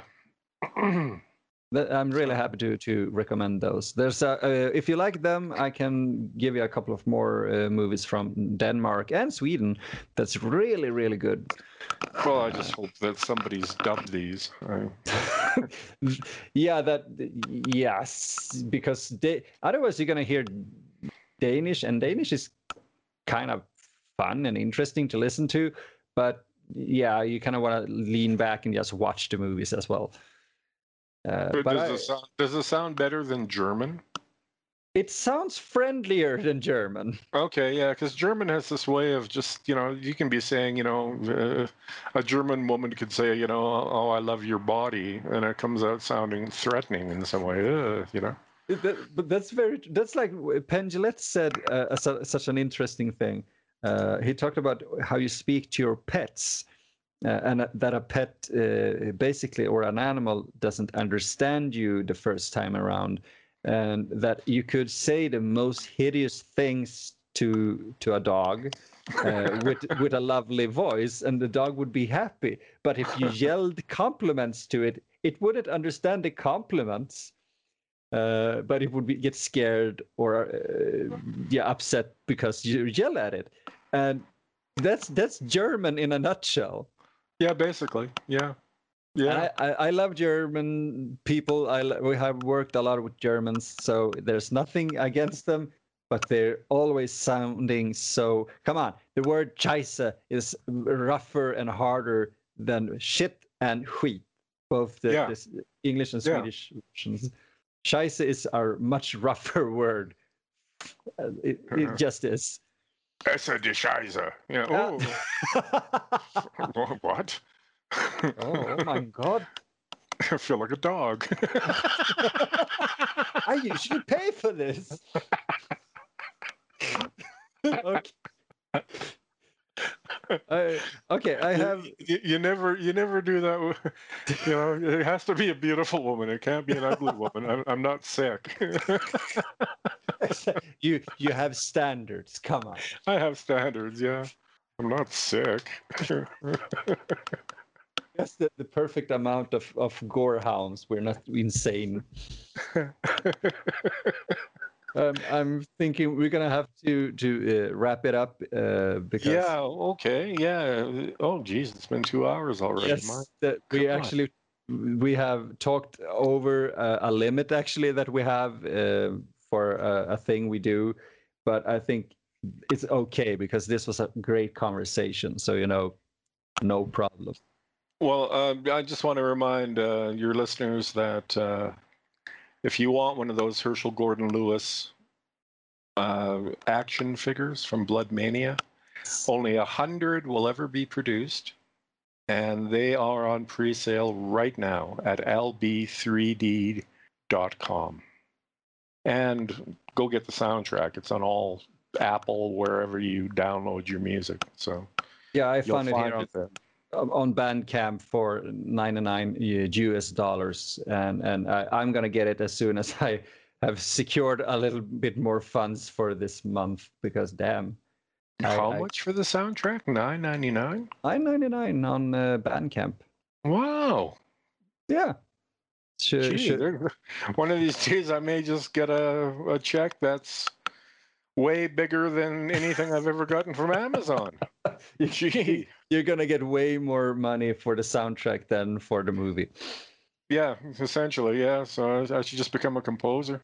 I'm really So, happy to to recommend those. There's a, uh, if you like them, I can give you a couple of more uh, movies from Denmark and Sweden that's really really good. well, I just hope that somebody's dubbed these. I... yeah, that yes, because they, otherwise you're gonna hear Danish, and Danish is kind of fun and interesting to listen to, but yeah, you kind of want to lean back and just watch the movies as well. Uh, but does, I, it sound, does it sound better than German? it sounds friendlier than German. Okay, yeah, because German has this way of just, you know, you can be saying, you know, uh, a German woman could say, you know, oh, I love your body, and it comes out sounding threatening in some way, uh, you know. That, but that's very, that's like Penn Jillette said uh, su- such an interesting thing. Uh, he talked about how you speak to your pets, uh, and that a pet uh, basically, or an animal, doesn't understand you the first time around, and that you could say the most hideous things to to a dog uh, with with a lovely voice, and the dog would be happy. But if you yelled compliments to it, it wouldn't understand the compliments. Uh, but it would be, get scared or uh, yeah, upset because you yell at it, and that's that's German in a nutshell. Yeah, basically. Yeah. Yeah. I, I, I love German people. I we have worked a lot with Germans, so there's nothing against them, but they're always sounding so. Come on, the word Scheiße is rougher and harder than shit and skit, both the, Yeah. the English and Yeah. Swedish versions. Scheiße is our much rougher word. Uh, It, it just is. Essa die Scheiße. Yeah. Oh. What? Oh my God. I feel like a dog. I usually pay for this. Okay. I, okay, I have. You, you never, you never do that. with- You know, it has to be a beautiful woman. It can't be an ugly woman. I'm, I'm not sick. you you have standards. Come on. I have standards. Yeah, I'm not sick. That's the, the perfect amount of, of gore hounds. We're not insane. Um, I'm thinking we're gonna have to to uh, wrap it up uh, because Yeah. Okay. Yeah. Oh, geez, it's been two hours already. yes, My that we God. actually we have talked over uh, a limit actually that we have uh, for a, a thing we do, but I think it's okay because this was a great conversation. So you know, no problem. Well, uh, I just want to remind uh, your listeners that uh, if you want one of those Herschel Gordon Lewis uh, action figures from Blood Mania, only a hundred will ever be produced, and they are on pre-sale right now at L B three D dot com. And go get the soundtrack. It's on all Apple, wherever you download your music. So Yeah, I you'll found it find here on it there. on Bandcamp for ninety-nine U S dollars, and and I, I'm gonna get it as soon as I have secured a little bit more funds for this month because damn, How I, much for the soundtrack? nine ninety-nine. I nine ninety-nine on uh, Bandcamp. Wow. Yeah, should, Gee, should, there- one of these days I may just get a, a check that's way bigger than anything I've ever gotten from Amazon. Gee. you're gonna get way more money for the soundtrack than for the movie. Yeah, essentially, yeah. So I, I should just become a composer.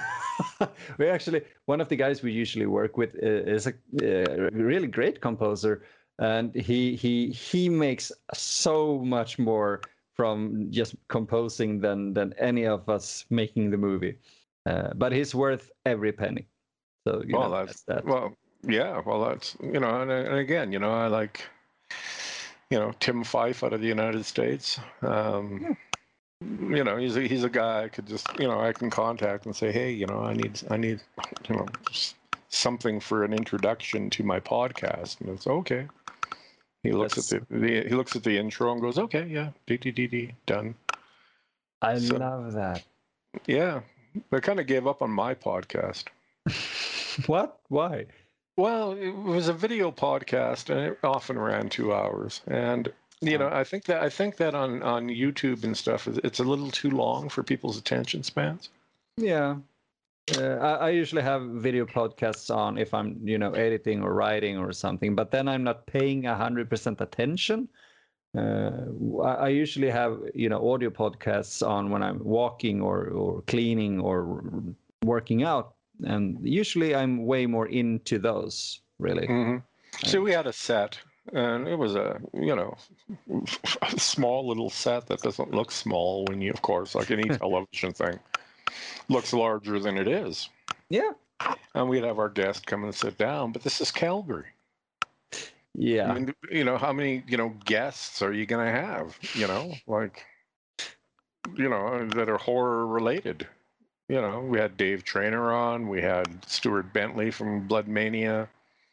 We actually, one of the guys we usually work with uh, is a uh, really great composer, and he he he makes so much more from just composing than than any of us making the movie. Uh, but he's worth every penny. So you Well, know, that's, that's that. well, yeah. Well, that's, you know, and, and again, you know, I like, you know, Tim Fife out of the United States. Um, Yeah. You know, he's a, he's a guy I could just, you know, I can contact and say, hey, you know, I need I need, you know, s- something for an introduction to my podcast, and it's okay. He looks That's- at the, the he looks at the intro and goes, okay, yeah, d d d d done. I So- love that. Yeah, I kind of gave up on my podcast. What? Why? Well, it was a video podcast, and it often ran two hours. And you know, I think that I think that on on YouTube and stuff, it's a little too long for people's attention spans. Yeah. Uh, I, I usually have video podcasts on if I'm, you know, editing or writing or something, but then I'm not paying one hundred percent attention. Uh, I, I usually have, you know, audio podcasts on when I'm walking or, or cleaning or working out. And usually I'm way more into those, really. hmm So we had a set, and it was a, you know, a small little set that doesn't look small when you, of course, like any television thing, looks larger than it is. Yeah. And we'd have our guest come and sit down, but this is Calgary. Yeah. I mean, you know, how many, you know, guests are you going to have, you know, like, you know, that are horror related? You know, we had Dave Trainer on, we had Stuart Bentley from Blood Mania.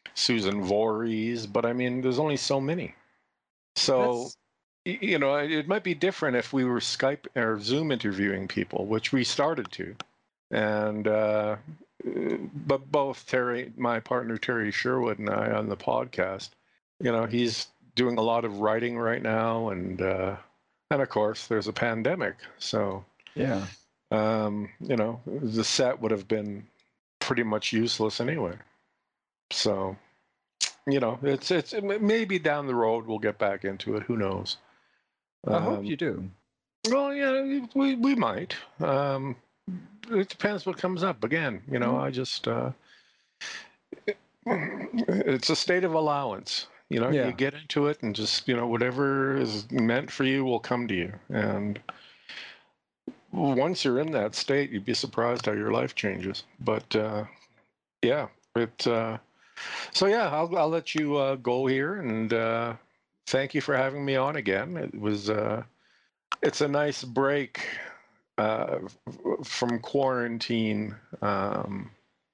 Susan Voorhees, but I mean, there's only so many. So, y- you know, it it might be different if we were Skype or Zoom interviewing people, which we started to. And, uh, uh, but both Terry, my partner Terry Sherwood, and I on the podcast, you know, he's doing a lot of writing right now. And, uh, and of course, there's a pandemic. So, Yeah. um, you know, the set would have been pretty much useless anyway. So, you know, it's it's maybe down the road we'll get back into it. Who knows? I hope Um, you do. well, yeah, we we might. Um, it depends what comes up. Again, you know, I just uh, it's a state of allowance. You know, Yeah. you get into it and just, you know, whatever is meant for you will come to you. And once you're in that state, you'd be surprised how your life changes. But uh, yeah, it. Uh, so yeah, I'll I'll let you uh, go here, and uh, thank you for having me on again. It was uh, it's a nice break uh, f- from quarantine. Um,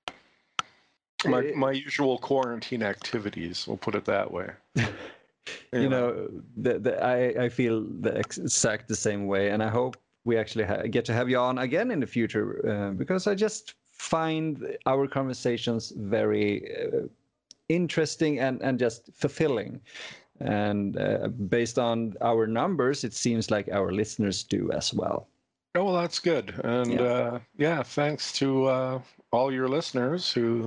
my Eh, my usual quarantine activities. We'll put it that way. you know, the, the, I, I feel the ex- exact the same way, and I hope we actually ha- get to have you on again in the future, uh, because I just find our conversations very uh, interesting and, and just fulfilling. And uh, based on our numbers, it seems like our listeners do as well. Oh, well, that's good. And Yeah. uh, yeah, thanks to uh, all your listeners who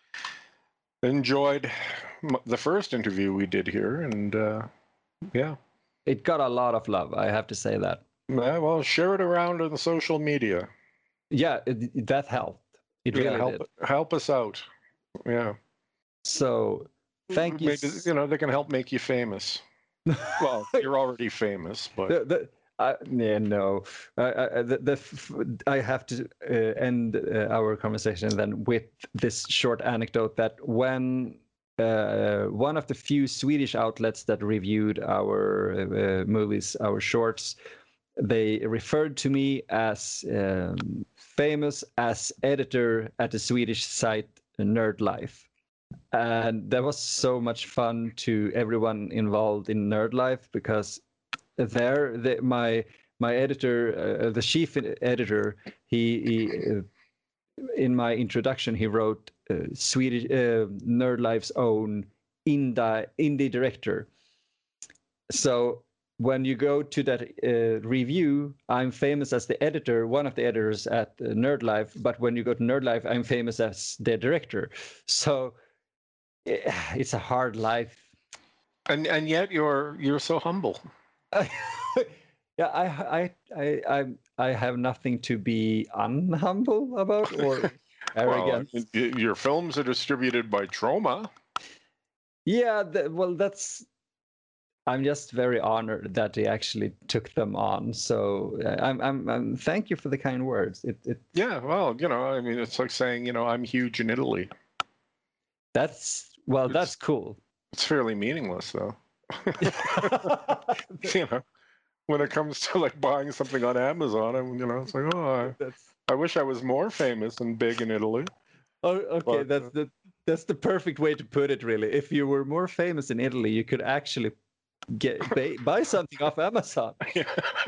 enjoyed m- the first interview we did here. And uh, yeah, It got a lot of love, I have to say that. yeah, well, share it around on social media. Yeah, it, that helped. It Yeah, really help did. help us out. Yeah, So thank you. maybe you know they can help make you famous. Well, you're already famous, but the, the, I, yeah, no, I, I, the, the, f- I have to uh, end uh, our conversation then with this short anecdote that when uh, one of the few Swedish outlets that reviewed our uh, movies, our shorts, they referred to me as um, famous as editor at the Swedish site Nerd Life. And that was so much fun to everyone involved in Nerd Life, because there the, my my editor, uh, the chief editor, he, he uh, in my introduction he wrote uh, Swedish uh, Nerd Life's own indie indie director. So when you go to that uh, review, I'm famous as the editor, one of the editors at uh, Nerd Life. But when you go to Nerd Life, I'm famous as the director. So yeah, it's a hard life. and and yet you're you're so humble. Yeah, I, I, I, I, I have nothing to be unhumble about or Well, I arrogant. mean, y- your films are distributed by Troma. Yeah, th- well, that's. I'm just very honored that they actually took them on. So uh, I'm, I'm, I'm. Thank you for the kind words. It, it. Yeah, well, you know, I mean, it's like saying, you know, I'm huge in Italy. That's well, It's that's cool. it's fairly meaningless, though. You know, when it comes to like buying something on Amazon, I'm, you know, it's like, oh, That's. I, I wish I was more famous and big in Italy. Oh, okay. But That's uh, the. That's the perfect way to put it. Really, if you were more famous in Italy, you could actually get buy, buy something off Amazon. yeah.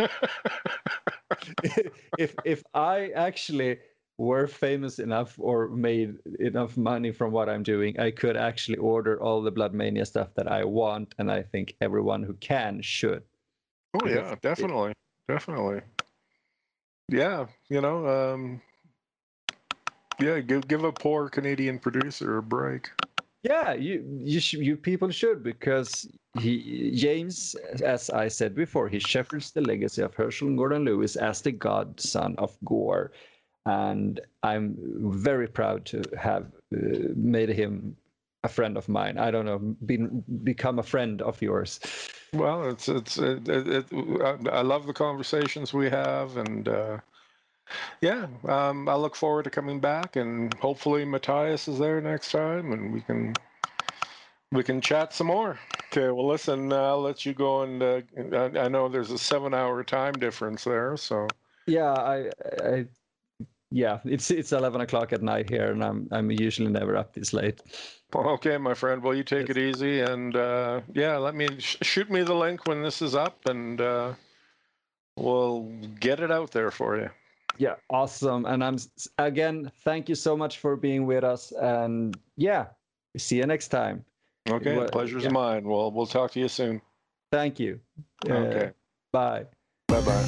if if I actually were famous enough or made enough money from what I'm doing, I could actually order all the Blood Mania stuff that I want, and I think everyone who can should. Oh Because yeah, it, definitely, definitely. Yeah, you know, um, yeah, give give a poor Canadian producer a break. yeah, you you sh- you people should, because he James, as I said before, he shepherds the legacy of Herschel Gordon Lewis as the godson of gore, and I'm very proud to have uh, made him a friend of mine. I don't know, been become a friend of yours. Well, it's it's it, it, it, I I love the conversations we have, and uh, yeah, um, I look forward to coming back, and hopefully Matthias is there next time, and we can we can chat some more. Okay, well, listen, uh, I'll let you go, and uh, I, I know there's a seven-hour time difference there, so Yeah, I I yeah, it's it's eleven o'clock at night here, and I'm I'm usually never up this late. Okay, my friend. Well, you take Yes. it easy, and uh, yeah, let me sh- shoot me the link when this is up, and uh, we'll get it out there for you. Yeah, awesome. And I'm s- again, thank you so much for being with us, and yeah, see you next time. Okay, Well, pleasure's yeah. mine. Well, we'll talk to you soon. Thank you. Okay. Uh, bye. Bye bye.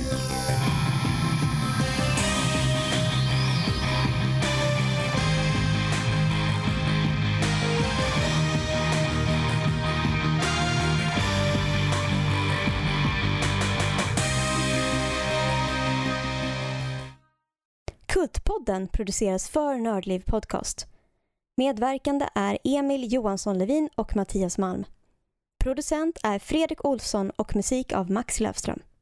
Kultpodden produceras för Nördliv Podcast. Medverkande är Emil Johansson Levin och Mattias Malm. Producent är Fredrik Olsson och musik av Max Löfström.